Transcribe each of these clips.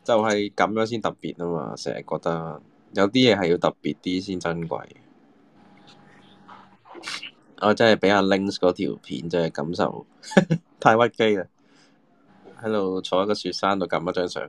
就係咁樣先特別啊嘛，成日覺得有啲嘢係要特別啲先珍貴。我真係俾阿 Links 嗰條片真係感受太屈機啦，喺度坐喺個雪山度撳一張相。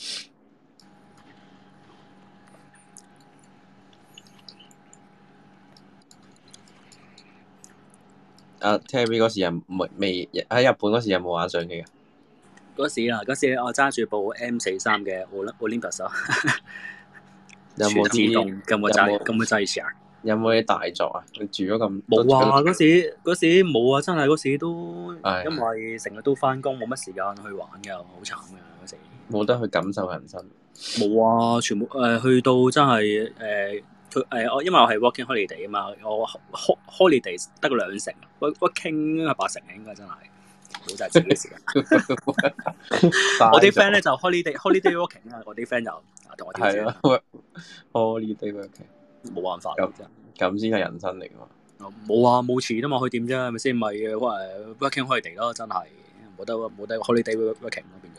阿 Terry 嗰時又未喺日本嗰時有冇玩相機啊？ 嗰時我揸住部 M43嘅 Olympus 啊， 有冇自動咁嘅掣上？ 有冇啲大作啊？你住咗咁冇啊！嗰時冇啊！真係嗰時都因為成日都翻工，冇乜時間去玩㗎，好慘㗎嗰時。 冇得去感受人生。 冇啊！全部去到真係我因為我係 working holiday 啊嘛，我 holiday 得個2成，working 係8成應該真係，冇就係自己時間。我啲 friend 咧就 holiday working 啊，我啲 friend 就同我調轉。 係啊 ，holiday working 冇辦法。 咁先係人生嚟㗎嘛。 冇啊，冇錢啊嘛，去點啫？係咪先？咪working holiday 咯，真係冇得 holiday working 咯，變咗。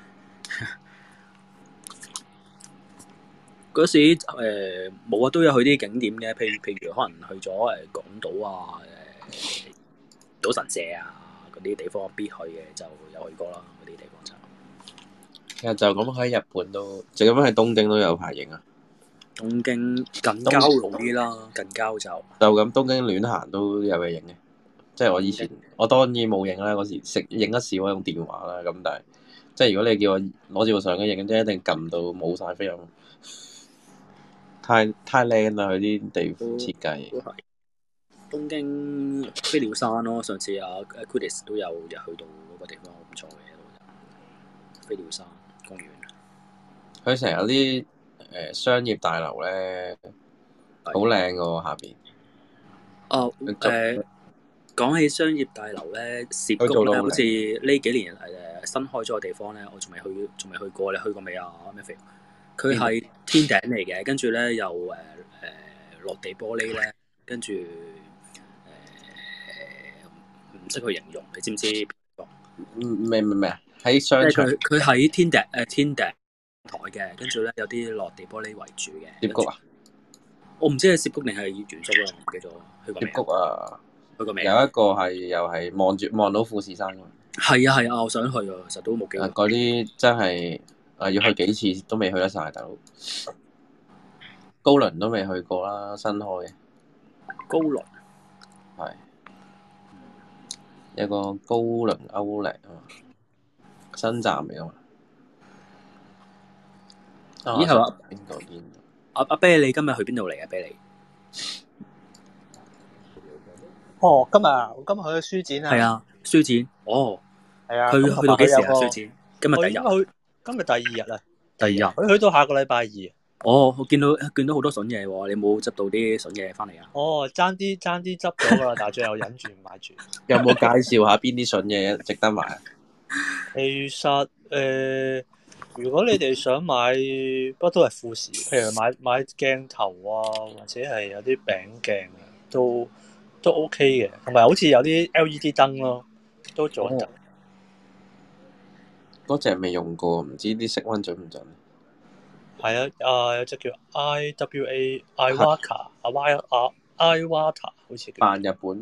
嗰時冇啊，都有去啲景點嘅，譬如可能去咗港島啊、賭神社啊嗰啲地方必去嘅，就有去過啦。嗰啲地方就其實就咁喺日本都，就咁喺東京都有排影啊。 東京近郊路啲啦，近郊就咁東京亂行都有嘢影嘅。即係我以前，我當然冇影啦。嗰時影得少，用電話啦。咁但係，即係如果你叫我攞住部相機影，即係一定撳到冇晒菲林。太靚啦！佢啲地方設計。 都係東京飛鳥山咯。上次阿 Chris 都有去到嗰個地方，好唔錯嘅。飛鳥山公園， 佢成日有啲商業大樓咧，好靚噶喎下邊。 講起商業大樓咧，涉谷咧，好似呢幾年新開咗個地方咧，我仲未去過。你去過未啊？咩肥？佢係天頂嚟嘅，跟住咧又落地玻璃咧，跟住唔識去形容，你知唔知？ 咩啊？喺商場。 佢喺天頂台嘅，跟住咧有啲落地玻璃圍住嘅。 涉谷啊？ 我唔知係涉谷定係原宿啦，唔記得咗。去過未？ 涉谷啊？ 去過未？ 有一個係又係望到富士山㗎。 係啊，我想去啊，其實都冇機會。 嗰啲真係要去幾次都未去得晒，大佬。高輪都未去過啦，新開嘅。 高輪係有個高輪歐力啊嘛，新站嚟啊嘛。 咦係嘛？ 邊度？ 阿啤，你今日去邊度嚟啊？啤你？ 我今日去咗書展啊。 係啊，書展。哦。 係啊。 去到幾時啊？書展？今日第一日。 今日第2日啊。 第2日。 佢去到下個禮拜2。 哦，我見到好多筍嘢喎，你冇執到啲筍嘢翻嚟啊？ 哦，爭啲執咗㗎啦，但係最後忍住唔買住。 有冇介紹下邊啲筍嘢值得買啊？ 其實如果你哋想買，不過都係富士，譬如買鏡頭啊，或者係有啲餅鏡啊，都 OK 嘅，同埋好似有啲 LED 燈咯，都做得。 嗰隻未用過，唔知啲色溫準唔準？ 係啊，有隻叫 Iwata 好似叫。 扮日本。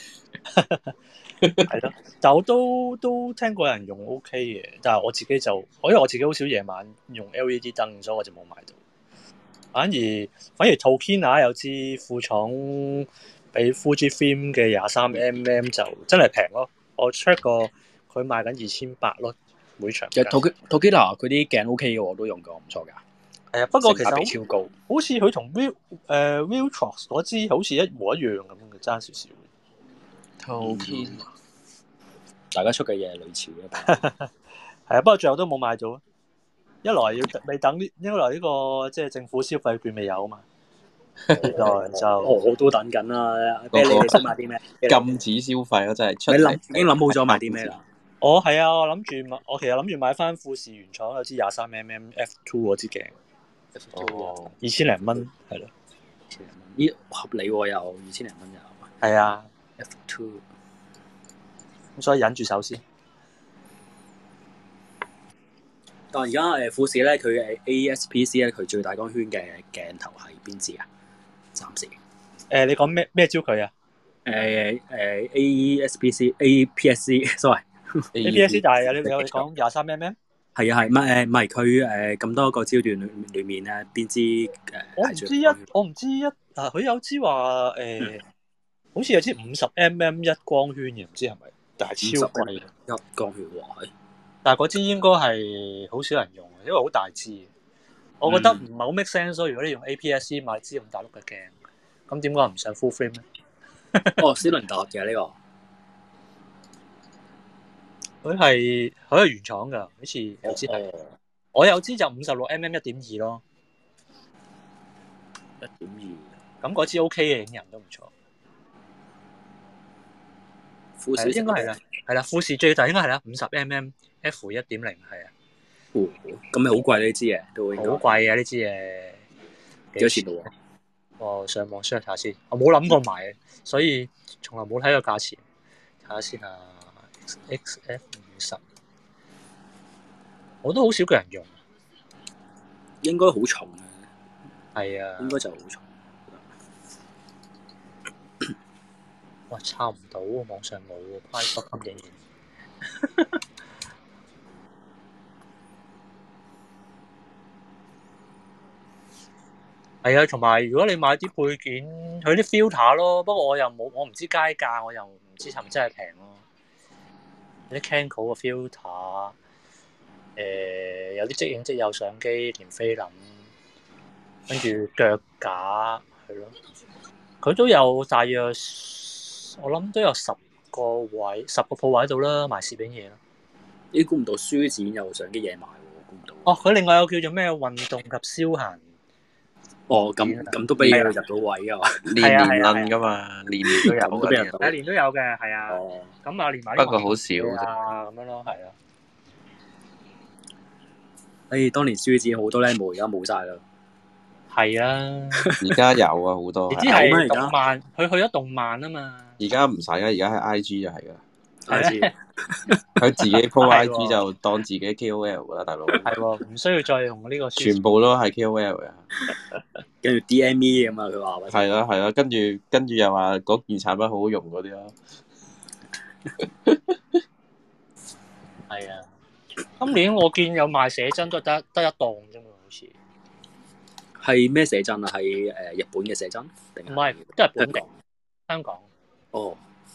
係咯，但我都聽過有人用 OK 嘅，但係我自己因為我自己好少夜晚用 LED 燈，所以我就冇買到。反而 Tokina 有支副廠俾 Fujifilm 嘅23mm 就真係平咯，我 check 過佢賣緊2800咯，每場。 其實 Tokina 佢啲鏡 OK 嘅，我都用過，唔錯㗎。 係啊，不過其實超高， 好似佢同 Viltrox 嗰支好似一模一樣咁嘅，爭少少。 Tokina 大家出嘅嘢係類似嘅。 係啊，不過最後都冇買到。一來未等一來呢個即係政府消費券未有啊嘛。二來就我都等緊啦。你想買啲咩？ 禁止消費咯，真係出。 已經諗好咗買啲咩啦？ 係啊，我其實諗住買翻富士原廠有支23mm f2 嗰支鏡。2000零蚊係咯。 咦，合理喎，有2000零蚊有。 係啊 ，F2。 咁所以忍住手先。 但係而家富士咧，佢AES-PC 咧，佢最大光圈嘅鏡頭係邊支啊？暫時你講咩焦距啊 AES-PC APS-C，sorry ？APS 但係你講23mm。 係啊係，唔係佢咁多個焦段裏面咧，邊支係最光圈？ 我唔知佢有支話好似有支50mm 一光圈嘅，唔知係咪？但係超貴一光圈喎， 但係嗰支應該係好少人用，因為好大支。我覺得唔係好 make sense 咯。如果你用 APS-C 買支咁大碌嘅鏡，咁點解唔上 full frame 咧？ 哦，斯倫達嘅呢個， 佢係原廠㗎，好似有支係。我有支就56mm 1.2咯 1.2。 咁嗰支 OK 嘅，影人都唔錯。 富士應該係啦，係啦，富士最大應該係啦，50mm f1.0係啊。 咁咪好貴呢支嘢，都應該好貴啊！呢支嘢幾多錢度喎？ 我上網 search 下先，我冇諗過買，所以從來冇睇過價錢。睇下先啊 ，XF50，我都好少個人用。 應該好重嘅。 係啊， 應該就好重。 哇，抄唔到喎，網上冇喎 ，private 竟然。係啊，同埋如果你買啲配件，佢啲 filter 咯，不過我唔知街價，我又唔知係咪真係平咯。有啲 Canon 嘅 filter，有啲即影即有相機，連菲林，跟住腳架，係咯，佢都有大約，我諗都有10個鋪位度啦，賣攝影嘢啦。 咦，估唔到書展有相機嘢賣喎，估唔到。 哦，佢另外有叫做咩運動及消閒。 哦，咁都俾佢入到位啊嘛， 年撚噶嘛，年都有咁都俾人一年都有嘅，係啊。 哦， 咁啊，連埋不過好少啊，咁樣咯，係啊。 當年書展好多靚模，而家冇晒啦。 係啊， 而家有啊，好多。 你知係動漫，佢去咗動漫啊嘛。 而家唔使啊，而家喺 IG 就係噶。 係佢自己 po IG 就當自己 KOL 噶啦，大佬。 係喎，唔需要再用呢個。 全部都係 KOL 嘅。 跟住 DME 咁啊，佢話。 係啦係啦，跟住又話嗰件產品好好用嗰啲咯。 係啊，今年我見有賣寫真都得一檔啫嘛，好似。 係咩寫真啊？係日本嘅寫真定唔係，都係本港、香港。 哦，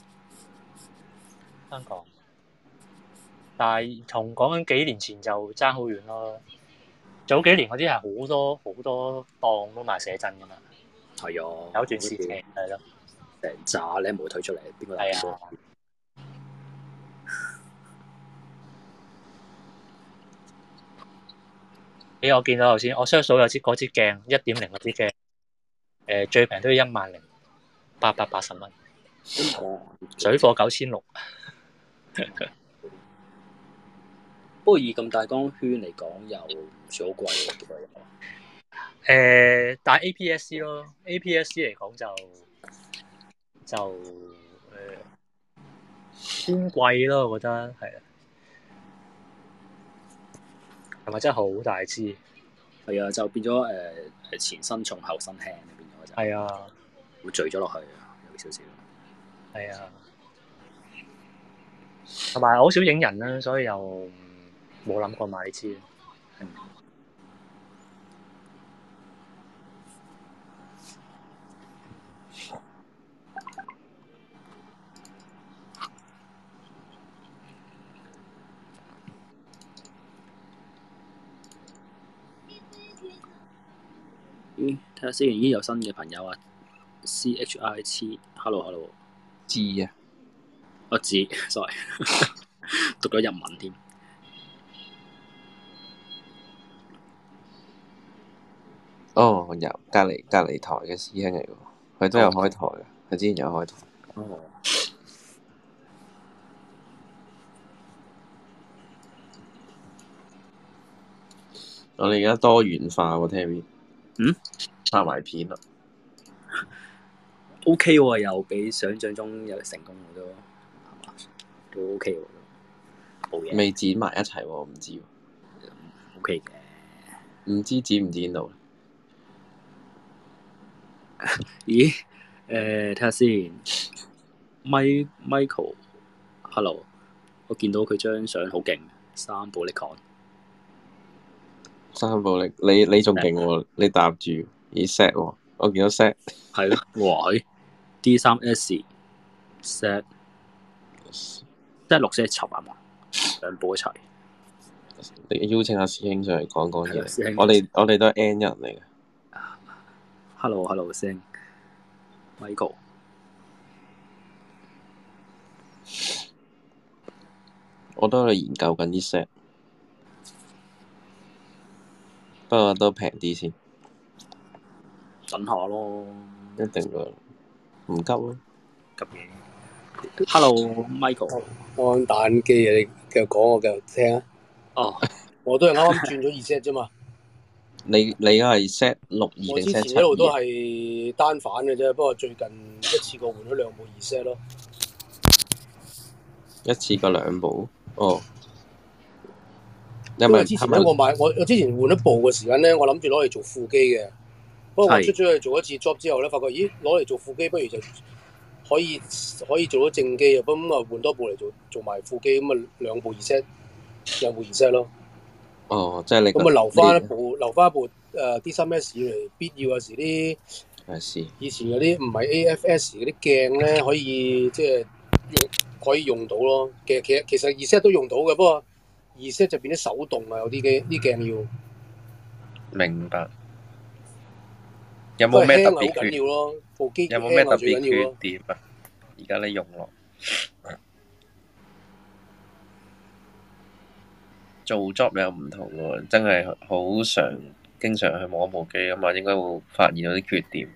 香港。但係同講緊幾年前就爭好遠咯。早幾年嗰啲係好多檔都賣寫真噶嘛。 係啊， 有段時期係咯， 成扎你冇推出嚟，邊個係啊？我見到頭先，我 search 到有嗰支鏡1.0嗰支鏡，最平都要10,880蚊，水貨9600。 不過以咁大光圈嚟講，又唔算好貴喎，幾多但係 APS-C 咯，APS-C 嚟講就偏貴咯，我覺得係啊。係咪真係好大支？ 係啊，就變咗前身重後身輕，變咗就係啊， 會墜咗落去，有少少。 係啊，同埋好少影人啦，所以又冇諗過買呢支。 咦，睇下先，已經有新嘅朋友啊 CHIT，hello， 知啊， 我知，sorry， 讀咗日文添。 哦，有隔離台嘅師兄嚟喎，佢都有開台嘅，佢之前有開台。 哦。 我哋而家多元化喎，Terry。拍埋片啦。 OK 喎，又比想象中又成功喎，都係嘛？都 OK 喎，冇嘢。 未剪埋一齊喎，唔知喎。 OK 嘅。 唔知剪唔剪到？ 咦？睇下先。Michael，hello，我見到佢張相好勁，3部 Nikon。 3部力，你仲勁喎？你搭住咦 set 喎？我見到 set 係咯，哇！D3S set 即係6 set 插啊嘛，兩部一齊。 你邀請下師兄上嚟講講嘢。 師兄我哋都係 N 人嚟嘅。 Hello，師兄 Michael。 我都喺度研究緊啲 set，不過都平啲先。 等下咯， 一定㗎，唔急咯。 急嘢。Hello，Michael。 安打機啊！你繼續講，我繼續聽啊。 哦， 我都係啱啱轉咗2set啫嘛。 你而家係 set 62 我之定 set 前一路都 72？ 係單反嘅啫，不過最近一次過換咗2部2set咯。 一次過2部？哦。 因為之前咧，我之前換一部嘅時間咧，我諗住攞嚟做副機嘅。不過我出咗去做一次 job 之後咧，發覺咦，攞嚟做副機不如就可以做到正機啊！咁啊換多部嚟做埋副機，咁啊2部2set 咯。 哦，即係你咁啊留翻一部D3S 嚟，必要有時啲以前嗰啲唔係 AFS 嗰啲鏡咧，可以即係可以用到咯。其實2set 都用到嘅，不過2set就變咗手動啊，有啲鏡要。 明白。有冇咩特別好緊要咯？部機有冇咩特別最緊要咯缺點啊？而家你用落做 job 又唔同喎，真係好經常去摸部機啊嘛，應該會發現到啲缺點。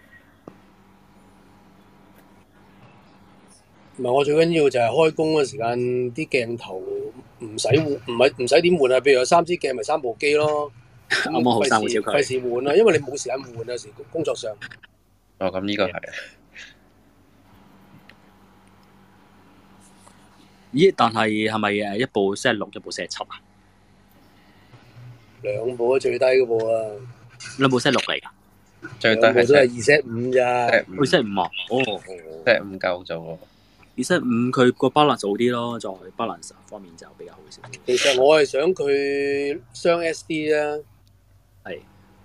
唔係，我最緊要就係開工嘅時間，啲鏡頭唔使換，唔使點換啊！譬如有3支鏡，咪3部機咯。 啱啱好3部超費事換啊，因為你冇時間換啊，有時工作上。 哦，咁呢個係。 咦？但係咪一部 set 6，一部 set 7啊 ？2部啊，最低嗰部啊。 兩部 set 6嚟㗎？ 最低係都係2set 5咋。 2set 5啊？哦 ，set 5夠做喎。 2set 5佢個 balance 好啲咯，在 balance 方面就比較好少。 其實我係想佢雙 SD 啊。 係。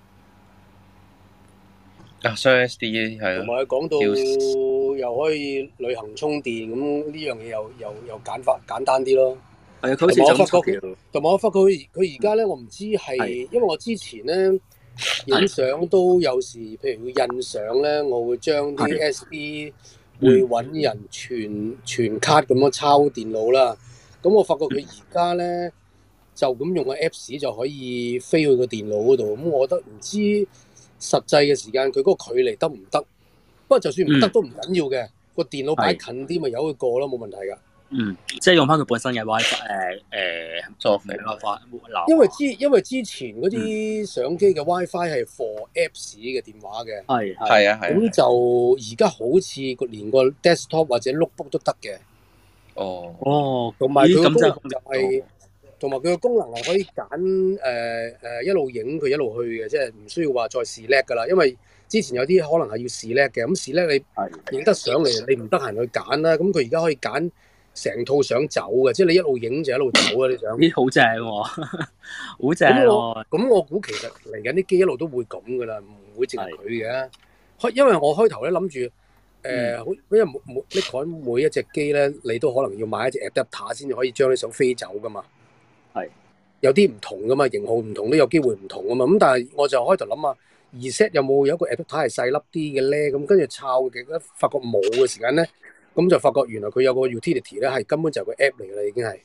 雙 SD 係同埋佢講到又可以旅行充電，咁呢樣嘢又簡單啲咯。 係啊，佢好似就咁。 同埋我發覺佢而家咧，我唔知係因為我之前咧影相都有時，譬如佢印相咧，我會將啲 SD 會揾人傳卡咁樣抄電腦啦。咁我發覺佢而家咧就咁用個 Apps 就可以飛去個電腦嗰度。咁我覺得唔知實際嘅時間佢嗰個距離得唔得？不過就算唔得都唔緊要嘅，個電腦擺近啲咪由佢過咯，冇問題㗎。 即係用翻佢本身嘅 WiFi 作肥 WiFi。 因為之前嗰啲相機嘅 WiFi 係 for Apps 嘅電話嘅。 係啊。 咁就而家好似連個 desktop 或者 notebook 都得嘅。 哦。 同埋佢個功能就係。同埋佢個功能係可以揀一路影佢一路去嘅，即係唔需要話再select㗎啦。因為之前有啲可能係要select嘅，咁select你影得上嚟，你唔得閒去揀啦。咁佢而家可以揀成套相走嘅，即係你一路影就一路走啊！你想？ 咦，好正喎，好正喎！ 咁我估其實嚟緊啲機一路都會咁㗎啦，唔會淨係佢嘅。因為我開頭咧諗住因為Nikon每一隻機咧，你都可能要買一隻 adapter 先至可以將啲相飛走㗎嘛。有啲唔同噶嘛，型號唔同都有機會唔同噶嘛。咁但係我就開頭諗下，2set 有冇一個 adapter 係細粒啲嘅咧？咁跟住抄嘅，發覺冇嘅時間咧，咁就發覺原來佢有個 utility 咧，係根本就係個 app 嚟㗎啦，已經係。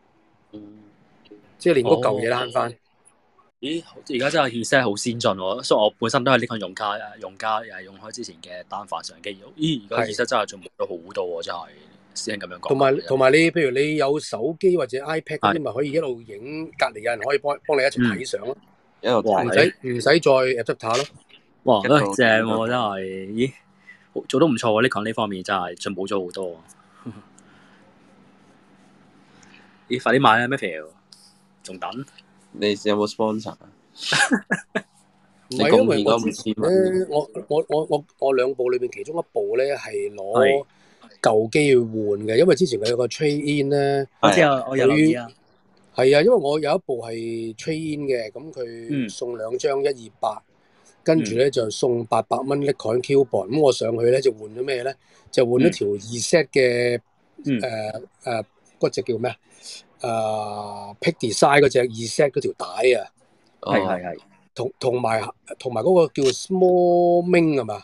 即係連嗰舊嘢都慳翻。 咦，而家真係 2set 好先進喎，所以我本身都係呢個用家又係用開之前嘅單反相機。咦，而家 2set 真係進步咗好多喎，真係。師兄咁樣講。 同埋你，譬如你有手機或者 iPad 嗰啲，咪可以一路影，隔離有人可以幫你一齊睇相咯。 一路睇。 唔使再 adapter 咯。 哇，正喎，真係，咦，做得唔錯喎！呢個呢方面真係進步咗好多。咦，快啲買啦 Matthew，仲等？ 你有冇 sponsor 啊？ 唔係因為我你貢獻嗰之前 5000蚊咧，我兩部裏邊其中一部咧係攞舊機去換嘅，因為之前佢有個 trade in 咧， 我知啊，我有留意啊。 係啊，因為我有一部係 trade in 嘅，咁佢送2張128，跟住咧就送800蚊 Nikon coupon，咁我上去咧就換咗咩咧？就換咗條2set 嘅嗰隻叫咩啊？Peak Design 嗰隻2set 嗰條帶啊， 係。 同埋嗰個叫 Small Ming 係嘛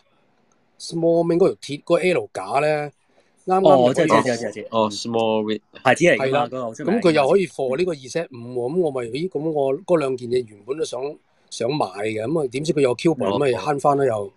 ？Small Ming 嗰條鐵嗰個 L 架咧，啱啱我知。 small rig 牌子嚟㗎嘛， 係啦， 嗰個好出名。 咁佢又可以貨呢個2set 5喎，咁我咪咁我嗰兩件嘢原本都想買嘅，咁啊點知佢有 coupon，咁咪慳翻啦又。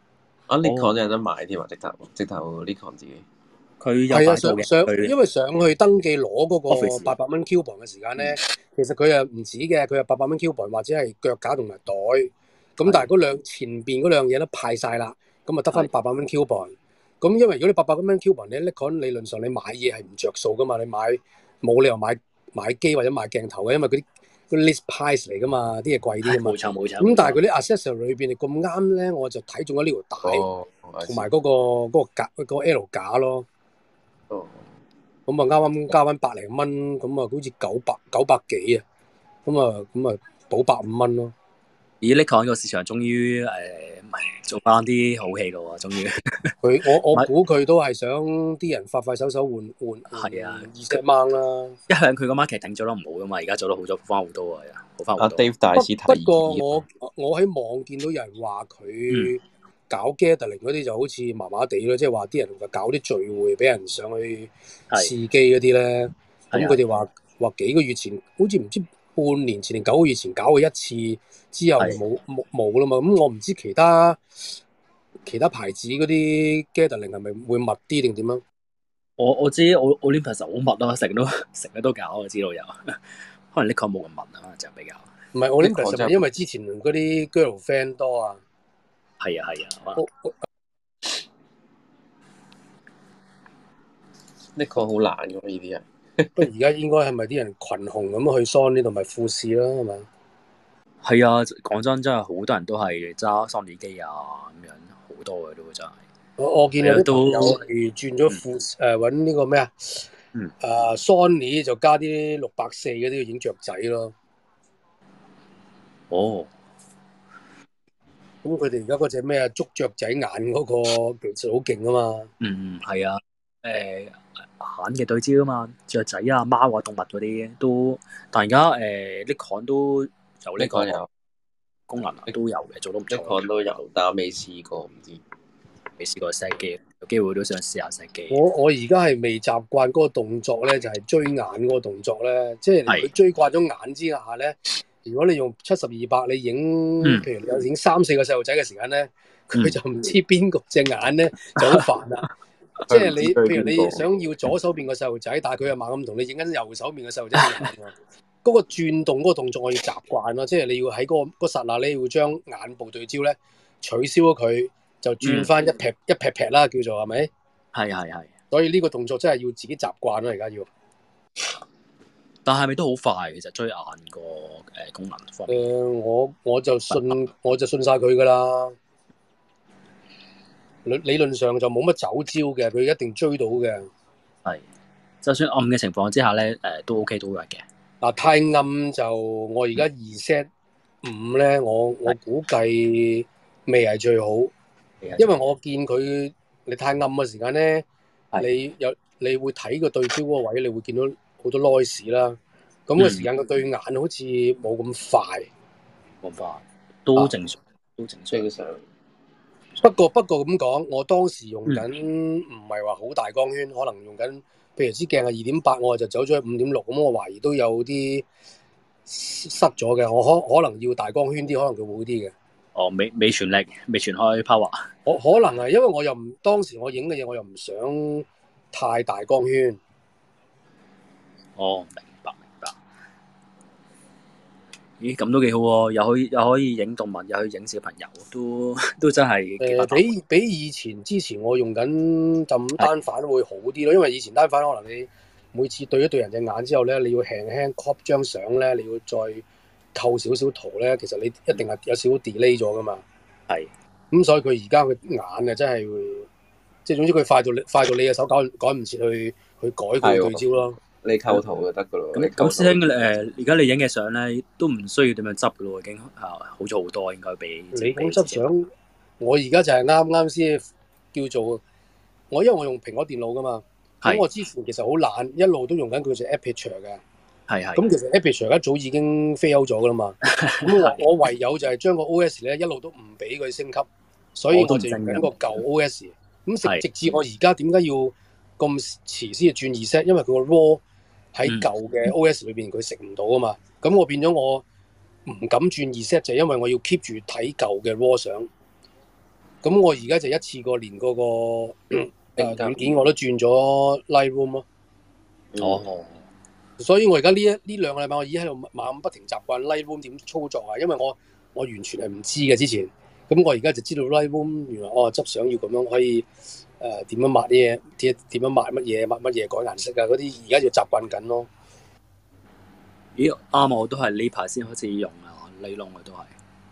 Nikon 有得買添啊，直頭 Nikon 自己。 佢有係啊， 佢因為上去登記攞嗰個800蚊 coupon 嘅時間咧，其實佢又唔止嘅，佢有800蚊 coupon 或者係腳架同埋袋，咁但係前邊嗰兩嘢都派晒啦，咁啊得翻800蚊 coupon。咁因為如果你800蚊 coupon 咧，Nikon 理論上你買嘢係唔着數噶嘛，你冇理由買機或者買鏡頭嘅，因為嗰啲 list price 嚟噶嘛，啲嘢貴啲噶嘛。 冇錯。 咁但係佢啲 accessory 裏邊你咁啱咧，我就睇中咗呢條帶同埋嗰個 L 架咯。咁啊啱啱加翻100零蚊，咁啊好似900幾啊，咁啊補150蚊咯。 咦，Nikon 個市場終於做翻啲好戲咯喎，終於。 我估佢都係想啲人快手換係啊 2set mount啦。 一向佢個 market 頂做得唔好噶嘛，而家做得好咗翻好多啊，好翻好多。 Dave 大師提議。 不過我喺網見到有人話佢搞 gathering 嗰啲就好似麻麻地咯，即係話啲人搞啲聚會俾人上去試機嗰啲咧，咁佢哋話幾個月前，好似唔知半年前定9個月前搞過一次，之後冇啦嘛。咁我唔知其他牌子嗰啲 gathering 係咪會密啲定點樣？ 我知Olympus 好密咯，成日都搞，我知道有。可能 Nikon 冇咁密啊，就比較。 唔係 Olympus 係因為之前嗰啲 girl fan 多啊。 係啊。 Nikon 好難㗎呢啲人。 不過而家應該係咪啲人群雄咁去 Sony 同埋富士啦，係咪？ 係啊，講真係好多人都係揸 Sony 機啊，咁樣好多嘅都真係。 我見有啲朋友係轉咗揾呢個咩Sony 就加啲640嗰啲影雀仔咯。 哦。 咁佢哋而家嗰隻咩捉雀仔眼嗰個其實好勁啊嘛。 係啊。眼嘅對焦啊嘛，雀仔啊、貓啊、動物嗰啲都，但而家Nikon 都有呢個功能啊，都有嘅，做到唔錯。 Nikon 都有，但我未試過，唔知。 未試過 set 機，有機會都想試下 set 機。 我而家係未習慣嗰個動作咧，就係追眼嗰個動作咧，即係佢追慣咗眼之下咧，如果你用70-200你影，譬如你有影3-4個細路仔嘅時間咧，佢就唔知邊個隻眼咧就好煩啦。即係你，譬如你想要左手邊個細路仔，但係佢又猛咁同你影緊右手邊嘅細路仔嘅眼喎。嗰個轉動嗰個動作我要習慣咯，即係你要喺嗰剎那咧，要將眼部對焦咧取消咗佢，就轉翻一劈啦，叫做係咪？ 係。 所以呢個動作真係要自己習慣咯，而家要。 但係咪都好快？其實追眼個功能方面。 我就信晒佢噶啦。理論上就冇乜走焦嘅，佢一定追到嘅。 係，就算暗嘅情況之下咧，都 OK 都 work 嘅。 嗱，太暗就我而家2set 5咧，我估計未係最好，因為我見佢你太暗嘅時間咧，你會睇個對焦嗰個位，你會見到好多 noise 啦。咁嘅時間個對眼好似冇咁快， 都正常， 正常。 不過咁講，我當時用緊唔係話好大光圈，可能用緊，譬如支鏡係2.8，我就走咗去5.6，咁我懷疑都有啲塞咗嘅，我可能要大光圈啲，可能佢會好啲嘅。 哦，未全力，未全開 power。 我可能係因為我又唔當時我影嘅嘢，我又唔想太大光圈。 哦，明白。咦，咁都幾好喎！又可以影動物，又可以影小朋友，都真係比以之前我用緊就單反會好啲咯，因為以前單反可能你每次對一對人隻眼之後咧，你要輕輕 crop 張相咧，你要再構少少圖咧，其實你一定係有少少 delay 咗噶嘛。 係。 咁所以佢而家佢眼啊，真係會，即係總之佢快到你嘅手趕唔切去改佢對焦咯。 你構圖就得噶咯。 咁師兄而家你影嘅相咧都唔需要點樣執噶咯，已經好咗好多，應該比你講執相，我而家就係啱啱先叫做因為我用蘋果電腦噶嘛，咁我之前其實好懶，一路都用緊佢隻 Aperture 嘅。係。咁其實 Aperture 一早已經 fail 咗噶啦嘛，咁我唯有就係將個 OS 咧一路都唔俾佢升級，所以我就用緊個舊 OS。咁直至我而家點解要咁遲先轉2set？因為佢個 RAW 喺舊嘅 OS 裏邊佢食唔到啊嘛，咁我變咗我唔敢轉2set，就係因為我要 keep 住睇舊嘅 RAW 相。咁我而家就一次過連嗰個軟件我都轉咗 Lightroom 咯。 哦。 所以我而家呢兩個禮拜我已經喺度猛不停習慣 Lightroom 點操作啊，因為我完全係唔知嘅之前。咁我而家就知道 Lightroom 原來執相要咁樣可以點樣抹啲嘢，點樣抹乜嘢改顏色啊嗰啲，而家就習慣緊咯。 咦啱啊！我都係呢排先開始用啊，Lightroom嘅都係。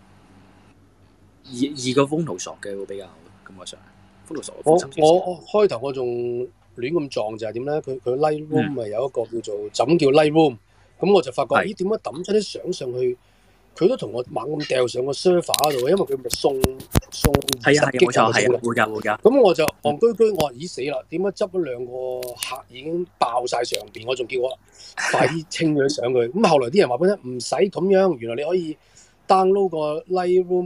二個風圖索嘅會比較感覺上。風圖索我開頭我仲亂咁撞就係點咧？佢 Lightroom 咪有一個叫做怎叫 Lightroom， 咁我就發覺咦點解抌出啲相上去？佢都同我猛咁掉上個 server 度，因為佢咪送20 G 冇錯，係會㗎。 咁我就戇居居，我話咦死啦！點解執咗2個客已經爆晒上邊？我仲叫我快啲清咗相佢。咁後來啲人話俾我聽唔使咁樣，原來你可以 download 個 Lightroom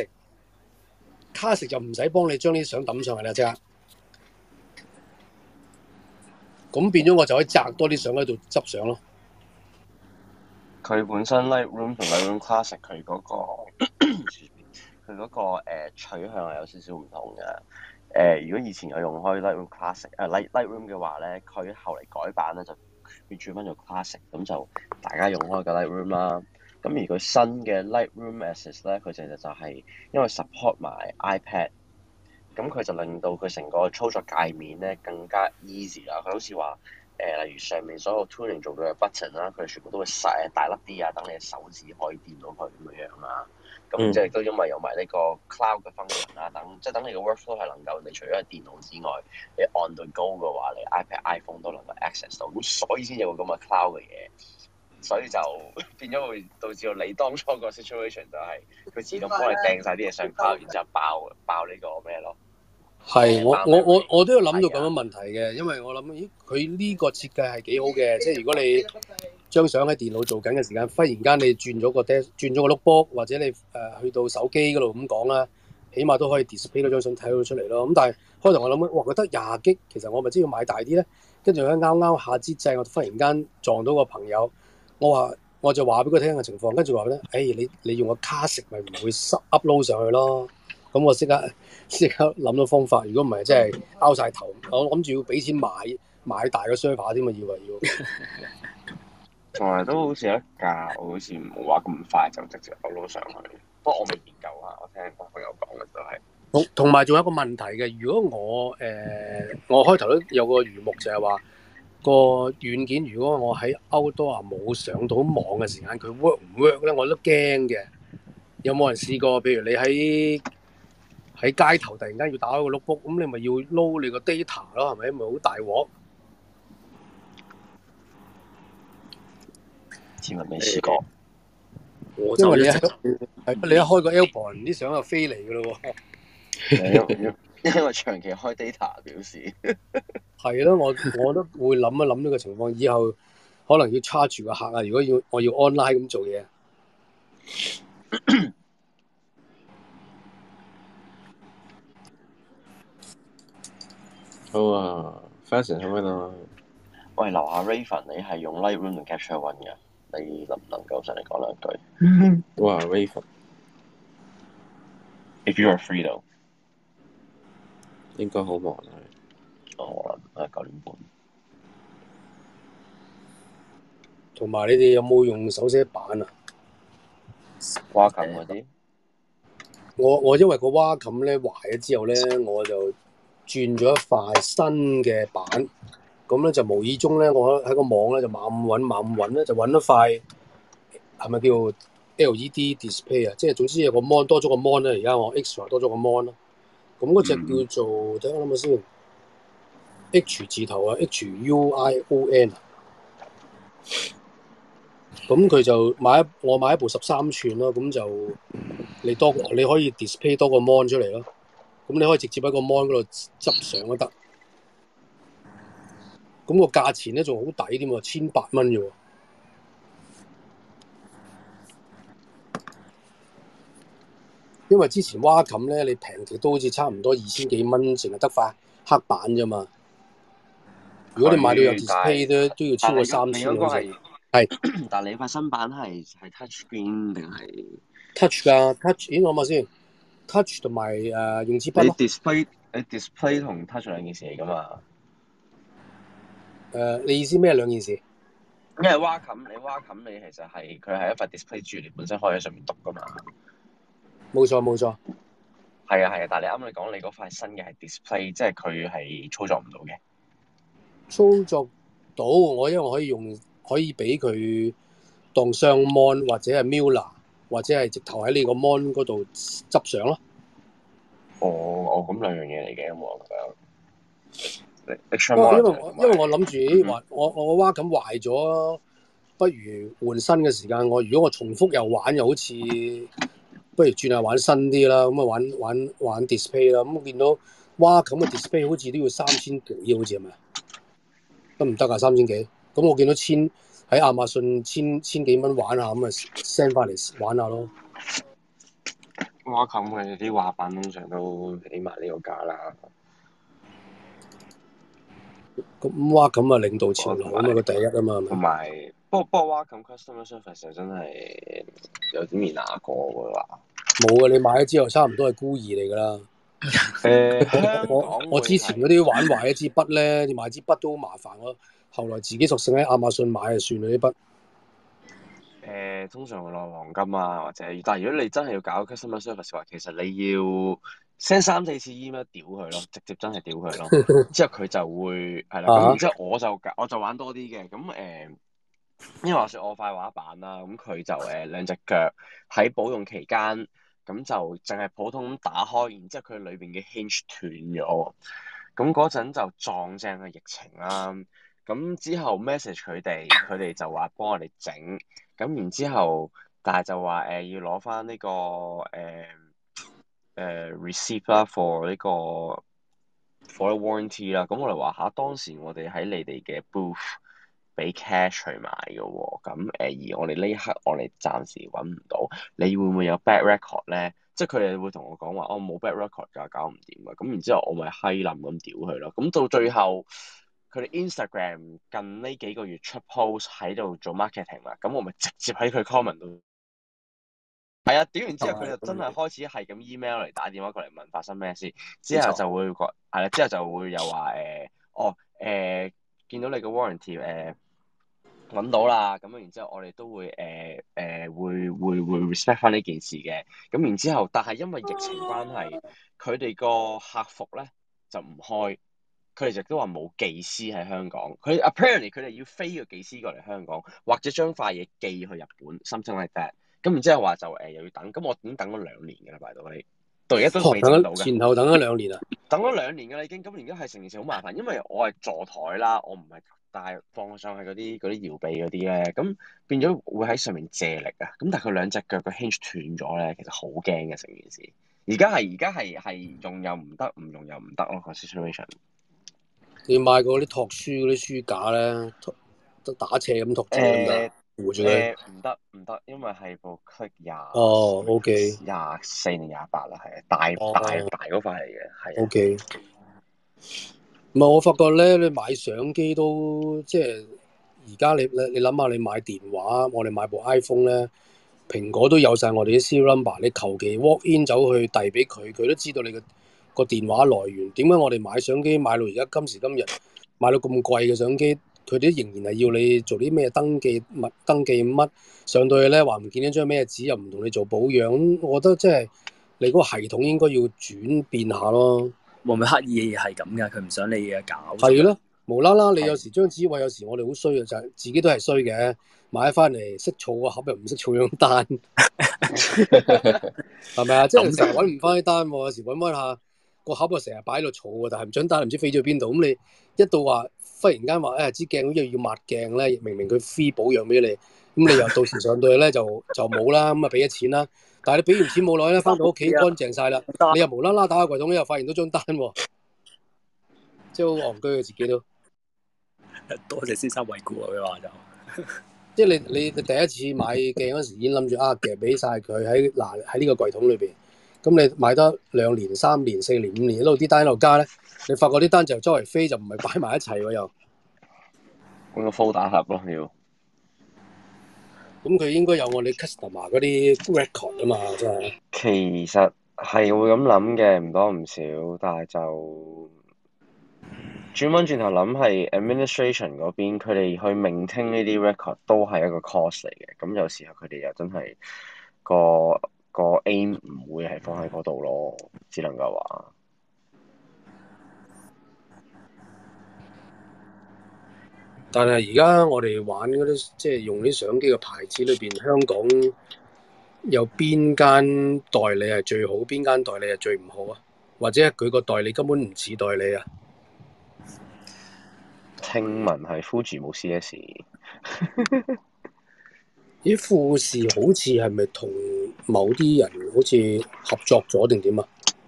Classic 就唔使幫你將啲相抌上去啦，即刻。咁變咗我就可以摘多啲相喺度執相咯。 佢本身 Lightroom 同 Lightroom Classic 佢嗰個取向係有少少唔同嘅。如果以前有用開 Lightroom Classic Lightroom 嘅話咧，佢後嚟改版咧就變轉翻做 Classic， 咁就大家用開嘅 Lightroom 啦。咁而佢新嘅 Lightroom Assist 咧，佢其實就係因為 support 埋 iPad， 咁佢就令到佢成個操作界面咧更加 easy 啦。佢好似話例如上面所有 tuning 做到嘅 button 啦，佢全部都會細大粒啲啊，等你嘅手指可以掂到佢咁樣啦。咁即係都因為有埋呢個 cloud 嘅 function 啦，等你嘅 workflow 係能夠你除咗係電腦之外，你 on the go 嘅話，你 iPad、iPhone 都能夠 access 到，咁所以先有個咁嘅 cloud 嘅嘢。所以就變咗會導致到你當初個 situation 就係佢自動幫你掟晒啲嘢上 cloud，然之後爆呢個咩咯？ 係我都有諗到咁樣問題嘅，因為我諗咦佢呢個設計係幾好嘅，即係如果你張相喺電腦做緊嘅時間，忽然間你轉咗個 notebook 或者你去到手機嗰度咁講啦，起碼都可以 display 嗰張相睇到出嚟咯。咁但係開頭我諗哇，佢得20 G， 其實我咪真要買大啲咧。跟住咧啱下支掣，我忽然間撞到個朋友。我就話俾佢聽嘅情況，跟住話咧，你用個 Classic 咪唔會 upload 上去咯。咁我即刻諗到方法，如果唔係真係拗晒頭，我諗住要俾錢買大個 server 添嘛，要。 同埋都好似有一架，我好似冇話咁快就直接 upload 上去。不過我未研究下，我聽朋友講嘅就係。 同埋仲有一個問題嘅，如果我開頭都有個魚目就係話。個軟件如果我喺 Outdoor 冇上到網嘅時間，佢 work 唔 work 咧？我都驚嘅。有冇人試過？譬如你喺街頭突然間要打開個 notebook， 咁你咪要撈你個 data 咯，係咪？咪好大鑊。 似乎未試過。 因為你一開個 Album 啲相就飛嚟㗎咯喎。 因為長期開 data 表示。 係咯，我都會諗一諗呢個情況，以後可能要 charge 個客啊。如果我要 online 咁做嘢， 好啊 ，fashion 喺邊度？ 喂，樓下 Raven， 你係用 Lightroom 定 Capture One 嘅？你能唔能夠上嚟講兩句？ 哇 Raven，if you are free though， 應該好忙啊。 我諗9點半。 同埋你哋有冇用手寫板啊？ 蛙琴嗰啲？ 我因為個蛙琴咧壞咗之後咧，我就轉咗一塊新嘅板，咁咧就無意中咧，我喺個網咧就猛揾咧，就揾咗塊係咪叫 LED display 啊，即係總之有個 mon 多咗個 mon 咧，而家我 extra 多咗個 mon 啦。咁嗰隻叫做等我諗下先 ，H 字頭啊，HUION 啊。咁佢就我買一部13寸咯，咁就你可以 display 多個 mon 出嚟咯。咁你可以直接喺個 mon 嗰度執相都得。咁個價錢咧仲好抵添喎，1800蚊啫喎。因為之前Wacom咧，你平極都好似差唔多2000幾蚊，淨係得塊黑板啫嘛。如果你買到有 display 都要超過3000蚊啫。係， 但你塊新版係 touch screen 定係 touch 㗎 ？touch 咦，諗下先 ，touch 同埋用支筆咯。 你 display 同 touch 兩件事嚟㗎嘛？ 你意思咩兩件事？ 因為Wacom你其實係佢係一塊 display 柱，你本身可以喺上面讀㗎嘛。 冇錯。 係啊，但係你啱你講你嗰塊新嘅係 display， 即係佢係操作唔到嘅。 操作到因為我可以俾佢當雙 mon 或者係 Mula 或者係直頭喺你個 mon 嗰度執相咯。 咁兩樣嘢嚟嘅，我覺得。 因為我諗住話我個Wacom壞咗，不如換新嘅時間。如果我重複又玩，又好似不如轉下玩新啲啦。咁啊玩 display 啦。咁我見到Wacom嘅 display 好似都要3000幾，好似係咪？得唔得啊？3000幾？咁我見到喺亞馬遜千幾蚊玩下，咁啊 send 翻嚟玩下咯。 Wacom嘅啲畫板通常都起碼呢個價啦。 咁Wacom啊領導潮流啊嘛，佢第一啊嘛。 同埋不過Wacom customer service 又真係有點面牙過喎話。冇啊！你買咗之後差唔多係孤兒嚟㗎啦。我之前嗰啲玩壞一支筆咧，你買支筆都好麻煩咯。後來自己索性喺亞馬遜買就算啦啲筆。 通常會攞黃金啊，或者但係如果你真係要搞 customer service 嘅話，其實你要 send 3-4次 email 屌佢咯，直接真係屌佢咯。之後佢就會係啦，咁然之後我就玩多啲嘅，咁因為話說我塊畫板啦，咁佢就兩隻腳喺保用期間，咁就淨係普通咁打開，然之後佢裏邊嘅 hinge 斷咗，咁嗰陣就撞正嘅疫情啦。咁之後 message 佢哋就話幫我哋整，咁然之後，但係就話要攞翻呢個receipt 啦 for 呢個 for warranty 啦。咁我哋話下當時我哋喺你哋嘅 booth 俾 cash 去買嘅喎，咁而我哋呢刻我哋暫時揾唔到，你會唔會有 bad record 咧？即係佢哋會同我講話，我冇 bad record 㗎，搞唔掂啊！咁然之後我咪閪冧咁屌佢咯。咁到最後。佢哋 Instagram 近呢幾個月出 post 喺度做 marketing 啦，咁我咪直接喺佢 comment 度，係啊，屌完之後佢就真係開始係咁 email 嚟打電話過嚟問發生咩事，之後就會係啦，之後就會又話見到你個 warranty 揾到啦，咁然之後我哋都會會 respect 翻呢件事嘅，咁然之後，但係因為疫情關係，佢哋個客服咧就唔開。佢哋亦都話冇技師喺香港，佢 apparently 佢哋要飛個技師過嚟香港，或者將塊嘢寄去日本，something like that。咁然之後話就又要等，咁我已經等咗2年㗎啦，拜到你，到而家都未整到嘅。 前後等咗2年啊！ 等咗2年㗎啦已經，咁而家係成件事好麻煩，因為我係座台啦，我唔係帶放上去嗰啲搖臂嗰啲咧，咁變咗會喺上面借力啊。咁但係佢兩隻腳個 hinge 斷咗咧，其實好驚嘅成件事。而家係用又唔得，唔用又唔得咯個 situation。 你買過啲托書嗰啲書架咧，打斜咁托住咁得，扶住佢。 唔得，因為係部 Click OK 24定28啦，係大嗰塊嚟嘅，係。 OK。唔係我發覺咧，你買相機都即係而家你諗下，你買電話，我哋買部 iPhone 咧，蘋果都有晒我哋啲 serial number，你求其 walk in 走去遞俾佢，佢都知道你個電話來源。點解我哋買相機買到而家今時今日買到咁貴嘅相機，佢哋仍然係要你做啲咩登記乜上到去咧，話唔見咗張咩紙，又唔同你做保養。我覺得即係你嗰個系統應該要轉變下咯。 會唔會刻意係咁㗎？佢唔想你嘢搞。 係咯， 無啦啦，你有時張紙位，有時我哋好衰嘅，就係自己都係衰嘅，買翻嚟識儲個盒又唔識儲張單，係咪啊？即係成日揾唔翻啲單喎，有時揾翻下個盒啊，成日擺喺度儲喎，但係唔張單唔知飛咗去邊度。咁你一到話忽然間話支鏡好似要抹鏡咧，明明佢 free 保養俾你，咁你又到時上到去咧就冇啦，咁啊俾咗錢啦。但係你俾完錢冇耐咧，翻到屋企乾淨晒啦，你又無啦啦打開櫃桶又發現到張單喎，即係好戇居嘅自己都。 多謝先生惠顧啊！佢話就即係你第一次買鏡嗰時已經諗住夾俾晒佢喺呢個櫃桶裏邊，咁你買得2年、3年、4年、5年一路啲單一路加咧，你發覺啲單就周圍飛，就唔係擺埋一齊喎又。 換個 folder 盒咯要。 咁佢應該有我哋 customer 嗰啲 record 啊嘛，真係。 其實係會咁諗嘅，唔多唔少，但係就轉翻轉頭諗係 administration 嗰邊，佢哋去 maintain 呢啲 record 都係一個 cost 嚟嘅。咁有時候佢哋又真係個 aim 唔會係放喺嗰度咯，只能夠話。 但係而家我哋玩嗰啲即係用啲相機嘅牌子裏邊，香港有邊間代理係最好，邊間代理係最唔好啊？或者佢個代理根本唔似代理啊？ 聽聞係 Fuji 冇 CS。 啲富士好似係咪同某啲人好似合作咗定點啊？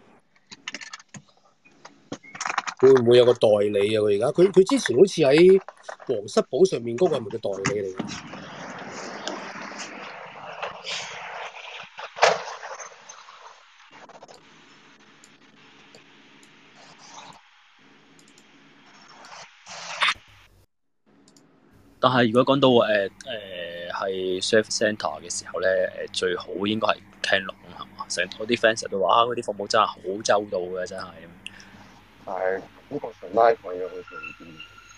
會唔會有個代理啊？佢而家佢之前好似喺皇室堡上面嗰個係咪個代理嚟㗎？ 但係如果講到係 service centre 嘅時候咧，最好應該係 Canon 係嘛？成我啲 fans 都話嗰啲服務真係好周到嘅，真係。 但係呢個純拉貴嘅好似啲。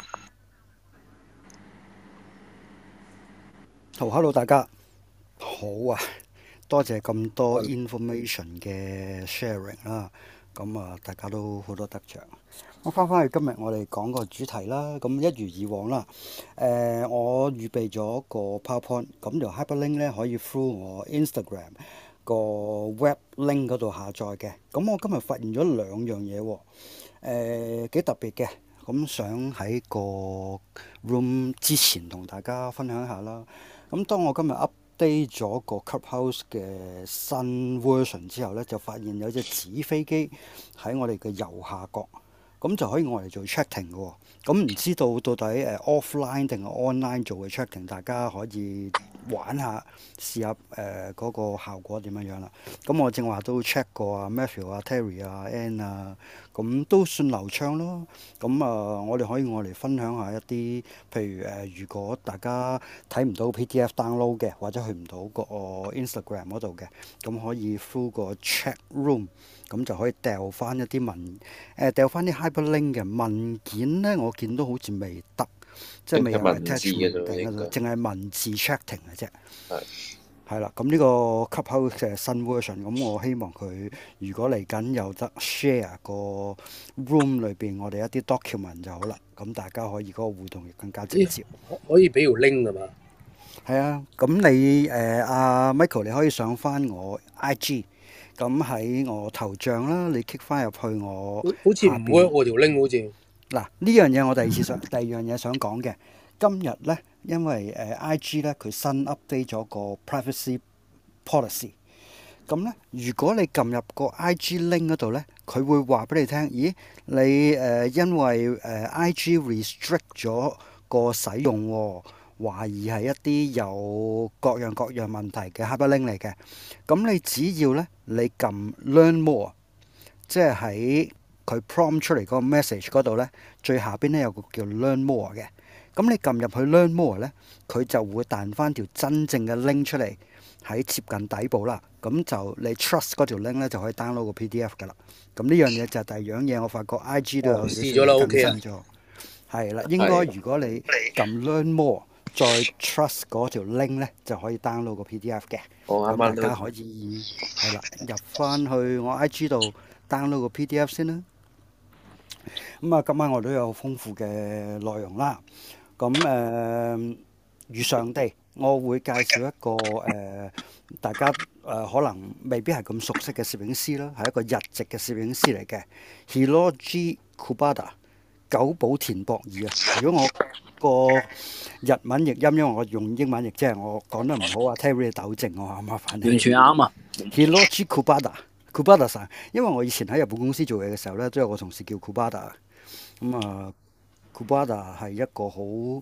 好，hello 大家好啊！多謝咁多 information 嘅 sharing 啦，咁啊大家都好多得着。我翻返去今日我哋講個主題啦，咁一如以往啦。我預備咗個 PowerPoint，咁條 hyperlink 咧可以 through 我 Instagram 個 web link 嗰度下載嘅。咁我今日發現咗2樣嘢喎，幾特別嘅。咁想喺個 room 之前同大家分享下啦。咁當我今日 update 咗個 Clubhouse 嘅新 version 之後咧，就發現有隻紙飛機喺我哋嘅右下角，咁就可以我嚟做 tracking 嘅喎。咁唔知道到底offline 定係 online 做嘅 tracking，大家可以玩下試下嗰個效果點樣啦。咁我正話都 check 過啊 Matthew 啊 Terry 啊 Ann 啊，咁都算流暢咯。咁我哋可以我嚟分享下一啲，譬如如果大家睇唔到 PDF download 嘅，或者去唔到個 Instagram 嗰度嘅，咁可以 through 個 chat room，咁就可以掉翻一啲掉翻啲 hyperlink 嘅文件咧。我見到好似未得，即係未有 attachment 定嗰度，淨係文字 chatting 嘅啫。係啦，咁呢個 Clubhouse 嘅新 version，咁我希望佢如果嚟緊有得 share 個 room 裏邊我哋一啲 document 就好啦，咁大家可以嗰個互動亦更加直接。 可以俾條 link 㗎嘛？ 係啊，咁你阿 Michael 你可以上翻我 IG，咁喺我頭像啦，你 click 翻入去我好似唔 work 喎條 link 好似。 嗱，呢樣嘢我第二樣嘢想講嘅，今日咧，因為IG 咧佢新 update 咗個 privacy policy，咁咧如果你撳入個 IG link 嗰度咧，佢會話俾你聽，咦，你因為IG restrict 咗個使用喎，懷疑係一啲有各樣問題嘅 hyperlink 嚟嘅，咁你只要咧你撳 learn more，即係喺佢 prompt 出嚟嗰個 message 嗰度咧，最下邊咧有個叫 learn more 嘅，咁你撳入去 learn more 咧，佢就會彈翻條真正嘅 link 出嚟，喺接近底部啦，咁就你 trust 嗰條 link 咧就可以 download 個 PDF 噶啦。咁呢樣嘢就係第二樣嘢，我發覺 IG 都有試咗啦，OK 啊， 係啦，應該如果你撳 learn more 再 trust 嗰條 link 咧，就可以 download 個 PDF 嘅。咁大家可以係啦，入翻去我 IG 度 download 個 PDF 先啦。 咁啊，今晚我都有豐富嘅內容啦。咁如常地，我會介紹一個大家可能未必係咁熟悉嘅攝影師啦，係一個日籍嘅攝影師嚟嘅 Hiroji Kubota 久保田博二啊。如果我個日文譯音，因為我用英文譯，即係我講得唔好啊，Terry 你糾正我啊，麻煩你。 完全啱啊 Hiroji Kubota さん，因為我以前喺日本公司做嘢嘅時候咧，都有個同事叫 Kubota。咁啊，Kubota 係一個好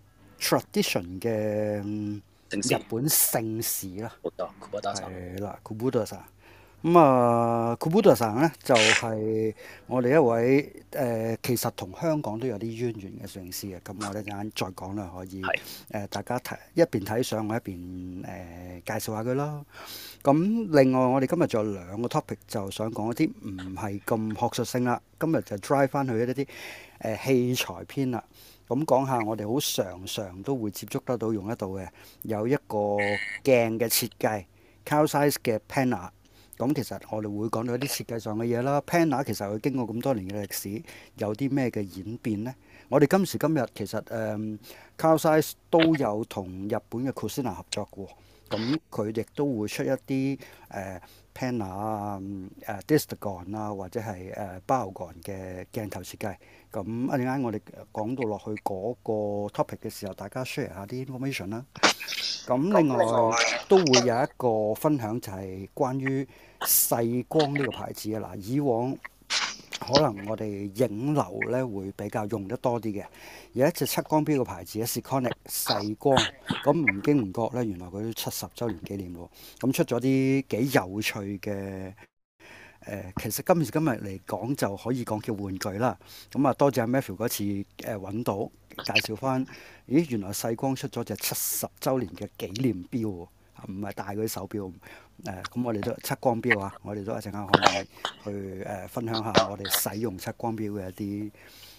tradition 嘅日本姓氏啦。係啦，Kubota さん。咁啊，Kubotaさん咧就係我哋一位其實同香港都有啲淵源嘅攝影師嘅。咁我哋陣間再講啦，可以大家睇一邊睇相，我一邊介紹下佢啦。咁另外我哋今日仲有兩個 topic 就想講一啲唔係咁學術性啦。今日就 drive 翻去一啲器材篇啦。咁講下我哋好常都會接觸得到用得到嘅，有一個鏡嘅設計 Carl Zeiss 嘅 Panner。咁其實我哋會講到一啲設計上嘅嘢啦。Panner 其實佢經過咁多年嘅歷史，有啲咩嘅演變呢？我哋今時今日其實Carl Zeiss 都有同日本嘅 Cosina 合作嘅喎。咁佢亦都會出一啲Panner 啊、Distagon 啊或者係Biogon 嘅鏡頭設計。咁一陣間我哋講到落去嗰個 topic 嘅時候，大家 share 下啲 information 啦。咁另外都會有一個分享，就係關於細光呢個牌子嘅。嗱，以往可能我哋影樓咧會比較用得多啲嘅，有一隻測光錶嘅牌子 Sekonic 細光。咁唔經唔覺咧，原來佢都70週年紀念喎。咁出咗啲幾有趣嘅其實今時今日嚟講就可以講叫玩具啦。咁啊，多謝阿 Matthew 嗰次揾到介紹翻，咦，原來細光出咗隻70週年嘅紀念錶喎，唔係大嗰啲手錶。咁我哋都測光錶啊，我哋都一陣間可以去分享下我哋使用測光錶嘅一啲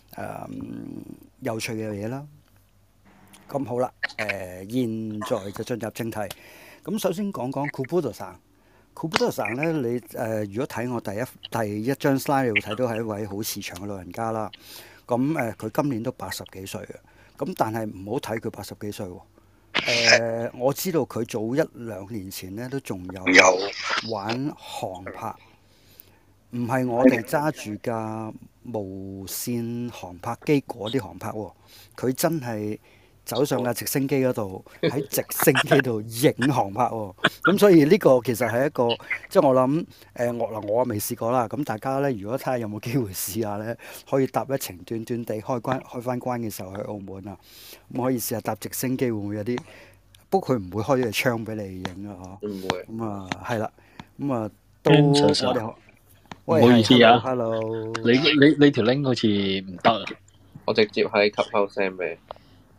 有趣嘅嘢啦。咁好啦，現在就進入正題。咁首先講講 Kubota さん。Kubota さん咧，你如果睇我第一張 slide，你會睇到係一位好慈祥嘅老人家啦。咁佢今年都80幾歲嘅。咁但係唔好睇佢80幾歲喎。我知道佢早1-2年前咧都仲有玩航拍，唔係我哋揸住架無線航拍機嗰啲航拍喎。佢真係走上架直升機嗰度，喺直升機度影航拍喎。咁所以呢個其實係一個，即係我諗我未試過啦。咁大家咧，如果睇下有冇機會試下咧，可以搭一程短短地開翻關嘅時候去澳門啊，咁可以試下搭直升機會唔會有啲？不過佢唔會開呢個窗俾你影啊，嗬。唔會。咁啊，係啦。咁啊，都我哋唔好意思啊 ，hello。 你條 link 好似唔得啊。 我直接喺 Clubhouse send 俾你。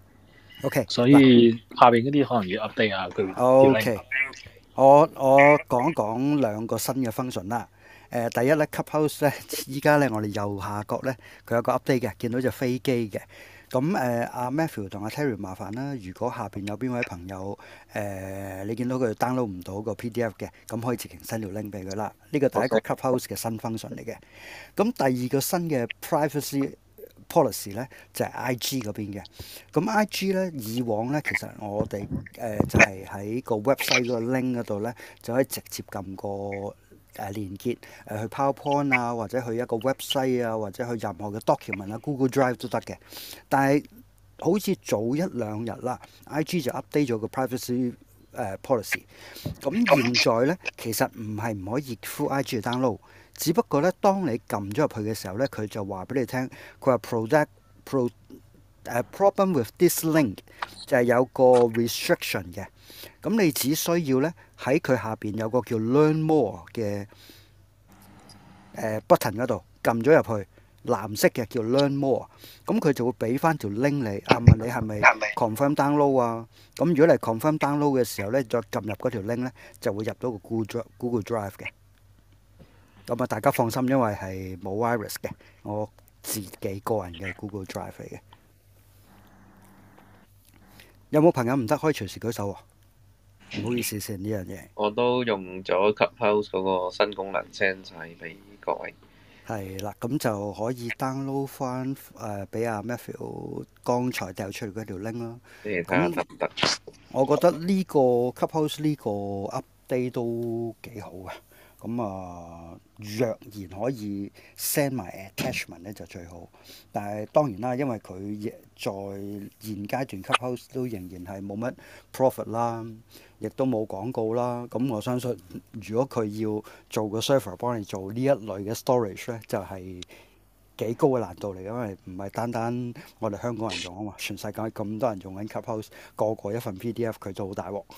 OK， 所以下邊嗰啲可能要 update 下佢。 OK，我講一講兩個新嘅 function 啦。第一咧 Clubhouse 咧，依家咧我哋右下角咧，佢有個 update 嘅，見到隻飛機嘅。咁阿 Matthew 同阿 Terry 麻煩啦，如果下邊有邊位朋友你見到佢 download 唔到個 PDF 嘅，咁可以直情 send 條 link 俾佢啦。呢個第一個 Clubhouse 嘅新 function 嚟嘅。咁第二個新嘅 privacy policy 咧就係 IG 嗰邊嘅。咁 IG 咧以往咧其實我哋就係喺個 website 嗰個 link 嗰度咧就可以直接撳個連結去 PowerPoint 啊，或者去一個 website 啊，或者去任何嘅 document 啊 Google Drive 都得嘅。但係好似早1-2日啦 IG 就 update 咗個 privacy policy。咁現在咧其實唔可以 through IG 去 download。只不過咧，當你撳咗入去嘅時候咧，佢就話俾你聽，佢話 problem with this link 就係有個 restriction 嘅。咁你只需要咧喺佢下邊有個叫 Learn More 嘅button 嗰度撳咗入去，藍色嘅叫 Learn More。咁佢就會俾翻條 link 你，問你係咪 confirm download 啊？咁如果你係 confirm download 嘅時候咧，再撳入嗰條 link 咧，就會入到個 Google Drive 嘅。咁啊，大家放心，因為係冇 virus 嘅，我自己個人嘅 Google Drive 嚟嘅。有冇朋友唔得可以隨時舉手喎？唔好意思先呢樣嘢。 我都用咗 Clubhouse 嗰個新功能 send 晒俾各位。 係啦，咁就可以 download 翻俾阿 Matthew 剛才掉出嚟嗰條 link 啦。 你哋睇下得唔得？ 我覺得呢個 Clubhouse 呢個 update 都幾好嘅。咁若然可以 send 埋 attachment 咧就最好。但係當然啦，因為佢在現階段 Clubhouse 都仍然係冇乜 profit 啦，亦都冇廣告啦。咁我相信，如果佢要做個 server 幫你做呢一類嘅 storage 咧，就係幾高嘅難度嚟，因為唔係單單我哋香港人用啊嘛，全世界咁多人用緊 Clubhouse，個個一份 PDF 佢就好大鑊。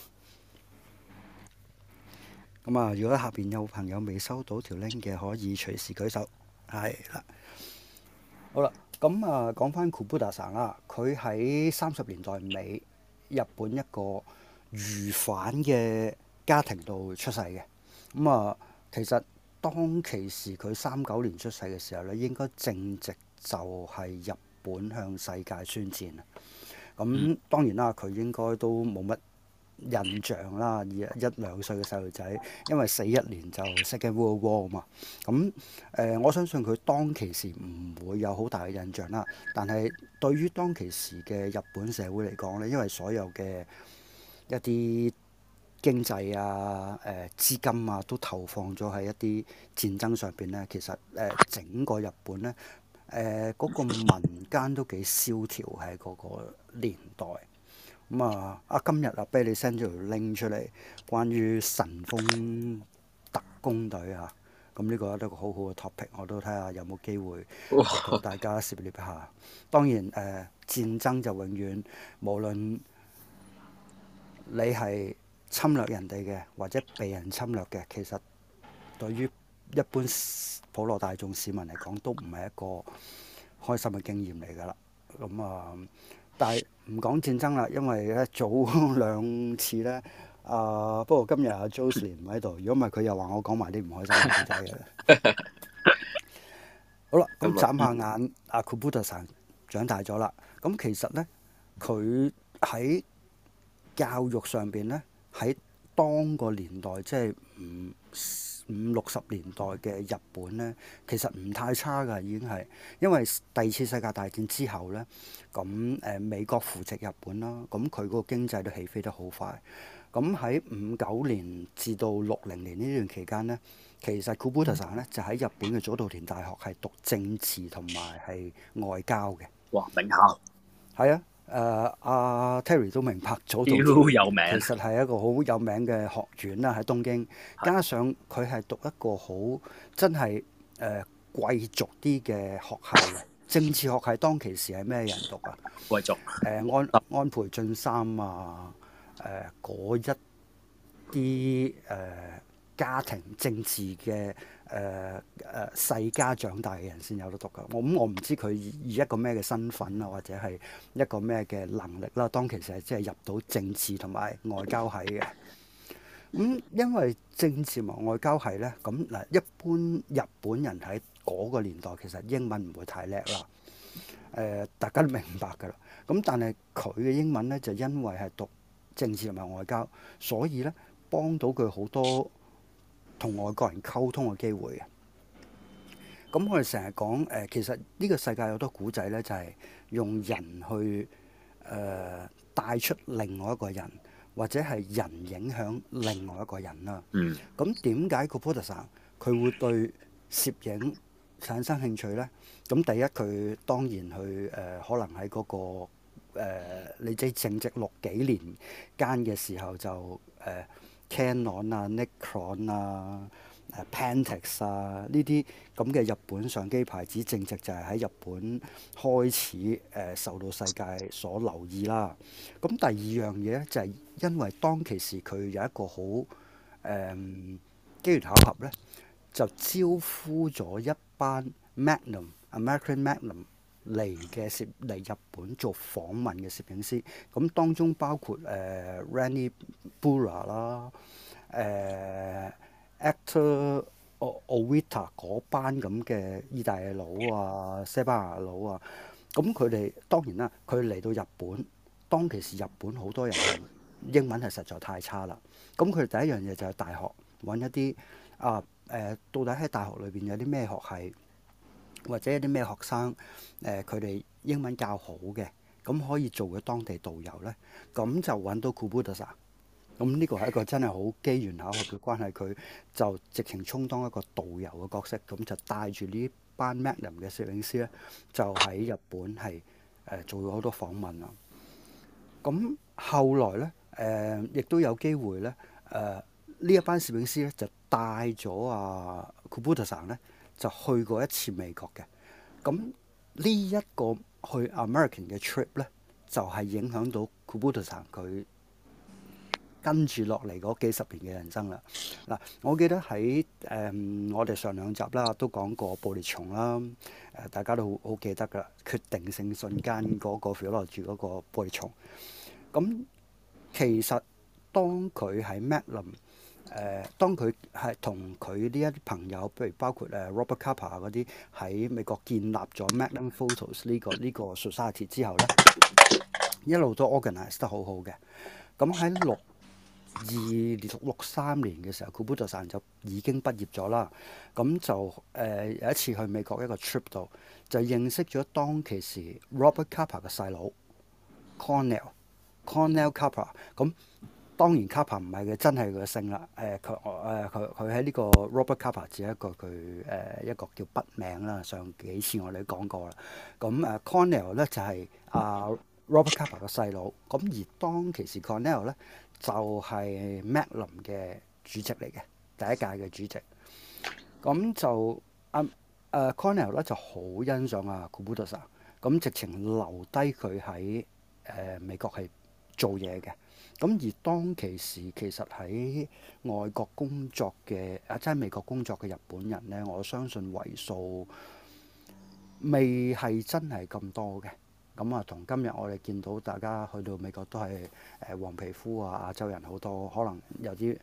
咁啊，如果下邊有朋友未收到條 link 嘅，可以隨時舉手。係啦，好啦，咁啊講翻 Kubota-san 啦，佢喺30年代尾日本一個漁販嘅家庭度出世嘅。咁啊，其實當其時佢39年出世嘅時候咧，應該正值就係日本向世界宣戰啊。咁當然啦，佢應該都冇乜印象啦，1-2歲嘅細路仔，因為41年就 Second World War 啊嘛。咁我相信佢當其時唔會有好大嘅印象啦。但係對於當其時嘅日本社會嚟講咧，因為所有嘅一啲經濟啊、資金啊都投放咗喺一啲戰爭上邊咧，其實整個日本咧嗰個民間都幾蕭條喺嗰個年代。咁今日俾你 send 咗條 link 出嚟，關於神風特工隊啊，咁呢個都係個好好嘅 topic，我都睇下有冇機會同大家涉獵一下。當然戰爭就永遠無論你係侵略人哋嘅，或者被人侵略嘅，其實對於一般普羅大眾市民嚟講，都唔係一個開心嘅經驗嚟㗎啦。咁但係唔講戰爭啦，因為咧早2次咧，不過今日阿 Jocelyn 唔喺度，如果唔係佢又話我講埋啲唔開心嘅故仔嘅。好啦，咁眨下眼，阿 Kubota-san 長大咗啦。咁其實咧，佢喺教育上邊咧，喺當個年代，即係50-60年代嘅日本咧，其實唔太差㗎，已經係因為第2次世界大戰之後咧，咁美國扶植日本啦，咁佢嗰個經濟都起飛得好快。咁喺59年至到60年呢段期間咧，其實 Kubota-san 咧就喺日本嘅早稻田大學係讀政治同埋係外交嘅。 哇，名校！ 係啊。阿 Terry 都明白早稻田有名， 其實係一個好有名嘅學院啦，喺東京。加上佢係讀一個好真係貴族啲嘅學校嘅政治學系。當其時係咩人讀啊？ 貴族安倍晉三啊，嗰一啲家庭政治嘅世家長大嘅人先有得讀㗎。我唔知佢以一個咩嘅身份啊，或者係一個咩嘅能力啦。當其時係即係入到政治同埋外交系嘅。因為政治同外交系咧，咁嗱一般日本人喺嗰個年代其實英文唔會太叻啦。大家都明白㗎啦。咁但係佢嘅英文咧就因為係讀政治同埋外交，所以咧幫到佢好多同外國人溝通嘅機會嘅。咁我哋成日講其實呢個世界有好多古仔咧，就係用人去帶出另外一個人，或者係人影響另外一個人啦。咁點解 Kubota-san 佢會對攝影產生興趣咧？咁第一佢當然去可能喺嗰個你知正值60幾年間嘅時候就Canon 啊、Nikon 啊、Pentax 啊呢啲咁嘅日本相機牌子，正值就係喺日本開始受到世界所留意啦。咁第二樣嘢咧就係因為當其時佢有一個好機緣巧合咧，就招呼咗一班 American Magnum 嚟日本做訪問嘅攝影師。咁當中包括Rani Bura 啦、Actor Ovita 嗰班咁嘅意大利佬啊、西班牙佬啊。咁佢哋當然啦，佢嚟到日本，當其時日本好多人英文係實在太差啦。咁佢哋第一樣嘢就係大學揾一啲到底喺大學裏邊有啲咩學系或者一啲咩學生佢哋英文較好嘅，咁可以做嘅當地導遊呢，咁就揾到 Kubota-san。咁呢個係一個真係好機緣巧合嘅關係，佢就直情充當一個導遊嘅角色，咁就帶住呢班 Magnum 嘅攝影師呢，就喺日本係做咗好多訪問啊。咁後來呢，亦都有機會呢，呢一班攝影師呢，就帶咗Kubota-san呢，就去過一次美國嘅。咁呢一個去 American 嘅 trip 呢，就係影響到 Kubota-san 佢跟住落嚟嗰幾十年嘅人生啦。嗱，我記得喺我哋上兩集啦都講過捕獵蟲啦，大家都好記得噶啦，決定性瞬間嗰個 Philology 嗰個捕獵蟲。咁其實當佢喺 Magnum，當佢係同佢呢一啲朋友，譬如包括Robert Capa 嗰啲喺美國建立咗 Magnum Photos 呢個 society 之後呢，一路都 organize 得好好嘅。咁喺63年嘅時候 Kubota-san 就已經畢業咗啦。咁就有一次去美國一個 trip 度，就認識咗當其時 Robert Capa 嘅細佬 Cornell Capa。咁當然 Capa 唔係佢真係佢嘅姓啦。佢喺呢個 Robert Capa 只係一個佢一個叫筆名啦。上幾次我哋都講過啦。咁Cornell 咧就係Robert Capa 嘅細佬。咁而當其時 Cornell 咧就係 Magnum 嘅主席嚟嘅，第一屆嘅主席。咁就Cornell 咧就好欣賞Kubota-san，咁直情留低佢喺美國係做嘢嘅。咁而當其時其實喺外國工作嘅即係美國工作嘅日本人呢，我相信為數未係真係咁多嘅。咁同今日我哋見到大家去到美國都係黃皮膚亞洲人好多，可能有啲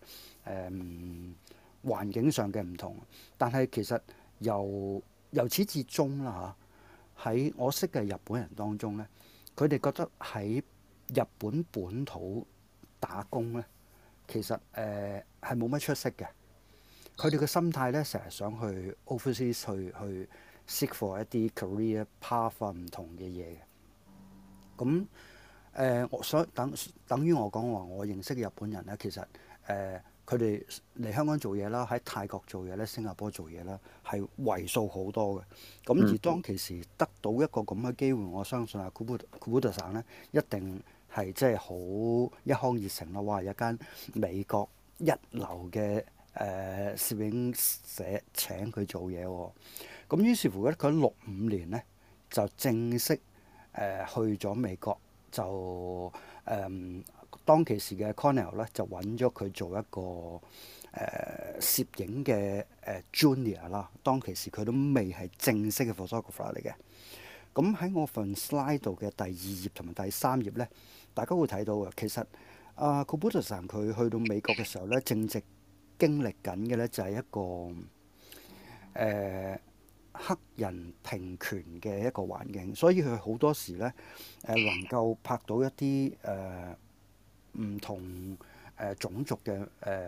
環境上嘅唔同。但係其實由始至終啦嚇，喺我識嘅日本人當中呢，佢哋覺得喺日本本土打工呢，其實係冇乜出息嘅。佢哋嘅心態呢，成日想去 overseas 去 seek for 一啲 career path 唔同嘅嘢嘅。咁我想等於我講話，我認識嘅日本人咧，其實佢哋嚟香港做嘢啦，喺泰國做嘢咧，新加坡做嘢啦，係為數好多嘅。咁而當其時得到一個咁嘅機會，我相信Kubota-san咧一定係即係好一腔熱誠啦！哇，有間美國一流嘅攝影社請佢做嘢喎。咁於是乎咧，佢65年咧就正式去咗美國，就當其時嘅 Cornell 咧就揾咗佢做一個攝影嘅junior 啦。當其時佢都未係正式嘅 photographer 嚟嘅。咁喺我份 slide 度嘅第2頁同埋第3頁咧，大家會睇到嘅。其實Kubota-san佢去到美國嘅時候咧，正值經歷緊嘅咧就係一個黑人平權嘅一個環境，所以佢好多時咧能夠拍到一啲唔同種族嘅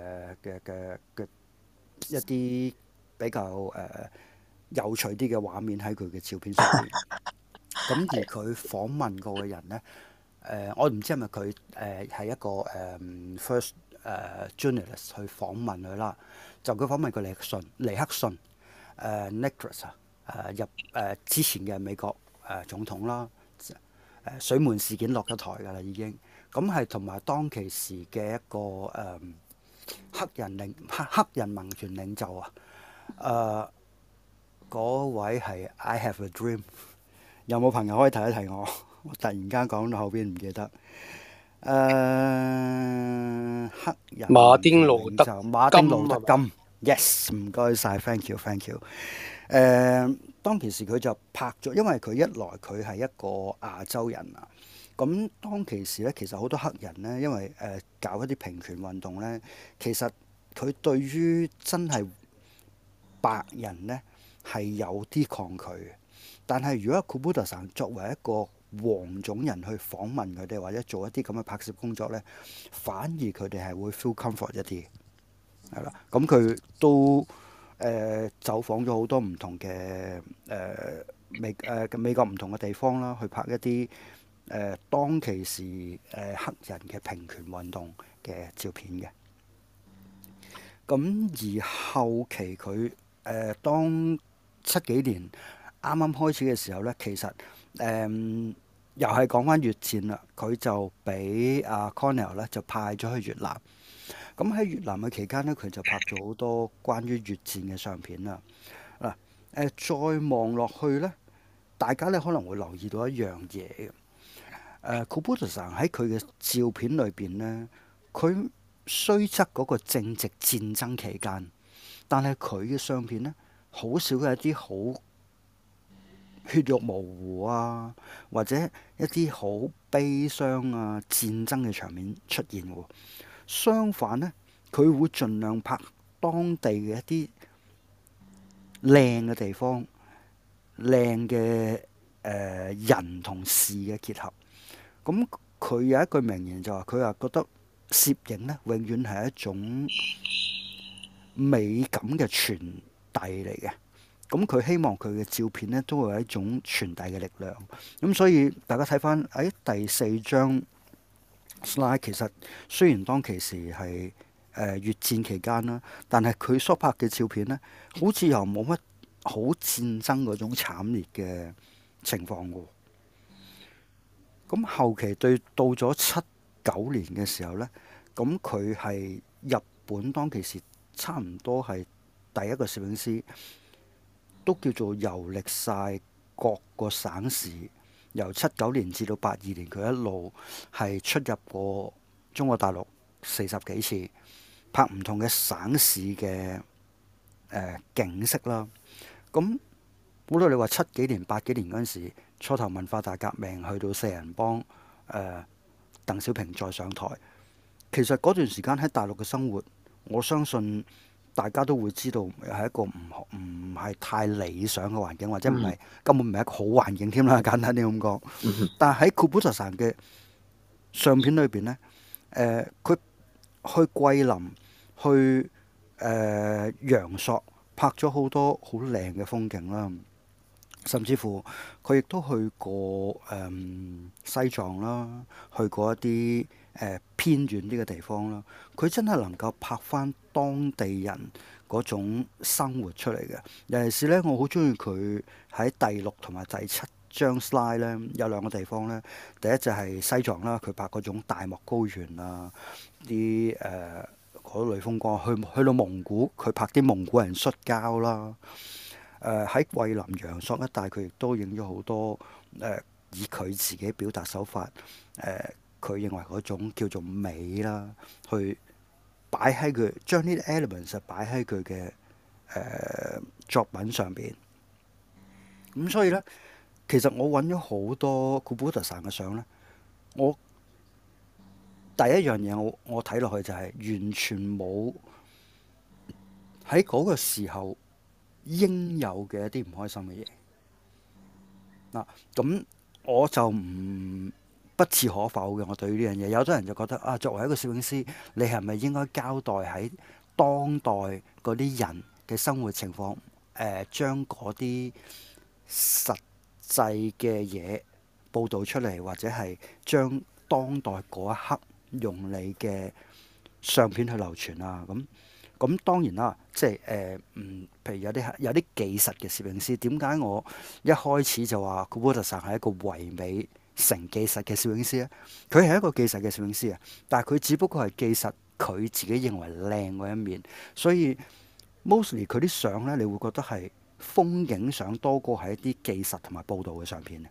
一啲比較有趣啲嘅畫面喺佢嘅照片上面。咁而佢訪問過嘅人咧，我唔知係咪佢係一個first journalist 去訪問佢啦。就佢訪問過尼克遜Nixon 之前嘅美國總統啦。水門事件落咗台㗎啦已經。咁係同埋當其時嘅一個黑人民權領袖嗰位係 I Have a Dream。有冇朋友可以提一提我？我突然間講到後邊唔記得。黑人馬丁路德金 ，yes， 唔該晒 ，thank you。當其時佢就拍咗，因為佢一來佢係一個亞洲人啊。咁當其時咧，其實好多黑人咧，因為搞一啲平權運動咧，其實佢對於真係白人咧係有啲抗拒嘅。但係如果Kubota-san作為一個黃種人去訪問佢哋，或者做一啲咁嘅拍攝工作咧，反而佢哋係會 feel comfort 一啲，係啦。咁佢都走訪咗好多唔同嘅美國唔同嘅地方啦，去拍一啲當其時黑人嘅平權運動嘅照片嘅。咁而後期佢當70幾年啱啱開始嘅時候呢，其實又係講翻越戰啦，佢就俾阿 Cornell 咧就派咗去越南。咁喺越南嘅期間呢，佢就拍咗好多關於越戰嘅相片啦。嗱，再望落去呢，大家咧可能會留意到一樣嘢嘅。Gulbuddism 喺佢嘅照片裏邊呢，佢雖則嗰個正值戰爭期間，但係佢嘅相片呢，好少係一啲好血肉模糊啊，或者一啲好悲傷啊、戰爭嘅場面出現喎。相反呢，佢會盡量拍當地嘅一啲靚嘅地方、靚嘅人同事嘅結合。咁佢有一句名言就話：佢話覺得攝影呢，永遠係一種美感嘅傳遞嚟嘅。咁佢希望佢嘅照片呢，都會有一種傳遞嘅力量。咁所以大家睇翻喺第4張 slide， 其實雖然當其時係越戰期間啦，但係佢所拍嘅照片呢，好似又冇乜好戰爭嗰種慘烈嘅情況喎。咁後期到咗79年嘅時候呢，咁佢係日本當其時差唔多係第一個攝影師，都叫做遊歷晒各個省市，由79年至到82年，佢一路係出入過中國大陸40幾次，拍唔同嘅省市嘅景色啦。咁估到你話70幾年、80幾年嗰陣時，初頭文化大革命去到四人幫，鄧小平再上台，其實嗰段時間喺大陸嘅生活，我相信大家都會知道係一個唔係太理想嘅環境，或者根本唔係一個好環境添啦。簡單啲咁講，但係喺 Gulbuddism 嘅相片裏邊呢，佢去桂林、去陽朔拍咗好多好靚嘅風景啦，甚至乎佢亦都去過西藏啦，去過一啲偏遠啲嘅地方啦。佢真係能夠拍翻當地人嗰種生活出嚟嘅。尤其是呢，我好中意佢喺第6同埋第7張 slide 呢，有2個地方呢。第一就係西藏啦，佢拍嗰種大漠高原啊，啲嗰類風光。去到蒙古，佢拍啲蒙古人摔跤啦。喺桂林陽朔一帶，佢亦都影咗好多以佢自己表達手法，佢認為嗰種叫做美啦，去擺喺佢將呢啲 elements 擺喺佢嘅作品上邊。咁所以呢，其實我揾咗好多 Gulbuddism 嘅相呢，我第一樣嘢我睇落去就係完全冇喺嗰個時候應有嘅一啲唔開心嘅嘢。嗱，咁我就不置可否嘅。我對於呢樣嘢，有啲人就覺得啊，作為一個攝影師，你係咪應該交代喺當代嗰啲人嘅生活情況？將嗰啲實際嘅嘢報導出嚟，或者係將當代嗰一刻用你嘅相片去流傳啊？咁當然啦，即係譬如有啲技術嘅攝影師，點解我一開始就話 Gulbuddism 係一個唯美成技術嘅攝影師咧？佢係一個技術嘅攝影師啊，但係佢只不過係技術佢自己認為靚嗰一面，所以 mostly 佢啲相咧，你會覺得係風景相多過係一啲技術同埋報導嘅相片。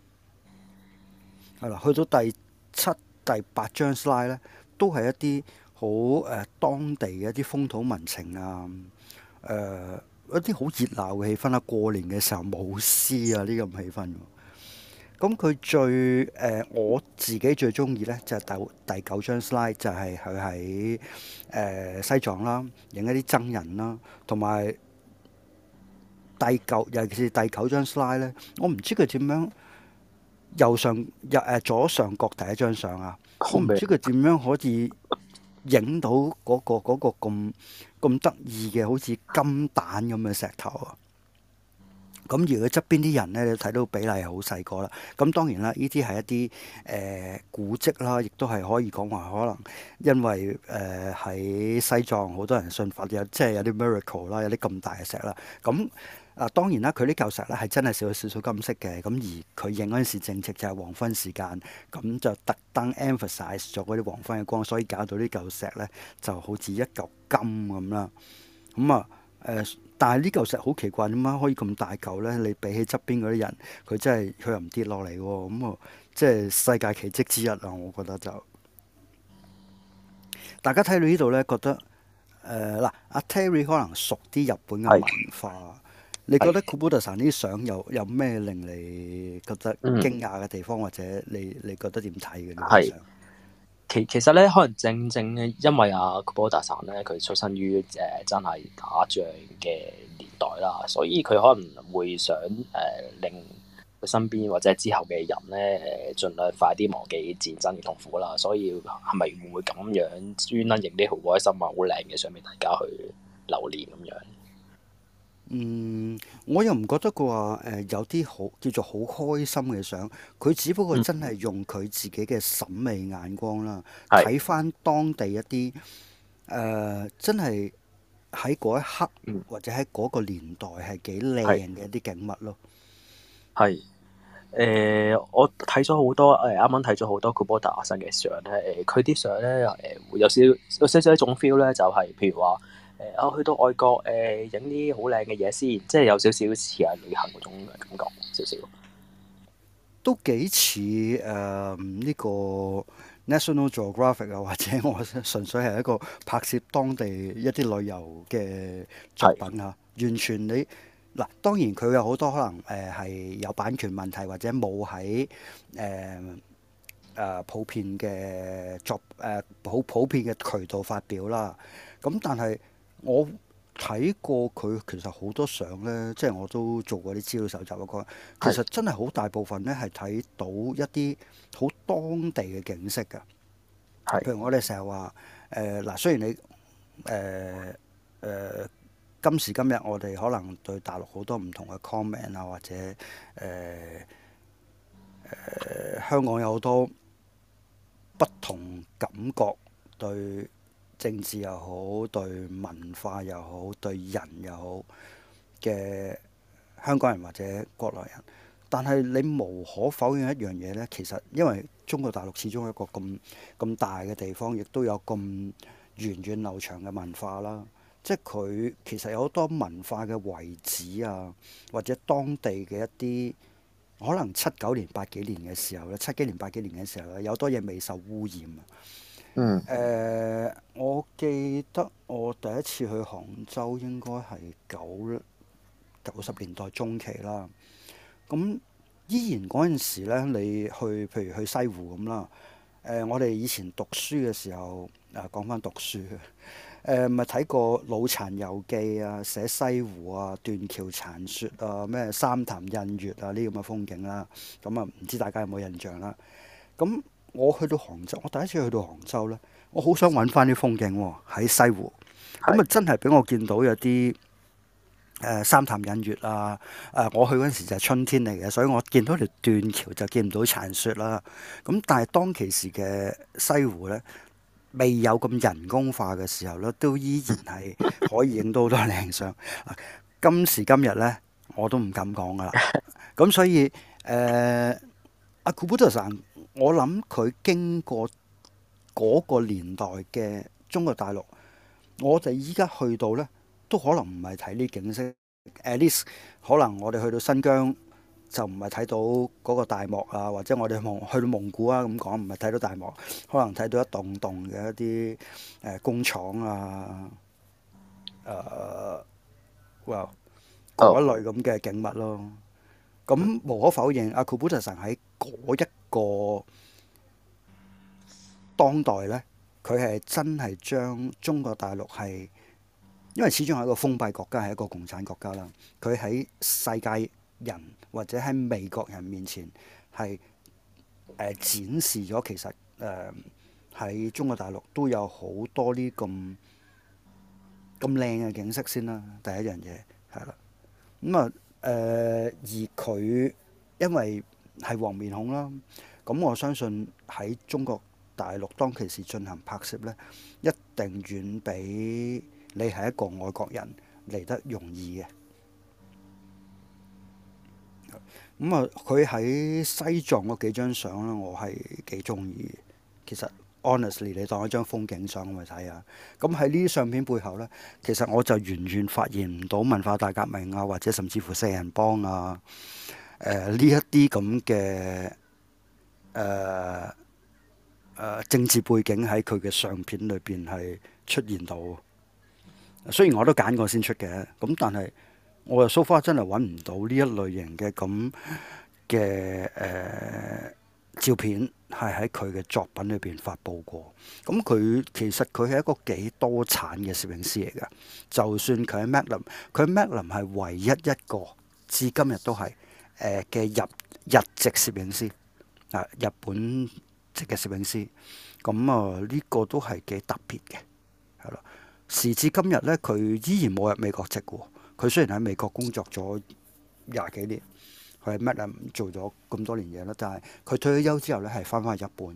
係啦，去到第7、第8張 slide 咧，都係一啲好當地嘅一啲風土民情啊，一啲好熱鬧嘅氣氛啊，過年嘅時候舞獅啊呢咁氣氛。咁佢最我自己最中意咧，就係第9張 slide，就係佢喺西藏啦，影一啲僧人啦，同埋尤其是第9張 slide 咧，我唔知佢點樣左上角第一張相啊，我唔知佢點樣可以影到嗰個咁得意嘅，好似金蛋咁嘅石頭啊！咁而佢側邊啲人咧，你睇到比例係好細個啦。咁當然啦，呢啲係一啲古蹟啦，亦都係可以講話可能因為喺西藏好多人信佛，即係有啲 miracle 啦，有啲咁大嘅石啦。咁當然啦，佢呢嚿石咧係真係少少金色嘅。咁而佢影嗰陣時正值就係黃昏時間，咁就特登 emphasize 咗嗰啲黃昏嘅光，所以搞到呢嚿石咧就好似一嚿金咁啦。咁啊但係呢嚿石好奇怪，點解可以咁大嚿咧？你比起側邊嗰啲人，佢又唔跌落嚟喎。咁啊，即係世界奇蹟之一啊！我覺得就大家睇到呢度咧，覺得阿 Terry 可能熟啲日本嘅文化。你覺得 Kubota-san 啲相有咩令你覺得驚訝嘅地方，或者你覺得點睇嘅呢啲相？ 其實咧，可能正正因為Kubota-san咧，佢出身於真係打仗嘅年代啦，所以佢可能會想令佢身邊或者之後嘅人咧盡量快啲忘記戰爭嘅痛苦啦。所以係咪會唔會咁樣專登影啲好開心啊、好靚嘅相俾大家去留念咁樣？ 我又唔覺得佢話有啲好叫做好開心嘅相，佢只不過真係用佢自己嘅審美眼光啦，睇翻當地一啲真係喺嗰一刻或者喺嗰個年代係幾靚嘅一啲景物咯。 係我睇咗好多啱啱睇咗好多 Kubota-san嘅相咧，佢啲相咧會有少少一種 feel 咧，就係譬如話。我去到外國影啲好靚嘅嘢先，即係有少少似係旅行嗰種感覺，少少都幾似呢個 National Geographic 啊，或者我純粹係一個拍攝當地一啲旅遊嘅作品啊。完全你嗱，當然佢有好多可能係有版權問題，或者冇喺普遍嘅普遍嘅渠道發表啦。咁但係我睇過佢其實好多相咧，即係我都做過啲資料搜集嗰，其實真係好大部分咧係睇到一啲好當地嘅景色㗎。譬如我哋成日話嗱，雖然你今時今日我哋可能對大陸好多唔同嘅 comment 啊，或者香港有好多不同感覺對政治又好，對文化又好，對人又好嘅香港人或者國內人，但係你無可否認一樣嘢呢，其實因為中國大陸始終係一個咁大嘅地方，亦都有咁源遠流長嘅文化啦。即係佢其實有好多文化嘅遺址啊，或者當地嘅一啲可能7、9年、8幾年嘅時候咧，7幾年、8幾年嘅時候咧，有多嘢未受污染啊。我記得我第一次去杭州應該係90年代中期啦。咁依然嗰陣時咧，你譬如去西湖咁啦。我哋以前讀書嘅時候，講翻讀書咪睇過《老殘遊記》啊，寫西湖啊、斷橋殘雪啊、咩三潭印月啊呢咁嘅風景啦。咁啊，唔知大家有冇印象啦？咁我去到杭州，我第一次去到杭州咧，我好想揾翻啲風景喎，喺西湖。咁啊，真係俾我見到有啲三潭印月啊！我去嗰陣時就係春天嚟嘅，所以我見到條斷橋就見唔到殘雪啦。咁但係當其時嘅西湖咧，未有咁人工化嘅時候咧，都依然係可以影到好多靚相。今時今日咧，我都唔敢講噶啦。咁所以阿Kubota-san，我諗佢經過嗰個年代嘅中國大陸，我哋依家去到咧，都可能唔係睇呢景色。At least 可能我哋去到新疆就唔係睇到嗰個大漠啊，或者我哋去到蒙古啊咁講，唔係睇到大漠，可能睇到一棟棟嘅一啲工廠啊，嗰一類咁嘅景物咯。咁無可否認，阿Kubota-san喺嗰一個當代呢，佢係真係將中國大陸係，因為始終係一個封閉國家，係一個共產國家啦。佢喺世界人或者喺美國人面前係展示咗其實喺中國大陸都有好多呢咁咁靚嘅景色先啦，第一樣嘢係啦。咁啊而佢因為係黃面孔啦，咁我相信喺中國大陸當其時進行拍攝呢，一定遠比你係一個外國人嚟得容易嘅。咁啊，佢喺西藏嗰幾張相咧，我係幾中意。其實 honestly，你當一張風景相咁去睇下。咁喺呢啲相片背後呢，其實我就完全發現唔到文化大革命啊，或者甚至乎四人幫啊，呢一啲咁嘅政治背景喺佢嘅相片裏邊係出現到。雖然我都揀過先出嘅，咁但係我又 so far 真係揾唔到呢一類型嘅咁嘅照片係喺佢嘅作品裏邊發布過。咁佢其實佢係一個幾多產嘅攝影師嚟㗎。就算佢喺 Magnum，佢喺 Magnum 係唯一一個至今日都係嘅日籍攝影師啊，日本籍嘅攝影師。咁啊呢個都係幾特別嘅，係咯。時至今日呢，佢依然冇入美國籍喎。佢雖然喺美國工作咗20幾年，佢喺 Magnum 做咗咁多年嘢啦，但係佢退咗休之後呢，係翻返去日本嘅。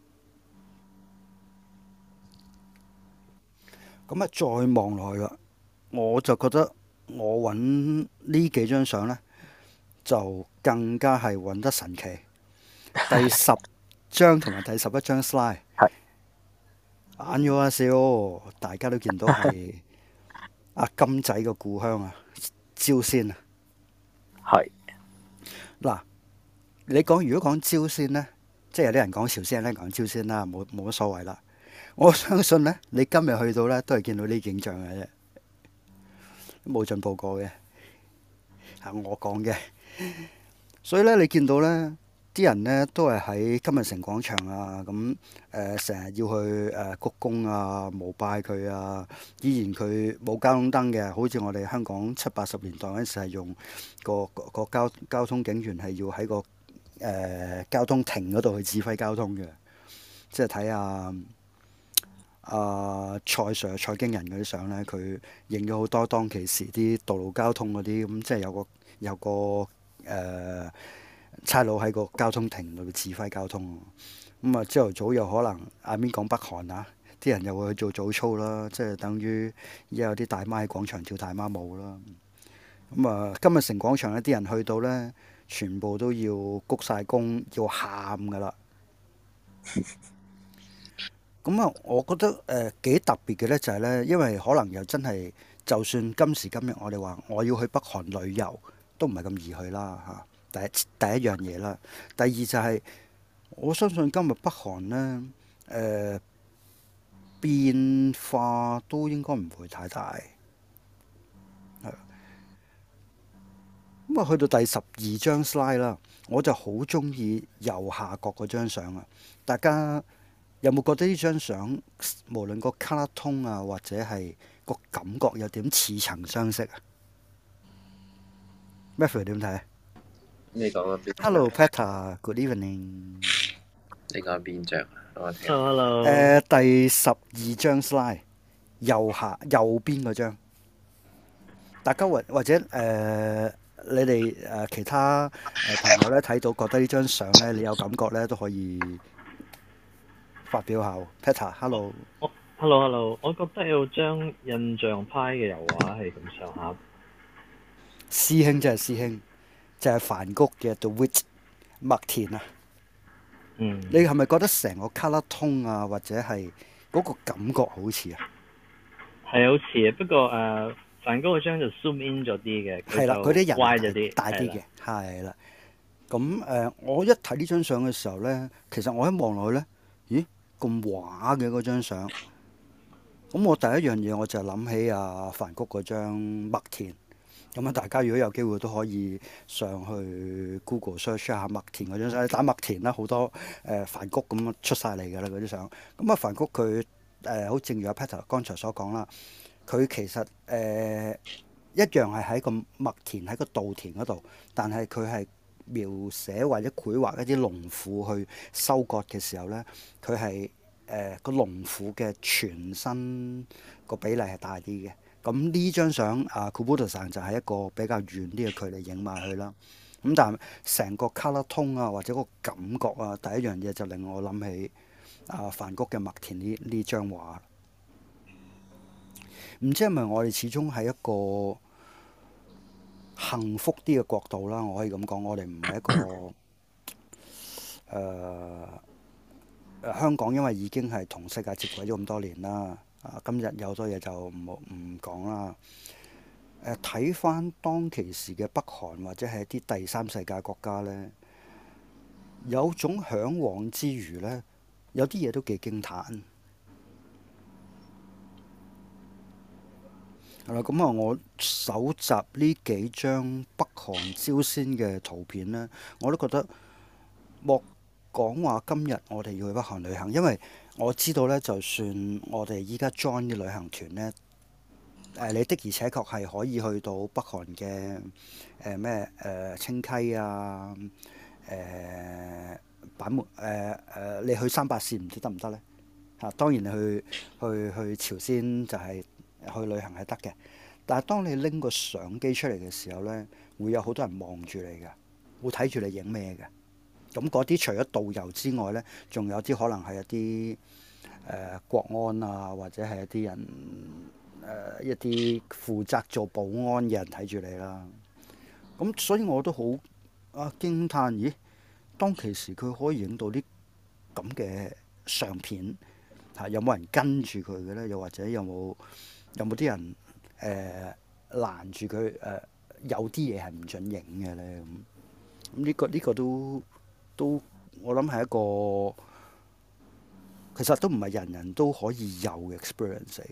咁啊，再望落去啦，我就覺得我揾呢幾張相呢，就更加係揾得神奇。第10張同埋第11張 slide， 眼咗一笑，大家都見到係阿金仔嘅故鄉啊，朝鮮啊。 係嗱，你講如果講朝鮮呢，即係有啲人講朝鮮，有啲人講朝鮮啦，冇乜所謂啦。我相信呢，你今日去到呢，都係見到呢景象嘅啫，冇進步過嘅，係我講嘅。所以呢，你見到呢啲人呢，都係喺金日成廣場啊，咁成日要去鞠躬啊、膜拜佢啊。依然佢冇交通燈嘅，好似我哋香港70、80年代嗰陣時係用個交通警員係要喺個交通亭嗰度去指揮交通嘅，即係睇下蔡 Sir 蔡京人嗰啲相呢，佢影咗好多當其時啲道路交通嗰啲，咁即係有個差佬喺個交通亭度指揮交通。咁啊，朝頭早又可能邊講北韓啊，啲人又會去做早操啦，即係等於而家有啲大媽喺廣場跳大媽舞啦。咁啊，金日成廣場呢啲人去到呢，全部都要鞠晒躬，要喊噶啦。咁啊，我覺得幾特別嘅呢，就係呢，因為可能又真係，就算今時今日我哋話我要去北韓旅遊，都唔係咁易去啦嚇。第一樣嘢啦，第二就係我相信今日北韓呢，變化都應該唔會太大。咁啊，去到第12張 slide 啦，我就好中意右下角嗰張相啊！大家有冇覺得呢張相無論個 color tone 啊，或者係個感覺有點似曾相識啊？Matthew 點睇？ 你講緊邊 ？Hello Peter，Good evening。 你講緊邊張啊？我聽。 Hello。 第12張 slide 右邊嗰張，大家或者你哋其他朋友咧睇到覺得呢張相咧，你有感覺咧都可以發表下。Peter，hello。 Hello，我覺得有張印象派嘅油畫係咁上下。 師兄真係師兄，就係梵谷嘅 The Witch 麥田啊。 嗯。 你係咪覺得成個 color tone 啊，或者係嗰個感覺好似啊？ 係好似啊，不過梵高嗰張就 zoom in 咗啲嘅， 係啦，嗰啲人歪咗啲， 大啲嘅，係啦。咁我一睇呢張相嘅時候咧，其實我一望落去咧，咦咁畫嘅嗰張相。咁我第一樣嘢我就諗起梵谷嗰張麥田。咁啊，大家如果有機會都可以上去 Google search 下麥田嗰張相，你打麥田啦，好多梵谷咁出晒嚟㗎啦嗰啲相。咁啊，梵谷佢好正如阿 Peter 剛才所講啦。佢其實一樣係喺個麥田喺個稻田嗰度，但係佢係描寫或者繪畫一啲農婦去收割嘅時候呢，佢係個農婦嘅全身個比例係大啲嘅， 咁呢張相Kubota-san就係一個比較遠啲嘅距離影埋去啦。咁但係成個 colour tone 啊，或者個感覺啊，第一樣嘢就令我諗起梵谷嘅麥田呢張畫。唔知係咪我哋始終係一個幸福啲嘅角度啦？我可以咁講，我哋唔係一個香港，因為已經係同世界接軌咗咁多年啦。今日有好多嘢就唔講啦。睇翻當其時嘅北韓或者係一啲第三世界國家呢，有種嚮往之餘呢，有啲嘢都幾驚歎。係啦，咁我搜集呢幾張北韓朝鮮嘅圖片呢，我都覺得莫講話今日我哋要去北韓旅行，因為我知道呢，就算我哋依家 join 啲旅行團呢，你的而且確係可以去到北韓嘅清溪啊，板門你去三八線唔知得唔得呢？當然你去朝鮮就係去旅行係得嘅，但係當你拎個相機出嚟嘅時候呢，會有好多人望住你嘅，會睇住你影咩嘅。咁嗰啲除咗導遊之外呢，仲有啲可能係一啲國安啊，或者係一啲人一啲負責做保安嘅人睇住你啦。咁所以我都好驚歎，咦？當其時佢可以影到啲咁嘅相片，有冇人跟住佢嘅呢？又或者有冇啲人攔住佢？有啲嘢係唔準影嘅呢？咁呢個都我諗係一個其實都唔係人人都可以有嘅 experience 嚟嘅。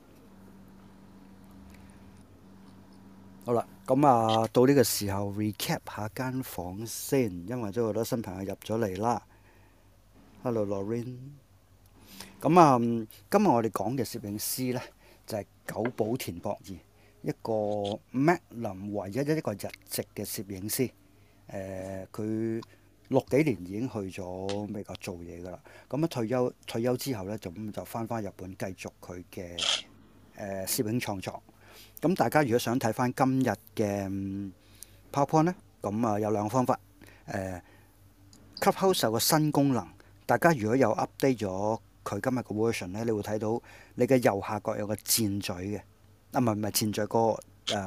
好啦，咁到呢個時候 recap 下間房先，因為都有好多新朋友入咗嚟啦。Hello Lorraine。咁今日我哋講嘅攝影師呢，就係久保田博二，一個 Magnum 唯一一個日籍嘅攝影師。佢6幾年已經去咗美國做嘢㗎啦。咁退休之後呢，就翻日本繼續佢嘅攝影創作。咁大家如果想睇翻今日嘅 PowerPoint 呢，咁有兩個方法。Clubhouse 有個新功能，大家如果有 update 咗佢今日嘅 version 呢，你會睇到你嘅右下角有個箭嘴嘅，唔係箭嘴，個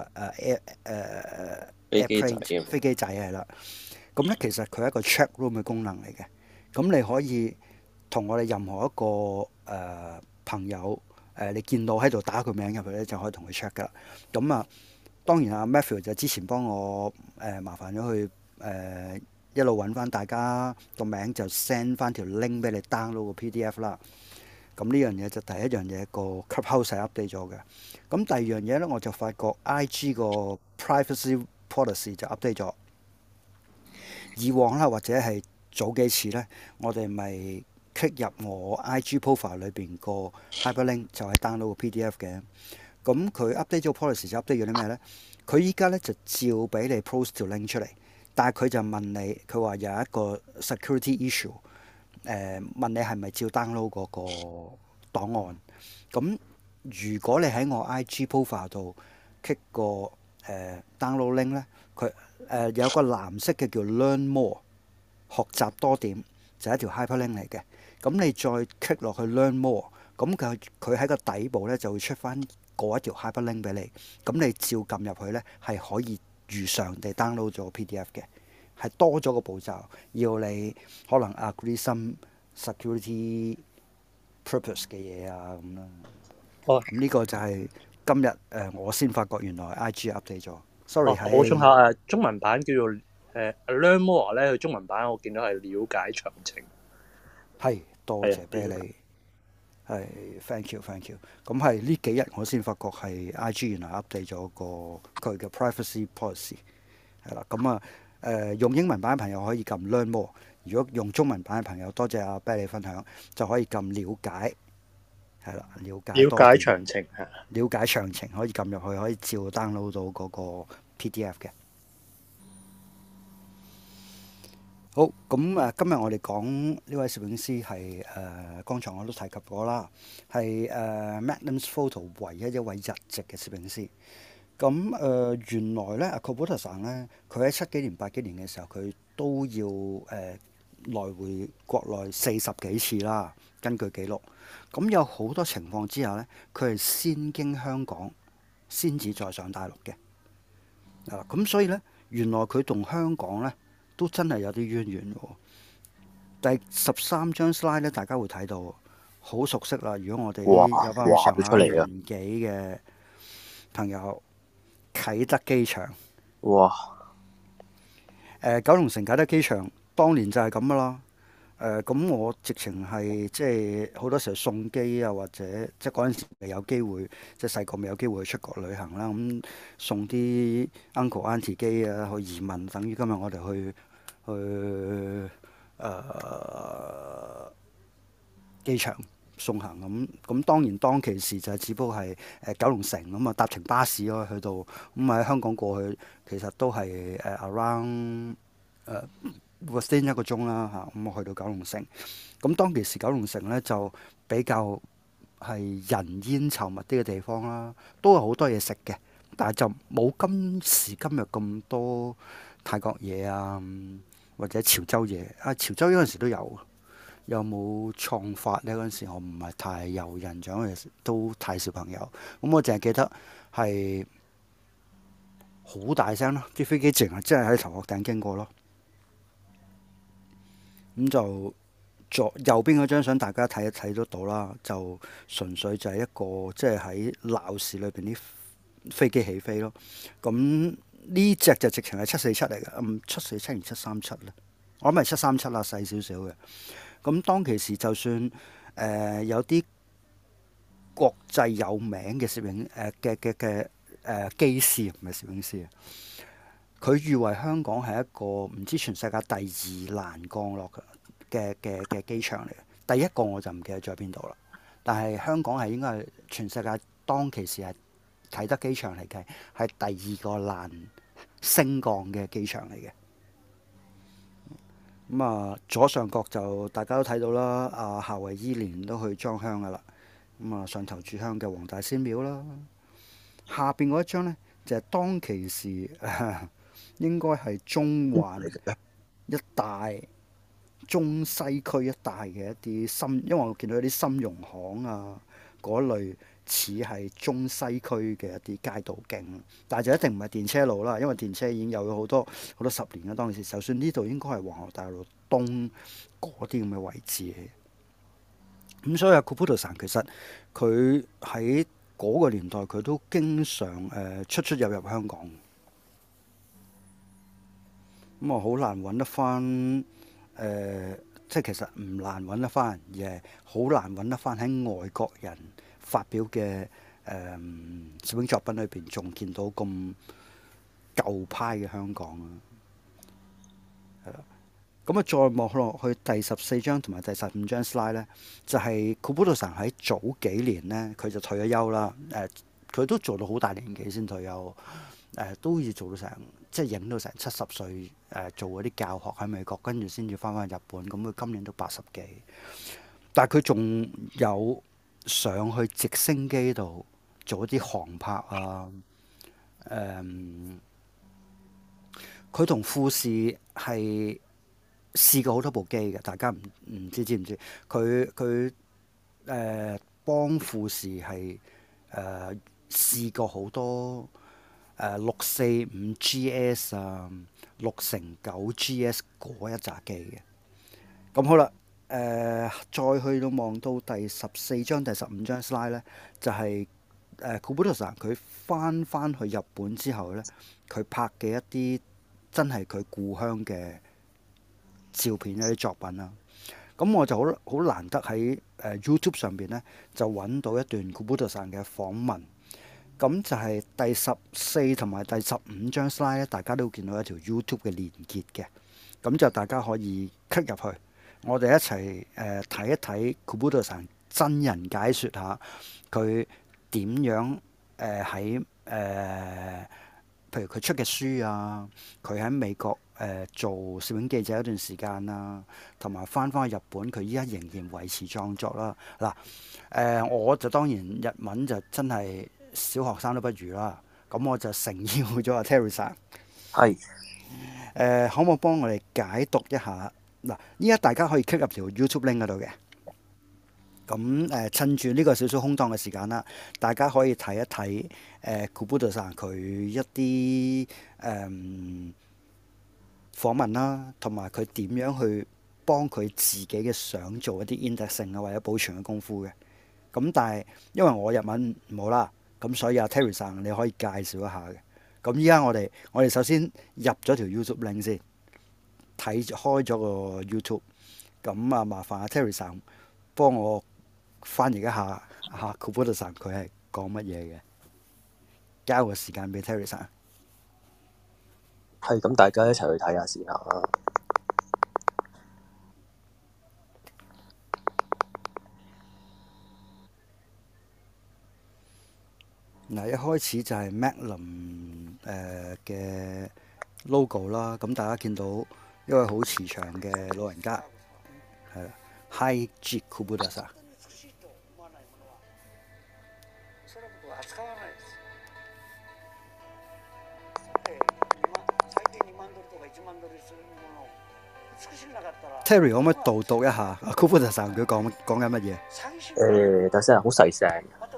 飛機仔係啦。咁咧其實佢係一個 chat room 嘅功能嚟嘅。咁你可以同我哋任何一個朋友你見到喺度打佢名入去咧，就可以同佢 check 噶啦。咁當然Matthew 就之前幫我麻煩咗佢一路揾翻大家個名，就 send 翻條 link 俾你 download 個 PDF 啦。咁呢樣嘢就第一樣嘢，個 Clubhouse 係 update 咗嘅。咁第二樣嘢咧，我就發覺 IG 個 privacy policy 就 update 咗。以往啦，或者係早幾次咧，我哋咪 click 入我 IG profile 裏邊個 hyperlink 就係 download 個 PDF 嘅。咁佢 update 咗 policy 就 update 咗啲咩咧？佢依家咧就照俾你 post 條 link 出嚟，但係佢就問你，佢話有一個 security issue，問你係咪照 download 嗰個檔案。咁如果你喺我 IG profile 度 click 個download link 咧，佢有個藍色嘅叫 Learn More 學習多點，就係一條 hyperlink 嚟嘅。咁你再 click 落去 Learn More， 咁佢喺個底部咧就會出翻嗰一條 hyperlink 俾你。咁你照撳入去咧，係可以如常地 download 咗 PDF 嘅，係多咗個步驟，要你可能 agree some security purpose 嘅嘢咁啦。咁呢個就係今日我先發覺原來 IG update 咗。Sorry， 補充下中文版叫做Learn More 咧，佢中文版我見到係了解詳情。 係，多謝俾你。係 ，thank you。咁係呢幾日我先發覺係 IG 原來 update 咗佢嘅 privacy policy 係啦。咁用英文版嘅朋友可以撳 Learn More， 如果用中文版嘅朋友，多謝阿 Billy 分享，就可以撳了解。係啦，了解詳情係。 了解詳情可以撳入去，可以照 download 到嗰個 PDF 嘅。 好，咁今日我哋講呢位攝影師係剛才我都提及過啦，係Magnum Photo 唯一一位日籍嘅攝影師。咁原來咧，阿 Kubota-san 咧，佢喺70幾年、80幾年嘅時候，佢都要來回國內40幾次啦。根據記錄，咁有好多情況之下咧，佢係先經香港，先至再上大陸嘅。咁所以咧，原來佢同香港咧都真係有啲淵源喎。第13張 slide 咧，大家會睇到好熟悉啦。如果我哋有翻咁上下年紀嘅朋友，啟德機場， 哇！ 九龍城啟德機場當年就係咁噶啦。咁我直情係即係好多時候送機啊，或者即係嗰陣時未有機會，即係細個未有機會去出國旅行啦。咁送啲 uncle auntie 機啊去移民，等於今日我哋去機場送行咁當然當其時就係只不過係九龍城咁啊，搭程巴士咯去到咁喺香港過去，其實都係around within 1個鐘啦嚇，咁我去到九龍城。咁當其時九龍城咧就比較係人煙稠密啲嘅地方啦，都有好多嘢食嘅，但係就冇今時今日咁多泰國嘢啊，或者潮州嘢啊。潮州嗰陣時都有冇創發呢？嗰陣時我唔係太有印象，因為都太小朋友。咁我淨係記得係好大聲咯，啲飛機淨係真係喺頭殼頂經過咯。咁就右邊嗰張相大家睇得到啦，就純粹就係一個即係喺鬧市裏邊啲飛機起飛咯。咁呢隻就直情係747嚟嘅，747定737咧？我諗係737啦，細少少嘅。咁當其時就算有啲國際有名嘅攝影嘅機師，唔係攝影師啊，佢譽為香港係一個唔知全世界第2難降落嘅機場嚟嘅。第一個我就唔記得咗喺邊度啦。但係香港係應該係全世界當其時係啟德機場嚟計係第2個難升降嘅機場嚟嘅。咁啊，左上角就大家都睇到啦，阿夏威夷年都去裝香噶啦。咁啊，上頭炷香嘅黃大仙廟啦。下邊嗰一張呢，就係當其時應該係中環一帶、中西區一帶嘅一啲因為我見到有啲深融行啊嗰類似係中西區嘅一啲街道徑，但係就一定唔係電車路啦，因為電車已經有咗好多10年啦。當時就算呢度應該係皇后大道東嗰啲咁嘅位置嘅。咁所以阿 Kubota-san其實佢喺嗰個年代佢都經常出入香港。咁啊好難揾得翻即係其實唔難揾得翻，而係好難揾得翻喺外國人發表嘅攝影作品裏邊，仲見到咁舊派嘅香港啊。係啦，咁啊再望落去第14張同埋第15張 slide 咧，就係 Kubota-san喺早幾年咧，佢就退咗休啦。佢都做到好大年紀先退休，都要做到成即係影到成70歲，做嗰啲教學喺美國，跟住先至翻日本。咁佢今年都80幾，但係佢仲有上去直升機度做一啲航拍啊。佢同富士係試過好多部機嘅，大家唔知唔知？佢幫富士係試過好多645 GS 啊、6乘9 GS 嗰一紮機嘅。咁好啦，再去到望到第14張、第15張 slide 咧，就係Kubota-san佢翻去日本之後咧，佢拍嘅一啲真係佢故鄉嘅照片一啲作品啦。咁我就好難得喺YouTube 上邊咧，就揾到一段 Kubota-san嘅訪問。咁就係第14同埋第15張 slide 咧，大家都見到一條 YouTube 嘅連結嘅。咁就大家可以 click 入去，我哋一齊睇一睇 Kubota-san真人解説下佢點樣喺譬如佢出嘅書啊，佢喺美國做攝影記者一段時間啦，同埋翻去日本，佢依家仍然維持創作啦。嗱，我就當然日文就真係小學生都不如啦。咁我就誠邀咗阿 Terry 生。 係可唔可以幫我哋解讀一下？嗱，依家大家可以 click 入條 YouTube link 嗰度嘅。咁趁住呢個少少空檔嘅時間啦，大家可以睇一睇Kubota さん佢一啲訪問啦，同埋佢點樣去幫佢自己嘅相做一啲 indexing 啊或者保存嘅功夫嘅。咁但係因為我日文唔好啦，咁所以阿 Terry さん你可以介紹一下嘅。咁依家我哋首先入咗條 YouTube link 先，開咗個 YouTube。咁啊，麻煩阿 Terry さん幫我翻譯一下Kubota さん佢係講乜嘢嘅，交個時間俾 Terry さん。 係咁，大家一齊去睇下試下啦。 嗱，一開始就係 Magnum 嘅 logo 啦，咁大家見到一位好慈祥嘅老人家，係啦，Haiji Kubota さん。Terry 可唔可以導讀一下Kubota さん佢講緊乜嘢？ 等先，好細聲。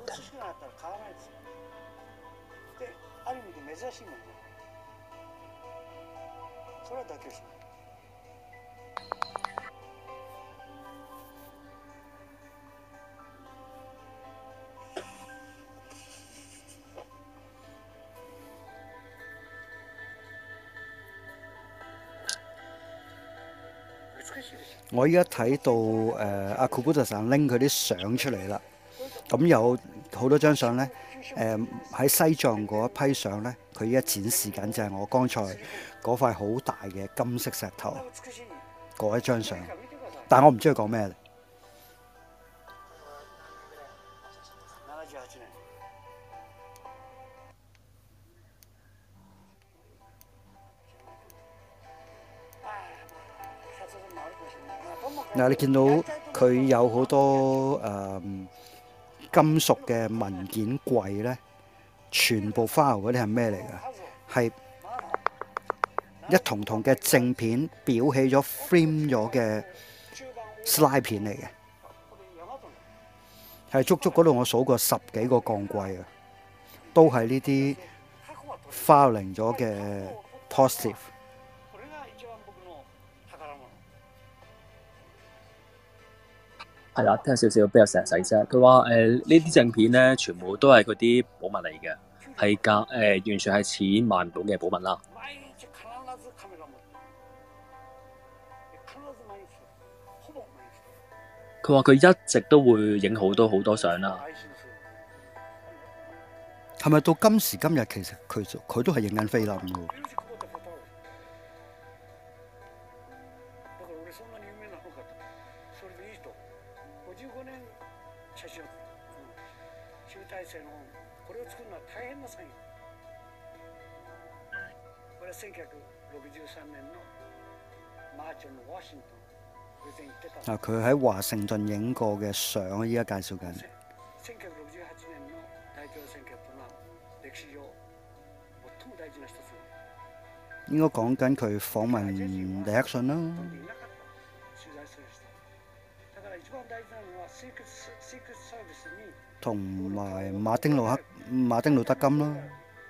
我依家睇到阿 Kubota さん拎佢啲相出嚟啦，咁有好多張相呢。喺西藏嗰一批相呢，佢依家展示緊就係我剛才嗰塊好大嘅金色石頭嗰一張相，但我唔知佢講咩嚟。嗱，你見到佢有好多金屬嘅文件櫃呢，全部 file 嗰啲係咩嚟㗎？係一筒筒嘅正片裱起咗 frame 咗嘅 slide 片嚟嘅，係足足嗰度我數過10幾個鋼櫃啊，都係呢啲 filing 咗嘅 positive。 係啦，聽少少比較細聲。佢話呢啲正片咧，全部都係嗰啲寶物嚟嘅，係完全係錢買唔到嘅寶物啦。佢話佢一直都會影好多相啦。 係咪到今時今日其實佢都係影緊菲林㗎？佢喺華盛頓影過嘅相，依家介紹緊。應該講緊佢訪問尼克遜啦。同埋馬丁路德金啦。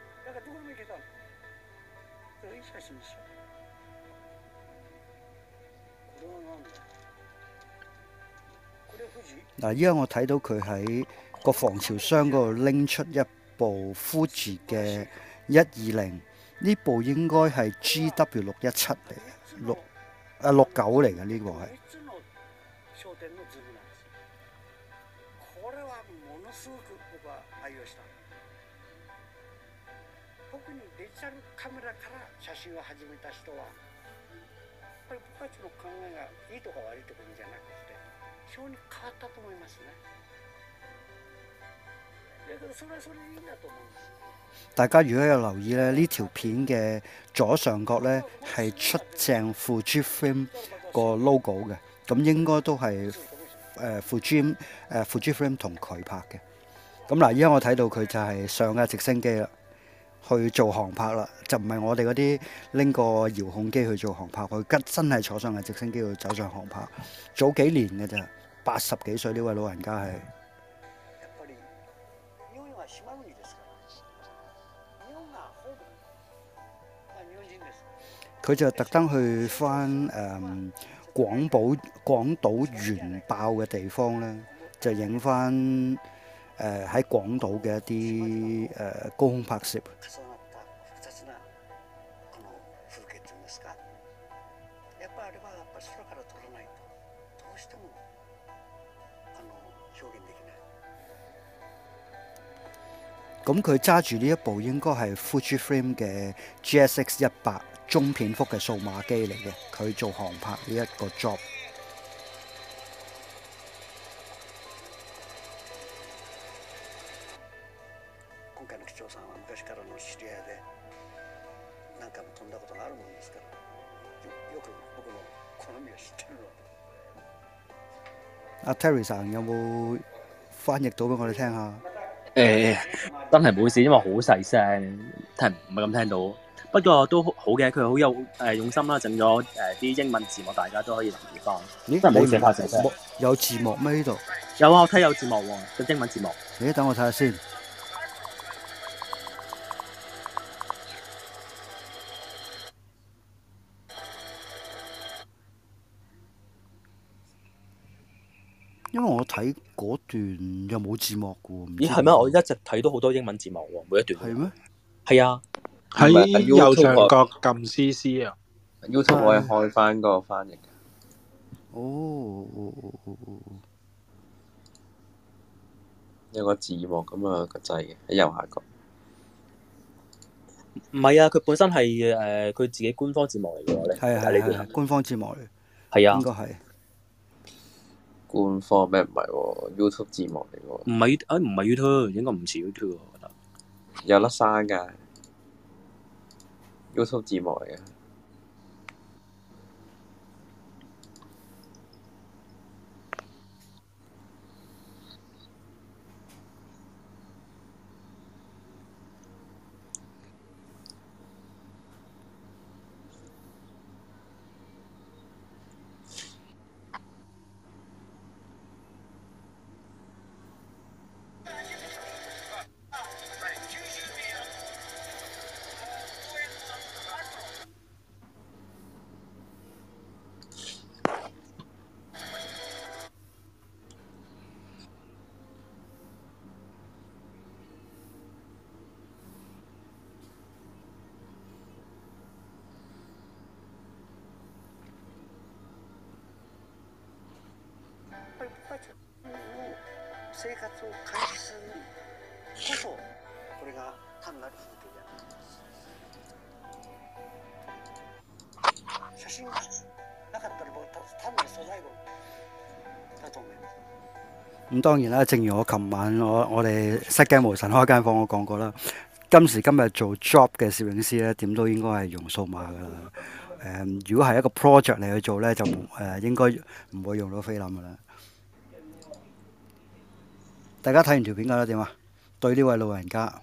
嗱，依家我睇到佢喺個防潮箱嗰度拎出一部 Fuji 嘅120，呢部應該係 GW617嚟嘅，69嚟嘅呢部係。 大家如果有留意咧，呢條片嘅左上角咧係出正 Fujifilm 個 logo 嘅，咁應該都係Fujifilm 同佢拍嘅。咁嗱，依家我睇到佢就係上架直升機啦，去做航拍啦，就唔係我哋嗰啲拎個遙控機去做航拍，佢真係坐上架直升機度走上航拍。早幾年嘅咋，80幾歲呢位老人家係。佢就特登去翻廣島原爆嘅地方咧，就影翻喺廣島嘅一啲高空拍攝。咁佢揸住呢一部應該係 Fujifilm 嘅 GSX-100中片幅嘅數碼機嚟嘅，佢做航拍呢一個 job。阿 Terry さん有冇翻譯到俾我哋聽下？ 真係冇事，因為好細聲，唔係咁聽到。不過都好嘅，佢好有用心啦，整咗啲英文字幕，大家都可以留意翻。 咦？ 真係冇寫發成聲。 有字幕咩呢度？ 有啊，我睇有字幕喎，個英文字幕。 咦？等我睇下先。因為我睇嗰段又冇字幕嘅喎。 咦係咩？我一直睇到好多英文字幕喎，每一段。 係咩？ 係啊， 喺右上角撳 CC 啊。 YouTube 可以開翻個翻譯。 哦。 有個字幕咁啊個掣嘅喺右下角。 唔係啊，佢本身係佢自己官方字幕嚟嘅喎， 係官方字幕嚟。 係啊， 應該係。 官方咩唔係喎 ？YouTube 字幕嚟喎。 唔係 YouTube，應該唔似 YouTube 我覺得。 有粒山㗎 ，YouTube 字幕嚟嘅。 生活を開始するこそこれが単なる風景である写真がなかったらもう単なる素材語だと思います。咁當然啦，正如我琴晚我哋失驚無神開間房，我講過啦。今時今日做 job 嘅攝影師咧，點都應該係用數碼噶啦。如果係一個 project 嚟去做咧，就應該唔會用到菲林噶啦。大家睇完條片覺得點啊？對呢位老人家，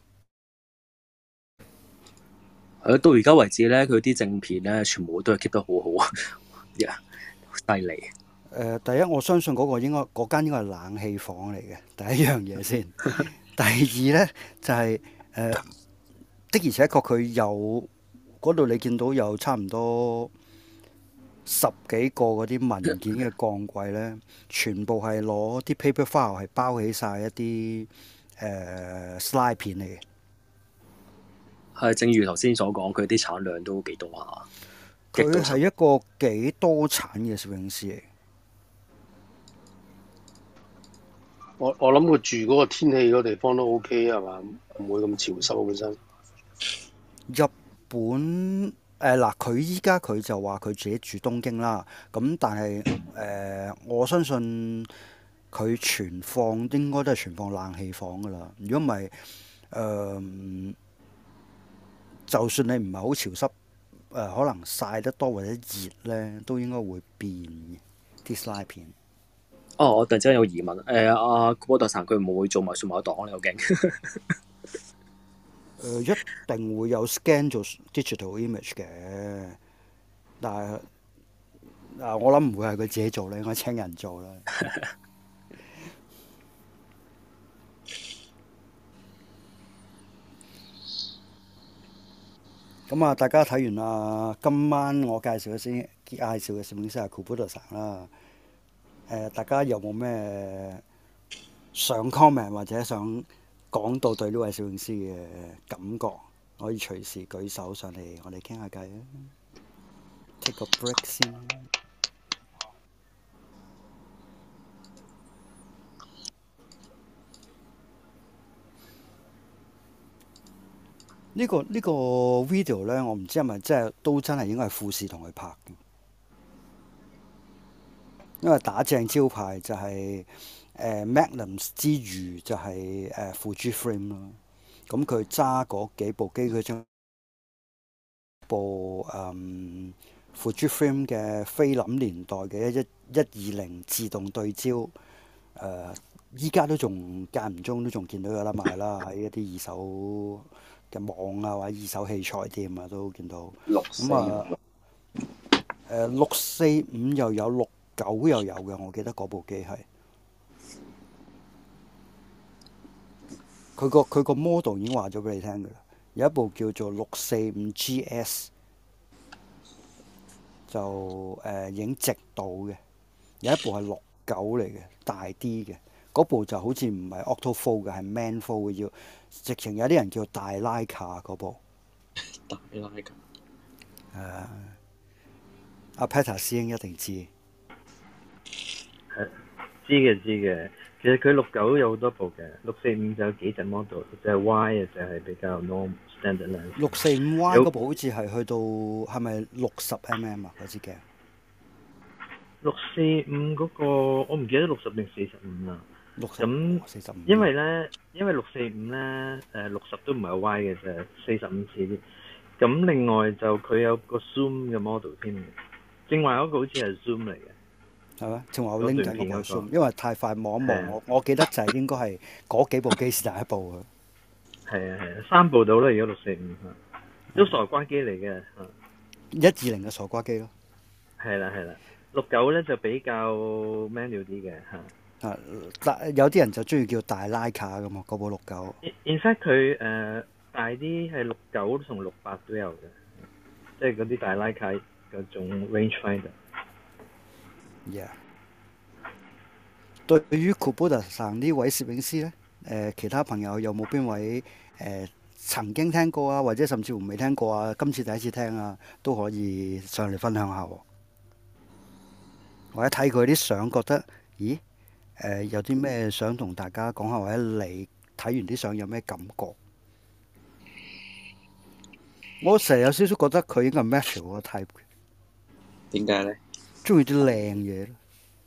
到而家為止咧，佢啲正片咧，全部都係 keep 得好好啊，犀利。 第一我相信嗰間應該係冷氣房嚟嘅，第一樣嘢先。第二咧就係的而且確佢有嗰度，你見到有差唔多10幾個嗰啲文件嘅鋼櫃咧，全部係攞啲 paper file 係包起晒一啲slide 片嚟嘅。 係，正如頭先所講，佢啲產量都幾多下。 佢係一個幾多產嘅攝影師嚟。 我諗佢住嗰個天氣嗰個地方都 OK 係嘛？唔會咁潮濕本身。 日本嗱，佢依家佢就話佢自己住東京啦。咁但係我相信佢存放應該都係存放冷氣房噶啦。如果唔係就算你唔係好潮濕，可能曬得多或者熱咧，都應該會變嘅啲 slide 片。 哦，我突然之間有疑問，阿古波特神佢唔會做埋數碼檔咧，好勁。 一定會有 scan 做 digital image 嘅，但係我諗唔會係佢自己做咧，應該請人做啦。咁啊，大家睇完啦，今晚我介紹嘅攝影師係 Kuboda 神啦。大家有冇咩想 comment 或者想講到對呢位攝影師嘅感覺，可以隨時舉手上嚟，我哋傾下偈啊。Take a break 先。呢個 video 咧，我唔知係咪都真係應該係富士同佢拍嘅，因為打正招牌就係Magnum 之餘就係Fujifilm 咯。咁佢揸嗰幾部機，佢將部Fujifilm 嘅菲林年代嘅120自動對焦，依家都仲間唔中都仲見到有得賣啦，喺一啲二手嘅網啊或者二手器材店啊都見到。咁啊645又有69又有嘅，我記得嗰部機係。佢個 model 已經話咗俾你聽㗎啦，有一部叫做645 GS， 就影直度嘅，有一部係69嚟嘅，大啲嘅，嗰部就好似唔係 auto-fold 嘅，係 man-fold 嘅，要直情有啲人叫大拉卡嗰部。 大拉卡。 阿 Peter 師兄一定知。 知嘅。其實佢69有好多部嘅，645就有幾隻 model， 就係 Y 嘅就係比較 normal standard lens。 645Y 嗰部好似係去到係咪60mm 啊？嗰支鏡。 645嗰個我唔記得60定45啦。咁 45。 因為645咧60都唔係 Y 嘅啫，45似啲。咁另外就佢有個 zoom 嘅 model 添嘅，正話嗰個好似係 zoom 嚟嘅。 係咩？正話我拎緊嗰個 zoom，因為太快望一望，我記得就係應該係嗰幾部機是第一部嘅。 係啊，3部到啦，而家645都傻瓜機嚟嘅 120嘅傻瓜機咯。 係啦，69咧就比較 manual 啲嘅但有啲人就中意叫大拉卡㗎嘛，嗰部69。 In fact 佢大啲係69同68都有嘅，即係嗰啲大拉卡嗰種 rangefinder。Yeah. 對於 Kuboda 神呢位攝影師呢，其他朋友有冇邊位曾經聽過啊，或者甚至乎未聽過啊？今次第一次聽啊，都可以上嚟分享下喎。或者睇佢啲相，覺得咦有啲咩想同大家講下，或者你睇完啲相有咩感覺？我成日有少少覺得佢應該係 Matthew 嗰個 type 嘅。 點解呢？ 中意啲靚嘢咯。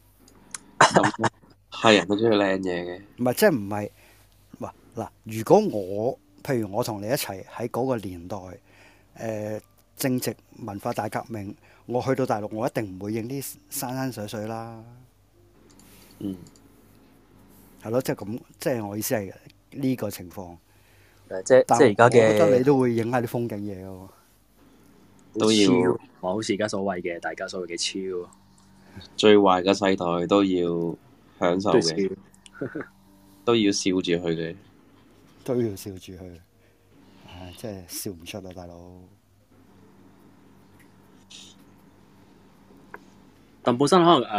係人都中意靚嘢嘅。 唔係，即係唔係嗱？如果譬如我同你一齊喺嗰個年代，正值文化大革命，我去到大陸，我一定唔會影啲山水水啦。 嗯。 係咯，即係咁，即係我意思係呢個情況。 即係而家嘅。 我覺得你都會影下啲風景嘢喎。 都要。 好似而家所謂嘅，大家所謂嘅超。 最壞嘅世代都要享受嘅，都要笑住去嘅， 都要笑住去。真係笑唔出啊，大佬！ 但本身可能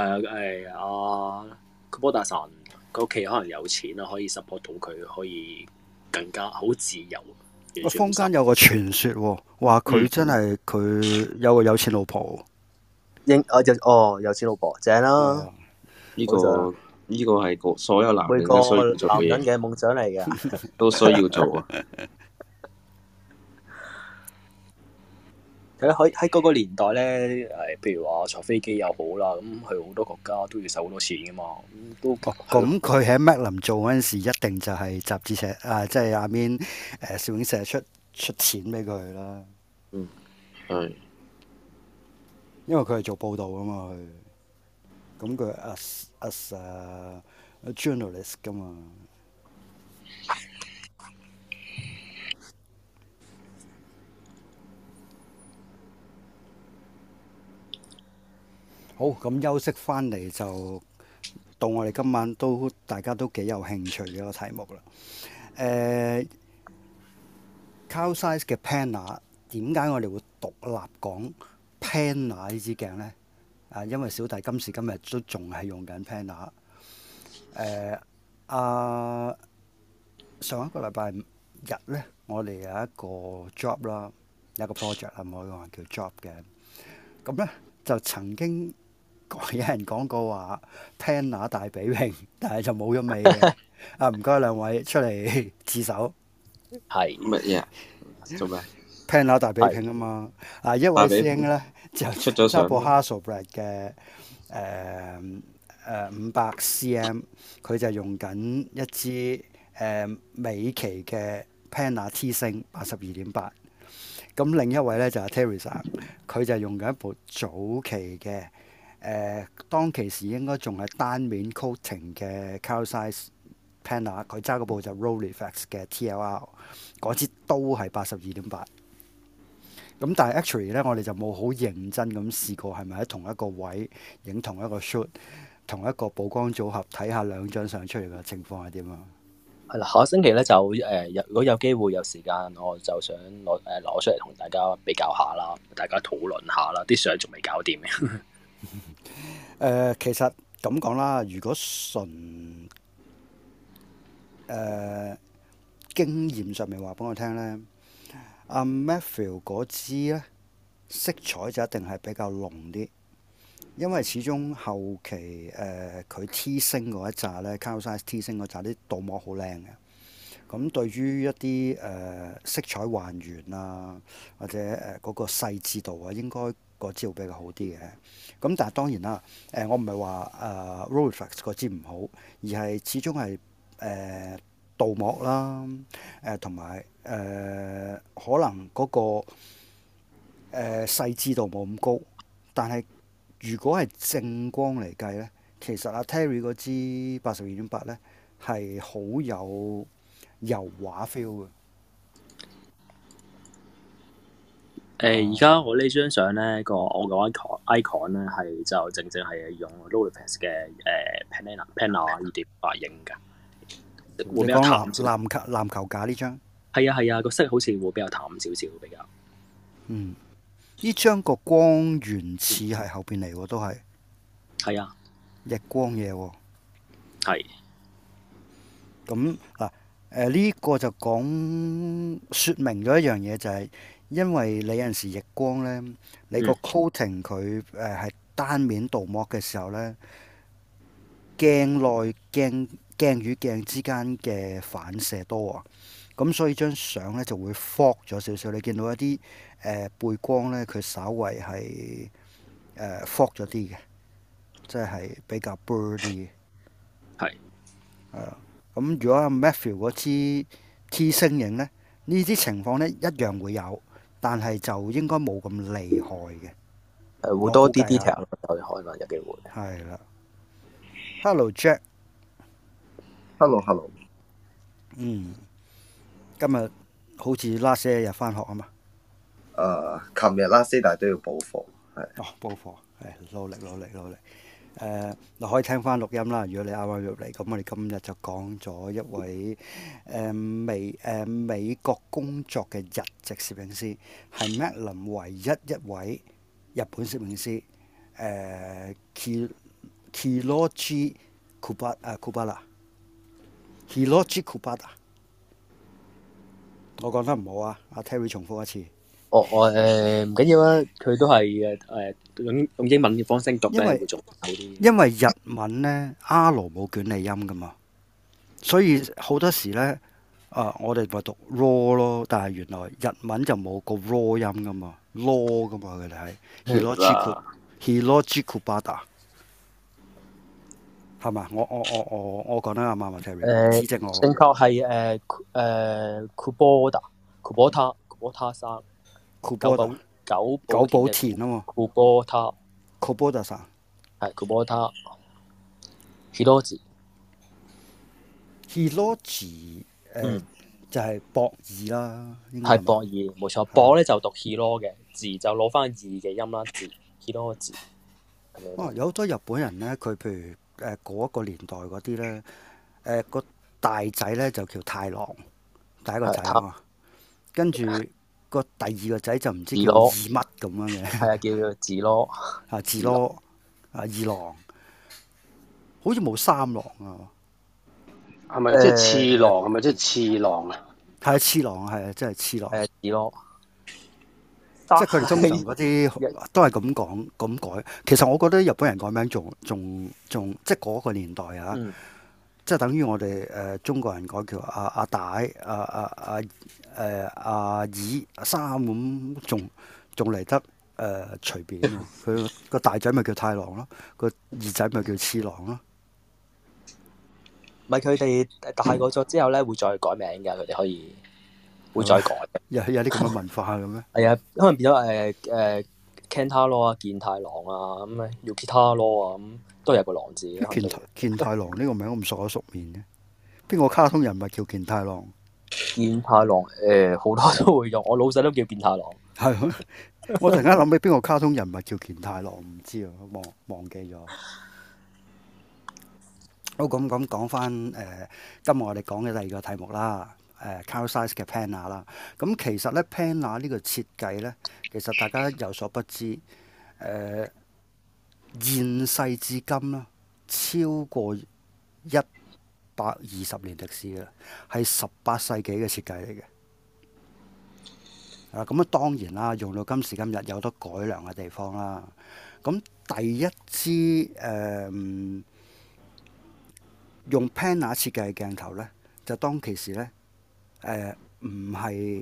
Kuboda神佢屋企可能有錢啦，可以 support 到佢，可以更加好自由。 坊間有個傳說喎，話佢真係佢有個有錢老婆。 有錢老婆正啦！ 呢個係所有男人每個男人嘅夢想嚟嘅， 都需要做啊！ 喺嗰個年代咧，譬如話坐飛機又好啦，咁去好多國家都要使好多錢噶嘛， 咁佢喺 Magnum 做嗰陣時，一定就係雜誌社即係下面攝影社出出錢俾佢啦。 係。 因為佢係做報導啊嘛，佢咁佢 as journalist 噶嘛。好，咁休息翻嚟就到我哋今晚大家都幾有興趣嘅一個題目啦。Carl Zeiss 嘅 Panna 點解我哋會獨立講 Panna 呢支鏡呢？因為小弟今時今日都仲係用緊 Panna。上一個禮拜日呢，我哋有一個 job 啦，有一個 project 啦，唔可以話叫 job 嘅。咁呢，就曾經有人講過話 Panna 大比拼，但係就冇咗尾嘅。唔該兩位出嚟自首。 係乜嘢？做咩 ？Panna 大比拼啊嘛！一位師兄咧就出咗相， 揸部 Hasselblad 嘅500 cm， 佢就用緊一支美期嘅 Panna T 星82.8。咁另一位咧就係 Teresa， 佢就用緊一部早期嘅當其時應該仲係單面 coating 嘅 Carl Zeiss Panna， 佢揸嗰部就 Rolleiflex 嘅 TLR， 嗰支都係82.8。咁但係 actually 咧，我哋就冇好認真咁試過係咪喺同一個位影同一個 shoot， 同一個曝光組合，睇下兩張相出嚟嘅情況係點啊？ 係啦，下個星期咧就如果有機會有時間，我就想攞出嚟同大家比較下啦，大家討論下啦，啲相仲未搞掂嘅。 其實咁講啦，如果純經驗上面話俾我聽咧，阿 Matthew 嗰支咧色彩就一定係比較濃啲，因為始終後期佢 T 星嗰一紮咧 Carl Zeiss T 星嗰紮啲鍍膜好靚嘅，咁對於一啲色彩還原啊，或者嗰個細緻度啊，應該嗰支會比較好啲嘅。咁但係當然啦，我唔係話Rolleiflex 嗰支唔好，而係始終係鍍膜啦，同埋可能嗰個細緻度冇咁高，但係如果係正光嚟計咧，其實阿 Terry 嗰支82.8咧係好有油畫 feel 嘅。 而家我呢張相咧我個 icon 咧係就正係用 Rolleiflex 嘅Panna 2.8影㗎。會比較淡籃球架呢張係啊，個色好似會比較淡少少比較。 呢張個光源似係後邊嚟喎，都係啊， 逆光嘢喎。 係。 咁嗱呢個就説明咗一樣嘢，就係因為你有陣時逆光咧，你個 coating 佢係單面鍍膜嘅時候咧，鏡與鏡之間嘅反射多啊，咁所以張相咧就會 fog 咗少少。你見到一啲背光咧，佢稍為係fog 咗啲嘅，即係比較 blur 啲嘅。 係。 咁如果阿 Matthew 嗰支 T 星影咧，呢啲情況咧一樣會有，但係就應該冇咁厲害嘅。 會多啲 detail 咯，可能有機會。 係啦。Hello Jack。Hello。今日好似 last 一日翻學啊嘛。 琴日 last day 但係都要補課，係。 補課係努力。嗱可以聽翻錄音啦。如果你啱啱入嚟，咁我哋今日就講咗一位美國工作嘅日籍攝影師，係 Magnum 唯一一位日本攝影師。Hiroji Kubara。我講得唔好啊，阿 Terry 重複一次。 唔緊要啊，佢都係用英文嘅方式讀咧會仲好啲。 因為日文咧 R 冇捲脷音噶嘛，所以好多時咧我哋咪讀 raw 咯，但係原來日文就冇個 raw 音噶嘛 ，law 噶嘛，佢哋係 Hiroji Kubara。係嘛？我講得啱唔啱啊 ？Terry，指正我。 正確係Kubota Kubota 山， 庫波達九久保田啊嘛。 Kubota 庫波達山係 Kubota Hiroji。 Hiroji 就係博爾啦， 係博爾冇錯，博咧就讀 hiro 嘅字就攞翻二嘅音啦，字 hiro 字。 有好多日本人咧，佢譬如嗰一個年代嗰啲咧，個大仔咧就叫太郎，第一個仔啊嘛，跟住個第二個仔就唔知叫二乜咁樣嘅， 係啊，叫字咯， 字咯，二郎，好似冇三郎啊。 係咪即係次郎？係咪即係次郎啊？ 係次郎，係啊，即係次郎。 字咯， 即係佢哋通常嗰啲都係咁講咁改。其實我覺得日本人改名仲即係嗰個年代啊，即係等於我哋中國人改叫阿大、阿二、阿三咁，仲嚟得隨便。佢個大仔咪叫太郎咯，個二仔咪叫次郎咯。 咪佢哋大個咗之後咧，會再改名㗎，佢哋可以會再改。 有啲咁嘅文化嘅咩？ 係啊，可能變咗Kentaro 啊、健太郎啊咁Yukitaro 啊咁，都有個郎字。 健太郎呢個名咁熟口熟面嘅，邊個卡通人物叫健太郎？ 健太郎好多都會用，我老細都叫健太郎。 係，我突然間諗起邊個卡通人物叫健太郎，唔知啊，忘記咗。好，咁講翻今日我哋講嘅第二個題目啦，Carl Zeiss 嘅 Penna 啦。咁其實咧 Penna 呢個設計咧，其實大家有所不知，現世至今啦，超過120年歷史嘅，係18世紀嘅設計嚟嘅。咁啊當然啦，用到今時今日有得改良嘅地方啦。咁第一支用 Penna 設計嘅鏡頭咧，就當其時咧，唔係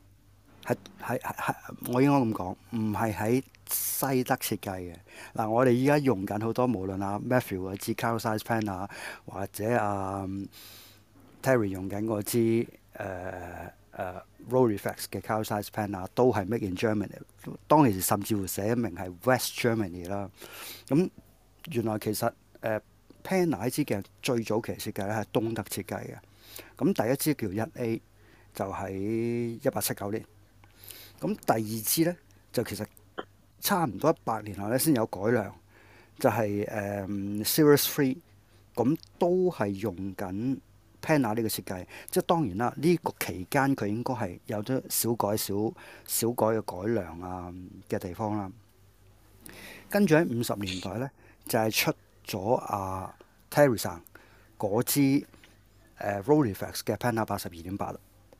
我應該咁講，唔係喺西德設計嘅。嗱，我哋依家用緊好多，無論阿 Matthew 嗰支 Carl Zeiss Penna，或者Terry 用緊嗰支Rolleiflex 嘅 Carl Zeiss Penna，都係 Made in Germany。當其時甚至乎寫明係 West Germany 啦。咁原來其實Penna 呢支鏡最早期設計咧係東德設計嘅，咁第一支叫 1A 就喺1879年，咁第二支咧就其實差唔多100年後咧先有改良，就係Series 3，咁都係用緊 Penna 呢個設計，即係當然啦，呢個期間佢應該係有咗小改嘅改良啊嘅地方啦。跟住喺50年代咧就係出咗Terry 生嗰支Rolleiflex 嘅 Penna 82.8啦，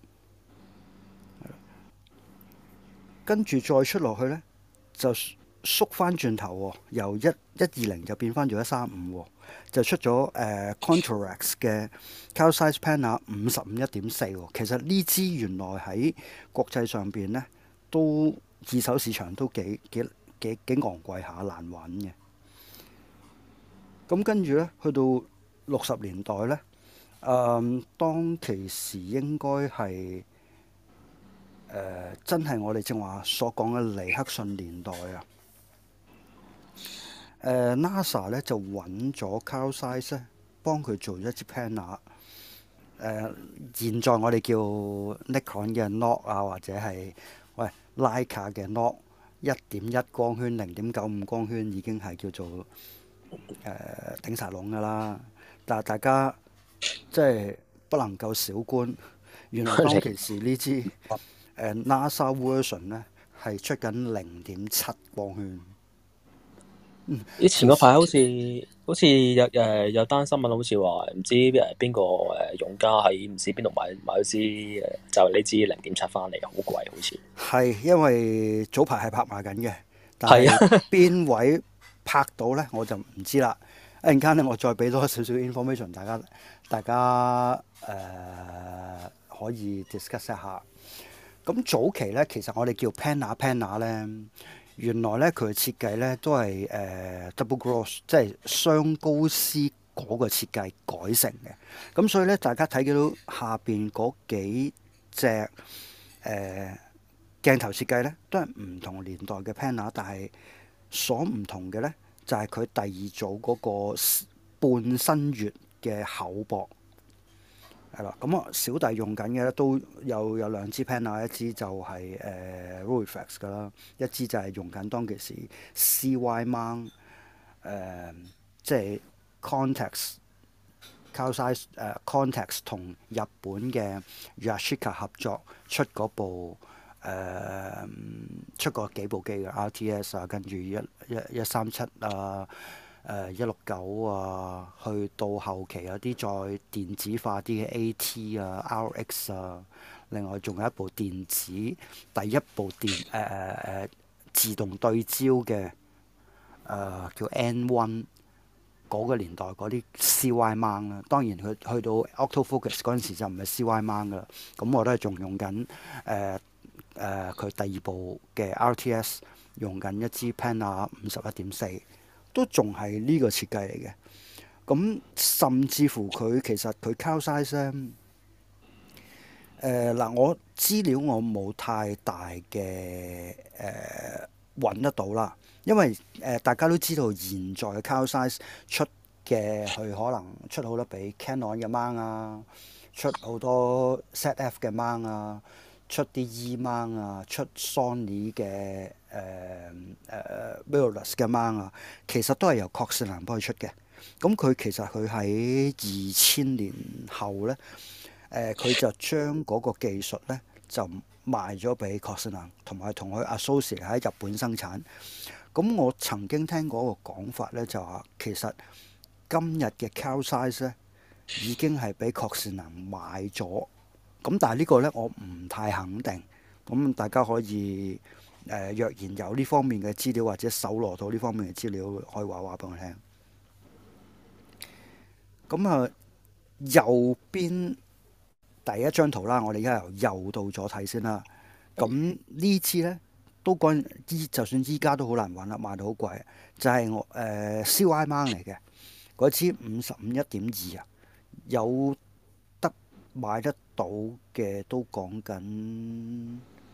跟住再出落去咧就縮翻轉頭喎，由120就變翻咗135，就出咗Contorex 嘅 Carl Zeiss Penna 55.1.4。其實呢支原來喺國際上邊咧都二手市場都幾昂貴下，難揾嘅。咁跟住咧，去到60年代咧，當其時應該係真係我哋正話所講嘅尼克遜年代啊。NASA 咧就揾咗 Carl Zeiss 咧，幫佢做一支 Penna。現在我哋叫 Nikon 嘅 Nock 啊，或者係Leica 嘅 Nock 1.1光圈、0.95光圈已經係叫做頂晒籠㗎啦，但係大家即係不能夠小觀，原來當其時呢支NASA version 咧係出緊0.7光圈。 以前嗰排好似有單新聞，好似話唔知邊個用家喺唔知邊度買咗支就係呢支0.7翻嚟，好貴好似。係因為早排係拍賣緊嘅，但係邊位拍到咧我就唔知啦。一陣間咧我再俾多少少 information， 大家可以 discuss 一下。咁早期咧其實我哋叫 Penna 咧。原來咧佢嘅設計咧都係double gross， 即係雙高絲嗰個設計改成嘅。咁所以咧大家睇到下邊嗰幾隻鏡頭設計咧都係唔同年代嘅 Panasonic，但係所唔同嘅咧就係佢第二組嗰個半身月嘅厚薄。係啦，咁小弟用緊嘅咧都有兩支 Panasonic，一支就係Rolleiflex 㗎啦，一支就係用緊當其時 CY mount 即係 Contax 同日本嘅 Yashica 合作出嗰部出過幾部機嘅 RTS 啊，跟住137啊。169啊，去到後期有啲再電子化啲嘅 AT 啊、RX 啊，另外仲有一部電子第一部自動對焦嘅叫 N1 嗰個年代嗰啲 CY mount 啦。當然佢去到 Autofocus 嗰陣時就唔係 CY mount 噶啦。咁我都係仲用緊佢第二部嘅 RTS， 用緊一支 Panasonic 51.4。都仲係呢個設計嚟嘅，咁甚至乎佢其實佢 Cal size 咧，嗱我資料我冇太大嘅揾得到啦，因為大家都知道現在嘅 Cal size 出嘅佢可能出好多比 Canon 嘅 mount 啊，出好多 ZF 嘅 mount 啊，出啲 E mount 啊，出 Sony 嘅mirrorless 嘅 mount 啊，其實都係由確士蘭幫佢出嘅。咁佢其實佢喺2000年後咧，佢就將嗰個技術咧就賣咗俾確士蘭，同埋同佢 associate 喺日本生產。咁我曾經聽過個講法咧，就話其實今日嘅 Cal size 咧已經係俾確士蘭買咗。咁但係呢個咧我唔太肯定。咁大家可以若然有呢方面嘅資料或者搜羅到呢方面嘅資料，可以話俾我聽。咁啊，右邊第一張圖啦，我哋而家由右到左睇先啦。咁呢支咧都就算依家都好難揾啦，賣到好貴。就係我CY mount 嚟嘅嗰支55 1.2啊，有得買得到嘅都講緊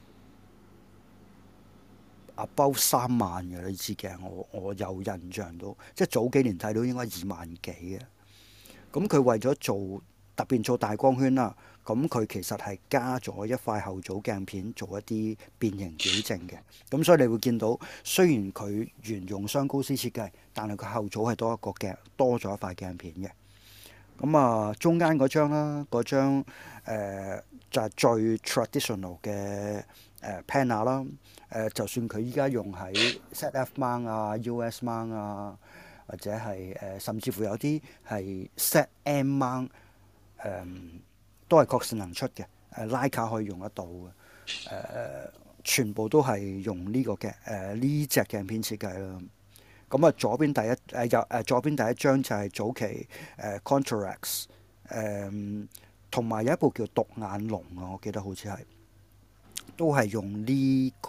above 3萬嘅呢支鏡，我有印象到，即係早幾年睇到應該2萬幾嘅。咁佢為咗特別做大光圈啦，咁佢其實係加咗一塊後組鏡片做一啲變形矯正嘅。咁所以你會見到，雖然佢沿用雙高斯設計，但係佢後組係多咗一塊鏡片嘅。咁啊，中間嗰張啦，嗰張就係最 traditional 嘅Panasonic 啦。就算佢依家用喺 ZF mount 啊、US mount 啊，或者係甚至乎有啲係 ZM mount，都係確士蘭出嘅。Leica 可以用得到嘅。全部都係用呢個嘅呢隻鏡片設計啦。咁啊，左邊第一張就係早期Contorex， 同埋有一部叫獨眼龍啊，我記得好似係都係用呢個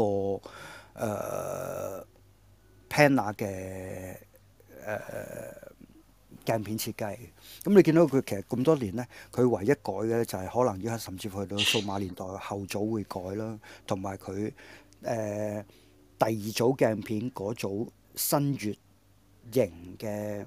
Panasonic 嘅鏡片設計。咁你見到佢其實咁多年咧，佢唯一改嘅就係可能依家甚至乎去到數碼年代後組會改啦，同埋佢第二組鏡片嗰組新月型嘅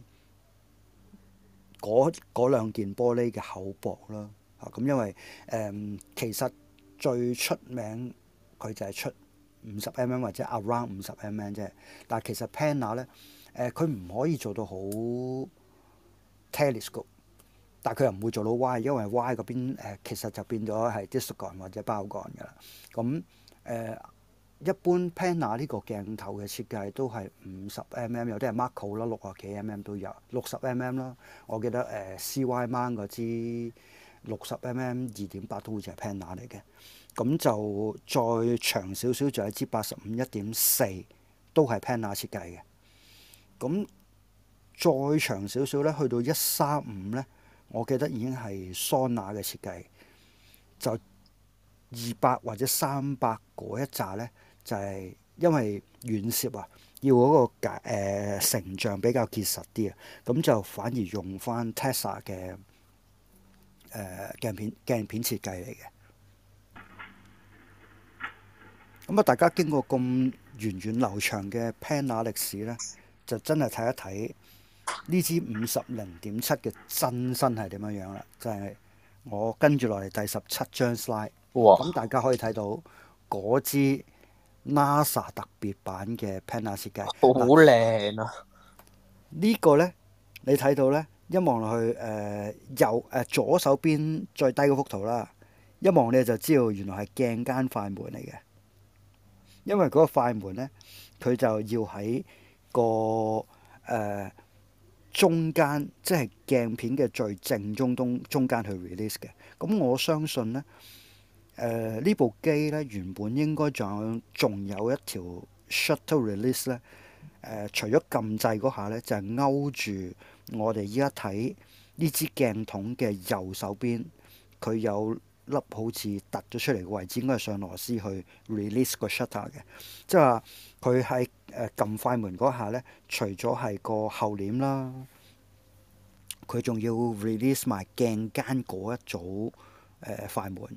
嗰兩件玻璃嘅厚薄啦。咁因為其實最出名佢就係出50mm 或者 around 50mm 啫，但係其實 Panasonic 咧佢唔可以做到好 telescope， 但係佢又唔會做到 Y， 因為 Y 嗰邊其實就變咗係 distagon 或者包幹㗎啦。咁一般 Panasonic 呢個鏡頭嘅設計都係50mm， 有啲係 macro 啦，60幾mm 都有，60mm 啦。我記得CY mount 嗰支60mm 2.8都好似係 Panasonic 嚟嘅。咁就再長少少就係支85 1.4，都係 Panasonic 設計嘅。咁再長少少咧，去到135咧，我記得已經係 Sona 嘅設計。就200或者300嗰一紮咧，就係因為遠攝啊，要嗰個成像比較結實啲啊，咁就反而用翻 Tessa 嘅鏡片設計嚟嘅。 咁啊，大家經過咁源遠流長嘅 Penna 歷史咧，就真係睇一睇呢支50.7嘅真身係點樣樣啦。就係、我跟住落嚟第17張 slide， 哇！ 咁大家可以睇到嗰支 NASA 特別版嘅 Penna 設計。 好靚啊！ 呢個呢，你睇到呢，一望落去左手邊最低嗰幅圖啦，一望你就知道原來係鏡間快門嚟嘅。因為嗰個快門呢，佢就要喺個中間，即係鏡片嘅最正中間去 release 嘅。咁我相信呢，呢部機呢，原本應該仲有一條 shutter release 呢。除咗撳掣嗰下呢，就係勾住我哋依家睇呢支鏡筒嘅右手邊，佢有粒好似突咗出嚟嘅位置，應該係上螺絲去 release 個 shutter 嘅。即係話佢喺撳快門嗰下呢，除咗係個後簾啦，佢仲要 release 埋鏡間嗰一組快門。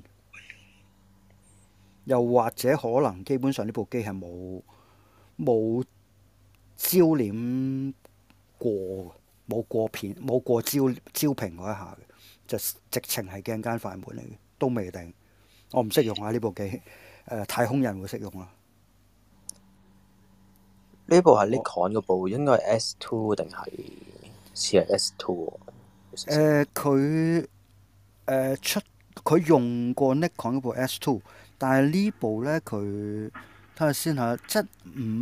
又或者可能基本上呢部機係冇焦點冇過焦屏嗰一下嘅，就直情係鏡間快門嚟嘅，都未定。我唔識用啊呢部機，太空人會識用啦。 呢部係 Nikon 嗰部，應該係 S2 定係似係 S2 喎。 佢用過 Nikon 嗰部 S2，但係呢部咧佢睇下先嚇，即係唔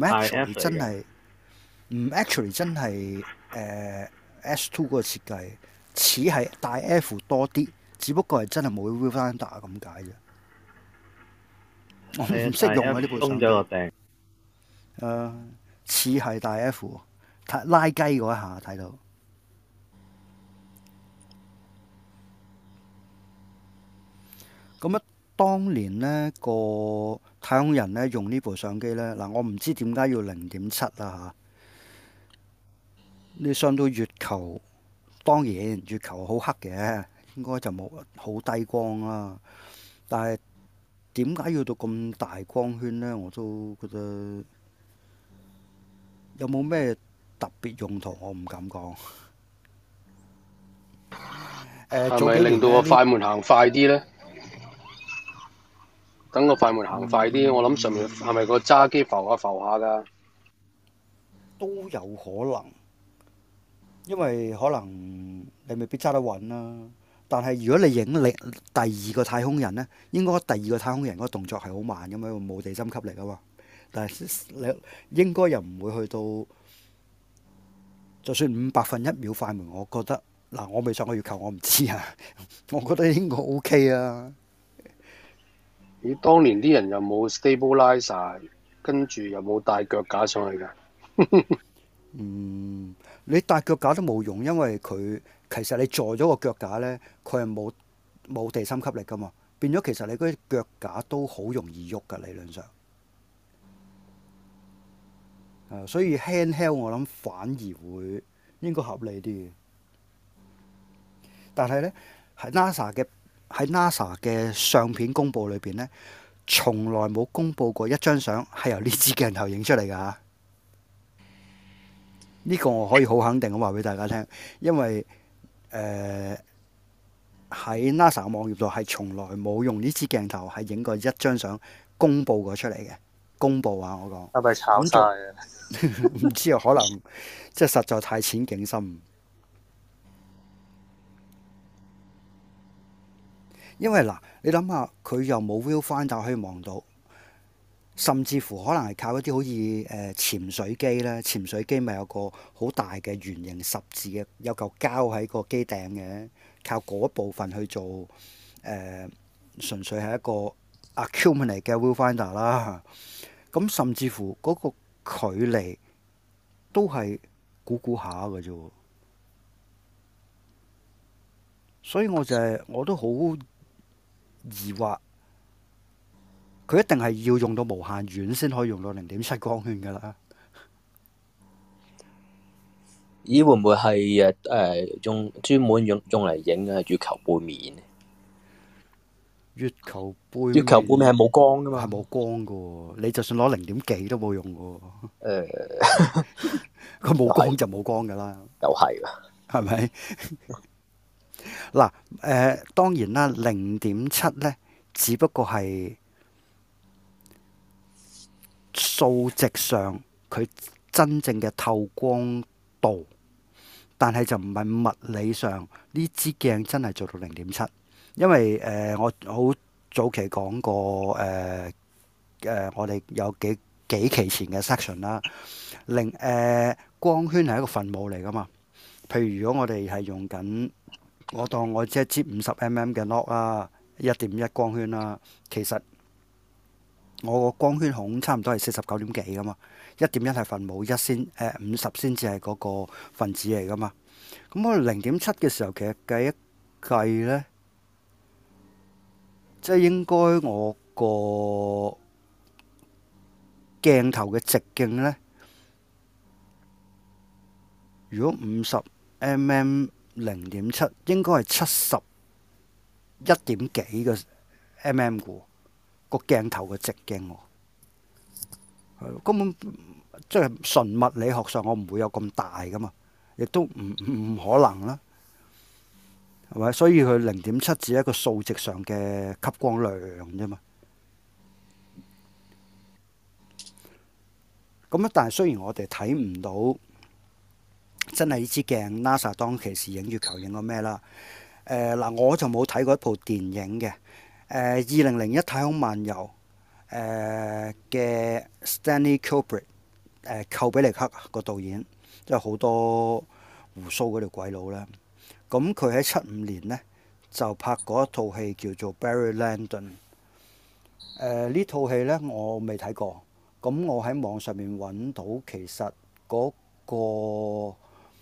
actually 真係S2 嗰個設計，似係大 F 多啲，只不過係真係冇 viewfinder 咁解啫。我唔識用啊呢部相機。 鬆咗個頂。 似係大 F， 拉雞嗰一下睇到。咁啊，當年呢個太空人呢用呢部相機呢，嗱我唔知點解要0.7啦嚇。你上到月球，當然月球好黑嘅，應該就冇好低光啦。但係點解要到咁大光圈呢？我都覺得有冇咩特別用途，我唔敢講。 係咪令到個快門行快啲呢？等個快門行快啲，我諗上面係咪個揸機浮下㗎？ 都有可能，因為可能你未必揸得穩啦。但係如果你影第二個太空人呢，應該第二個太空人嗰個動作係好慢咁樣，冇地心吸力啊嘛。但係你應該又唔會去到，就算1/5 秒快門，我覺得嗱，我未上過月球，我唔知啊。我覺得應該 OK 啊。 咦，當年啲人又冇 stabilizer， 跟住又冇帶腳架上去㗎。 你帶腳架都冇用，因為佢其實你坐咗個腳架呢，佢係冇地心吸力㗎嘛，變咗其實你嗰啲腳架都好容易喐㗎，理論上。所以 handheld 我諗反而會應該合理啲嘅。但係呢，喺 NASA 嘅相片公佈裏邊呢，從來冇公佈過一張相係由呢支鏡頭影出嚟㗎嚇。呢個我可以好肯定咁話俾大家聽，因為喺 NASA 網頁度係從來冇用呢支鏡頭係影過一張相公佈過出嚟嘅。公佈啊，我講係咪炒晒啊？ 唔知啊，可能即係實在太淺景深。因為嗱，你諗下，佢又冇 viewfinder可以望到，甚至乎可能係靠一啲好似潛水機咧，潛水機咪有個好大嘅圓形十字嘅，有嚿膠喺個機頂嘅，靠嗰部分去做純粹係一個 accumulate 嘅 viewfinder 啦。咁甚至乎嗰個距離都係估下嘅啫，所以我都好疑惑，佢一定係要用到無限遠先可以用到0.7光圈㗎啦。 咦？會唔會係專門用嚟影月球背面？ 月球杯月球杯咪係冇光噶嘛？ 係冇光噶喎，你就算攞0.幾都冇用噶喎。佢冇光就冇光噶啦。 又係㗎， 係咪？嗱，當然啦，0.7咧，只不過係數值上佢真正嘅透光度，但係就唔係物理上呢支鏡真係做到0.7，因為我好早期講過我哋有幾期前嘅 section 啦，光圈係一個分母嚟噶嘛。譬如如果我哋係用緊，我當我即係接50mm 嘅 log 啦，1.1光圈啦，其實我個光圈孔差唔多係49點幾噶嘛，1.1係分母，50先至係嗰個分子嚟噶嘛。咁我0.7嘅時候，其實計一計呢，即係應該我個鏡頭嘅直徑呢，如果50mm 0.7，應該係71點幾個 mm 嘅個鏡頭嘅直徑喎，係根本即係純物理學上我唔會有咁大噶嘛，亦都唔可能啦，係咪？所以佢0.7只係一個數值上嘅吸光量啫嘛。咁但係雖然我哋睇唔到真係呢支鏡 NASA 當其時影月球影過咩啦？嗱，我就冇睇過一部電影嘅。2001太空漫遊嘅 Stanley Kubrick 寇比力克個導演，即係好多胡鬚嗰條鬼佬啦。咁佢喺75年呢，就拍過一套戲叫做 Barry Lyndon。呢套戲呢，我未睇過。咁我喺網上面揾到，其實嗰個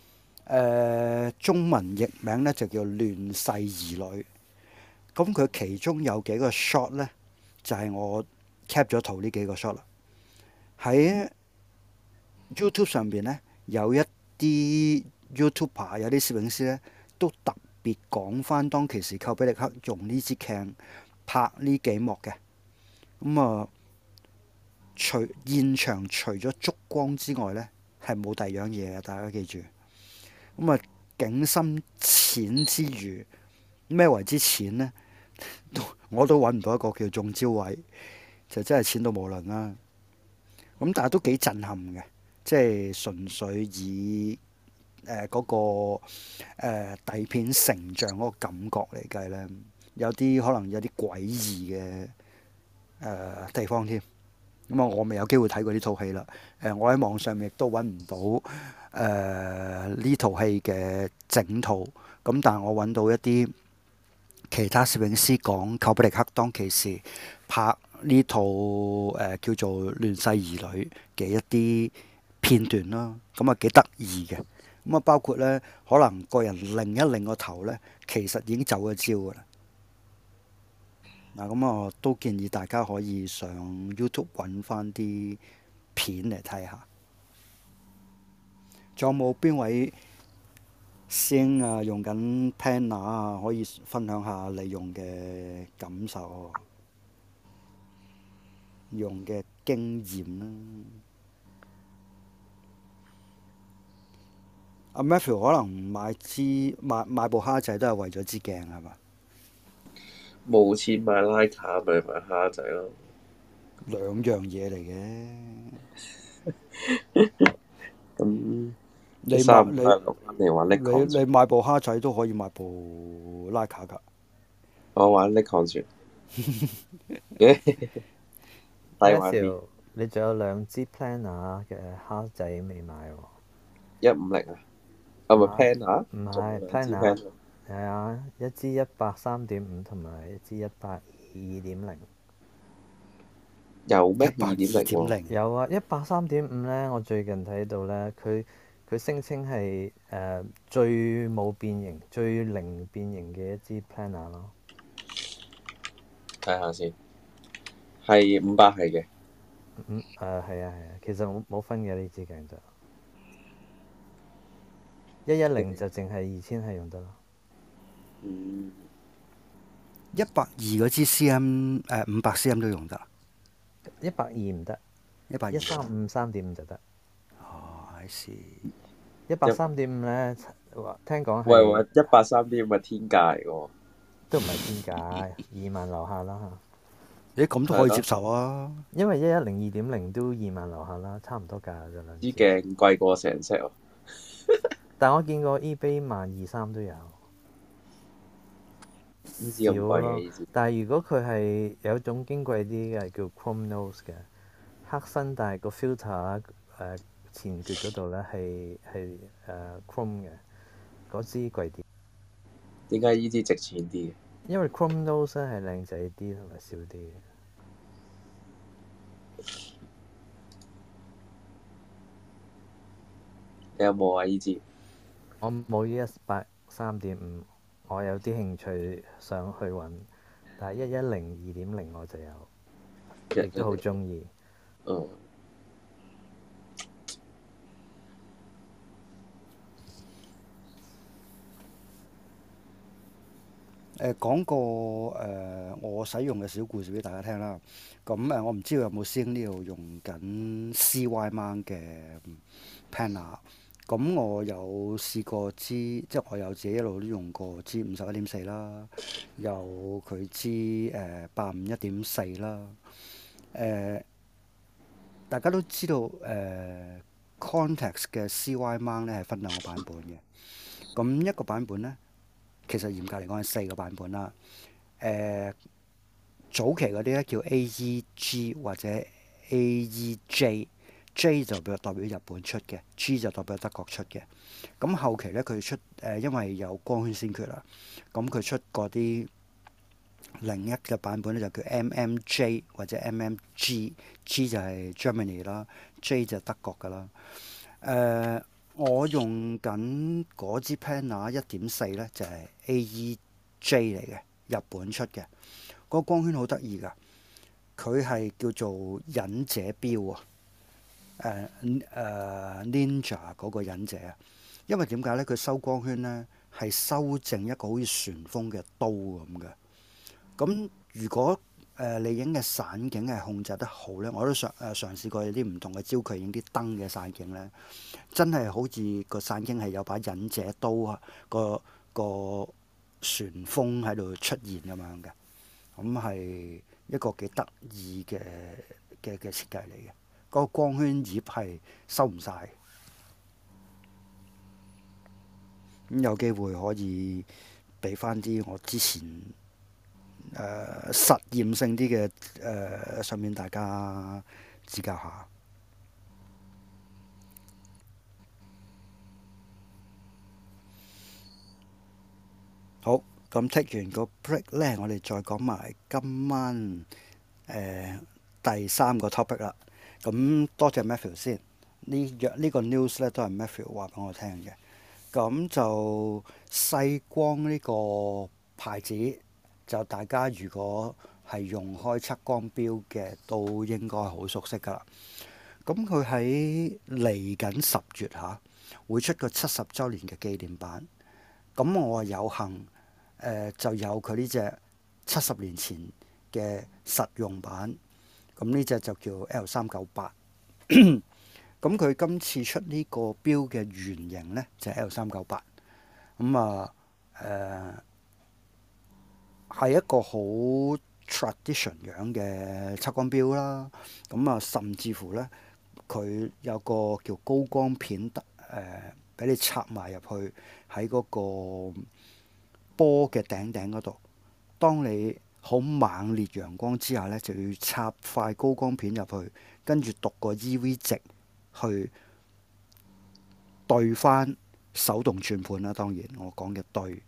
中文譯名呢就叫亂世兒女。咁佢其中有幾個 shot 呢，就係我 cap 咗圖呢幾個 shot 啦。喺 YouTube 上邊呢，有一啲 YouTuber 有啲攝影師呢，都特別講翻當其時寇比力克用呢支鏡拍呢幾幕嘅。咁啊，現場除咗燭光之外呢，係冇第二樣嘢嘅，大家記住。咁啊，景深淺之餘，咩為之淺呢？我都揾唔到一個叫中招位，就真係淺到無倫啦。咁但係都幾震撼嘅，即係純粹以嗰個底片成像嗰個感覺嚟計呢，有啲可能有啲詭異嘅地方添。咁啊，我未有機會睇過呢套戲啦。我喺網上面亦都揾唔到呢套戲嘅整套。咁但係我揾到一啲其他攝影師講寇比力克當其時拍呢套叫做《亂世兒女》嘅一啲片段啦。咁啊幾得意嘅。咁啊包括呢，可能個人擰一擰個頭呢，其實已經走咗焦㗎啦。嗱，咁我都建議大家可以上 YouTube 揾翻啲片嚟睇下。仲有冇邊位師兄啊用緊 Panner 啊？可以分享下你用嘅感受、用嘅經驗啦。阿 Matthew 可能買部蝦仔都係為咗支鏡係嘛？ 冇錢買徠卡咪買蝦仔咯， 兩樣嘢嚟嘅。 咁你買部蝦仔都可以買部徠卡㗎。 我玩 Nikon 算。 Matthew，你仲有2支 Planner 嘅蝦仔未買喎 ？150啊？係咪 Planner？ 唔係 Planner。係啊，一支100 3.5同埋一支100 2.0。 有咩2.0？ 有啊，100 3.5咧，我最近睇到咧，佢聲稱係最冇變形、最零變形嘅一支 Planner 咯。 睇下先，係500係嘅。 係啊，其實冇分嘅呢支鏡就110就淨係2000係用得咯。 120嗰支 cm 500 cm 都用得。 120唔得 120 135 3.5就得。 哦，I see。 100 3.5咧，聽講喂係 ，130咪天價嚟喎。 都唔係天價，2萬樓下啦。 你咁都可以接受啊？ 因為110 2.0都2萬樓下啦，差唔多價啫兩支。 支鏡貴過成 set 喎。 但我見過 eBay 12000 3都有。 呢支咁貴嘅呢支。 但係如果佢係有一種矜貴啲嘅叫 Chrome Nose 嘅黑身，但係個 filter 前橛嗰度咧係Chrome 嘅，嗰支貴啲。 點解呢支值錢啲嘅？ 因為 Chrome Nose 咧係靚仔啲同埋少啲嘅。 你有冇啊？呢支？ 我冇110 3.5，我有啲興趣想去揾，但係110 2.0我就有，亦都好中意。 嗯。 講個我使用嘅小故事俾大家聽啦。咁我唔知道有冇師兄呢度用緊 CY mount 嘅 panel。咁我有試過支，即係我有自己一路都用過支51.4啦，有佢支851.4啦。大家都知道Contax 嘅 CY mount 咧係分兩個版本嘅。咁一個版本咧，其實嚴格嚟講係4個版本啦。早期嗰啲咧叫 AEG 或者 AEJ，J 就代表日本出嘅，G 就代表德國出嘅。咁後期咧佢出因為有光圈先決啦，咁佢出嗰啲另一嘅版本咧就叫 MMJ 或者 MMG，G 就係 Germany 啦，J 就係德國噶啦。我用緊嗰支 Panner 1.4咧就係 AEJ 嚟嘅，日本出嘅。嗰個光圈好得意㗎，佢係叫做忍者標啊，Ninja 嗰個忍者啊。因為點解咧？佢收光圈咧係收正一個好似旋風嘅刀咁嘅。咁如果你影嘅散景係控制得好咧，我都嘗試過有啲唔同嘅焦距影啲燈嘅散景咧，真係好似個散景係有把忍者刀啊，個旋風喺度出現咁樣嘅。咁係一個幾得意嘅設計嚟嘅。嗰個光圈葉係收唔晒。咁有機會可以俾翻啲我之前實驗性啲嘅上面大家指教下。好，咁 take 完個 break 咧，我哋再講埋今晚第3個 topic 啦。咁多謝 Matthew 先，呢個 news 咧都係 Matthew 話俾我聽嘅。咁就細光呢個牌子，就大家如果係用開測光錶嘅，都應該好熟悉㗎啦。咁佢喺嚟緊10月嚇，會出個70週年嘅紀念版。咁我有幸就有佢呢隻70年前嘅實用版。咁呢隻就叫 L398。咁佢今次出呢個錶嘅原型呢，就係 L398。咁係一個好 tradition 樣嘅測光錶啦。咁甚至乎呢，佢有個叫高光片俾你插埋入去喺嗰個波嘅頂嗰度。當你好猛烈陽光之下呢，就要插塊高光片入去，跟住讀個 EV 值去對翻手動轉盤啦。當然我講嘅對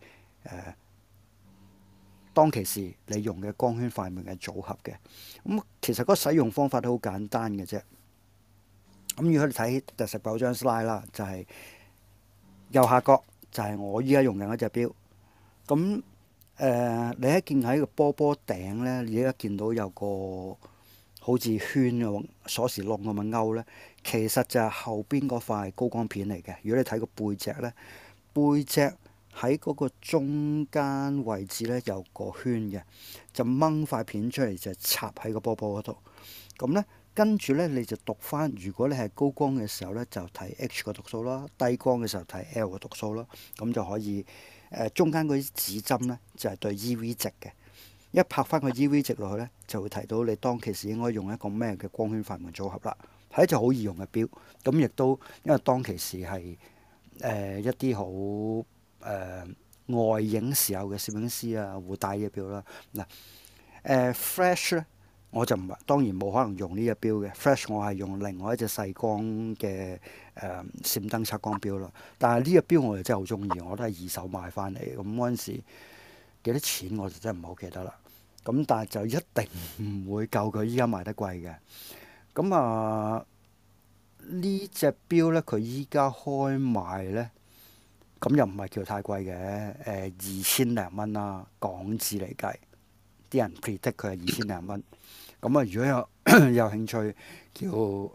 當其時你用嘅光圈快門嘅組合嘅。咁其實嗰個使用方法都好簡單嘅啫。咁如果你睇第19張 slide 啦，就係右下角就係我依家用緊嗰隻錶。咁你一見喺個波頂呢，你而家見到有個好似圈嘅鎖匙窿咁嘅勾呢，其實就係後邊嗰塊高光片嚟嘅。如果你睇個背脊呢，背脊喺嗰個中間位置咧有個圈嘅，就掹塊片出嚟就插喺個波波嗰度。咁咧跟住咧你就讀翻，如果你係高光嘅時候咧就睇 H 個讀數啦，低光嘅時候睇 L 個讀數啦，咁就可以中間嗰啲指針咧就係對 EV 值嘅。一拍翻個 EV 值落去咧，就會提到你當其時應該用一個咩嘅光圈快門組合啦。係一隻好易用嘅錶，咁亦都因為當其時係一啲好外影時候嘅攝影師啊會戴呢隻錶啦。嗱Flash 咧，我就唔係當然冇可能用呢隻錶嘅。Flash 我係用另外一隻細光嘅閃燈測光錶啦。但係呢隻錶我就真係好中意，我都係二手買翻嚟。咁嗰陣時幾多錢我就真係唔好記得啦。咁但係就一定唔會夠佢依家賣得貴嘅。咁呢隻錶咧，佢依家開賣咧，咁又唔係叫太貴嘅，2000零蚊啦，港紙嚟計，啲人 predict 佢係2000零蚊。咁啊，如果有興趣叫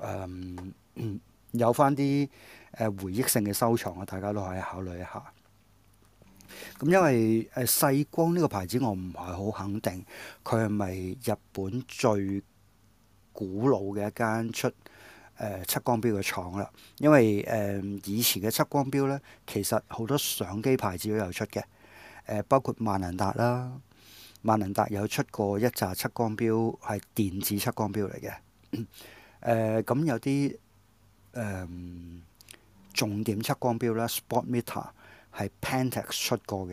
有翻啲回憶性嘅收藏啊，大家都可以考慮一下。咁因為細光呢個牌子我唔係好肯定佢係咪日本最古老嘅一間出測光錶嘅廠啦。因為以前嘅測光錶呢，其實好多相機牌子都有出嘅，包括萬能達啦，萬能達有出過一紮測光錶係電子測光錶嚟嘅。咁有啲重點測光錶啦 ，Sport Meter 係 Pentax 出過嘅。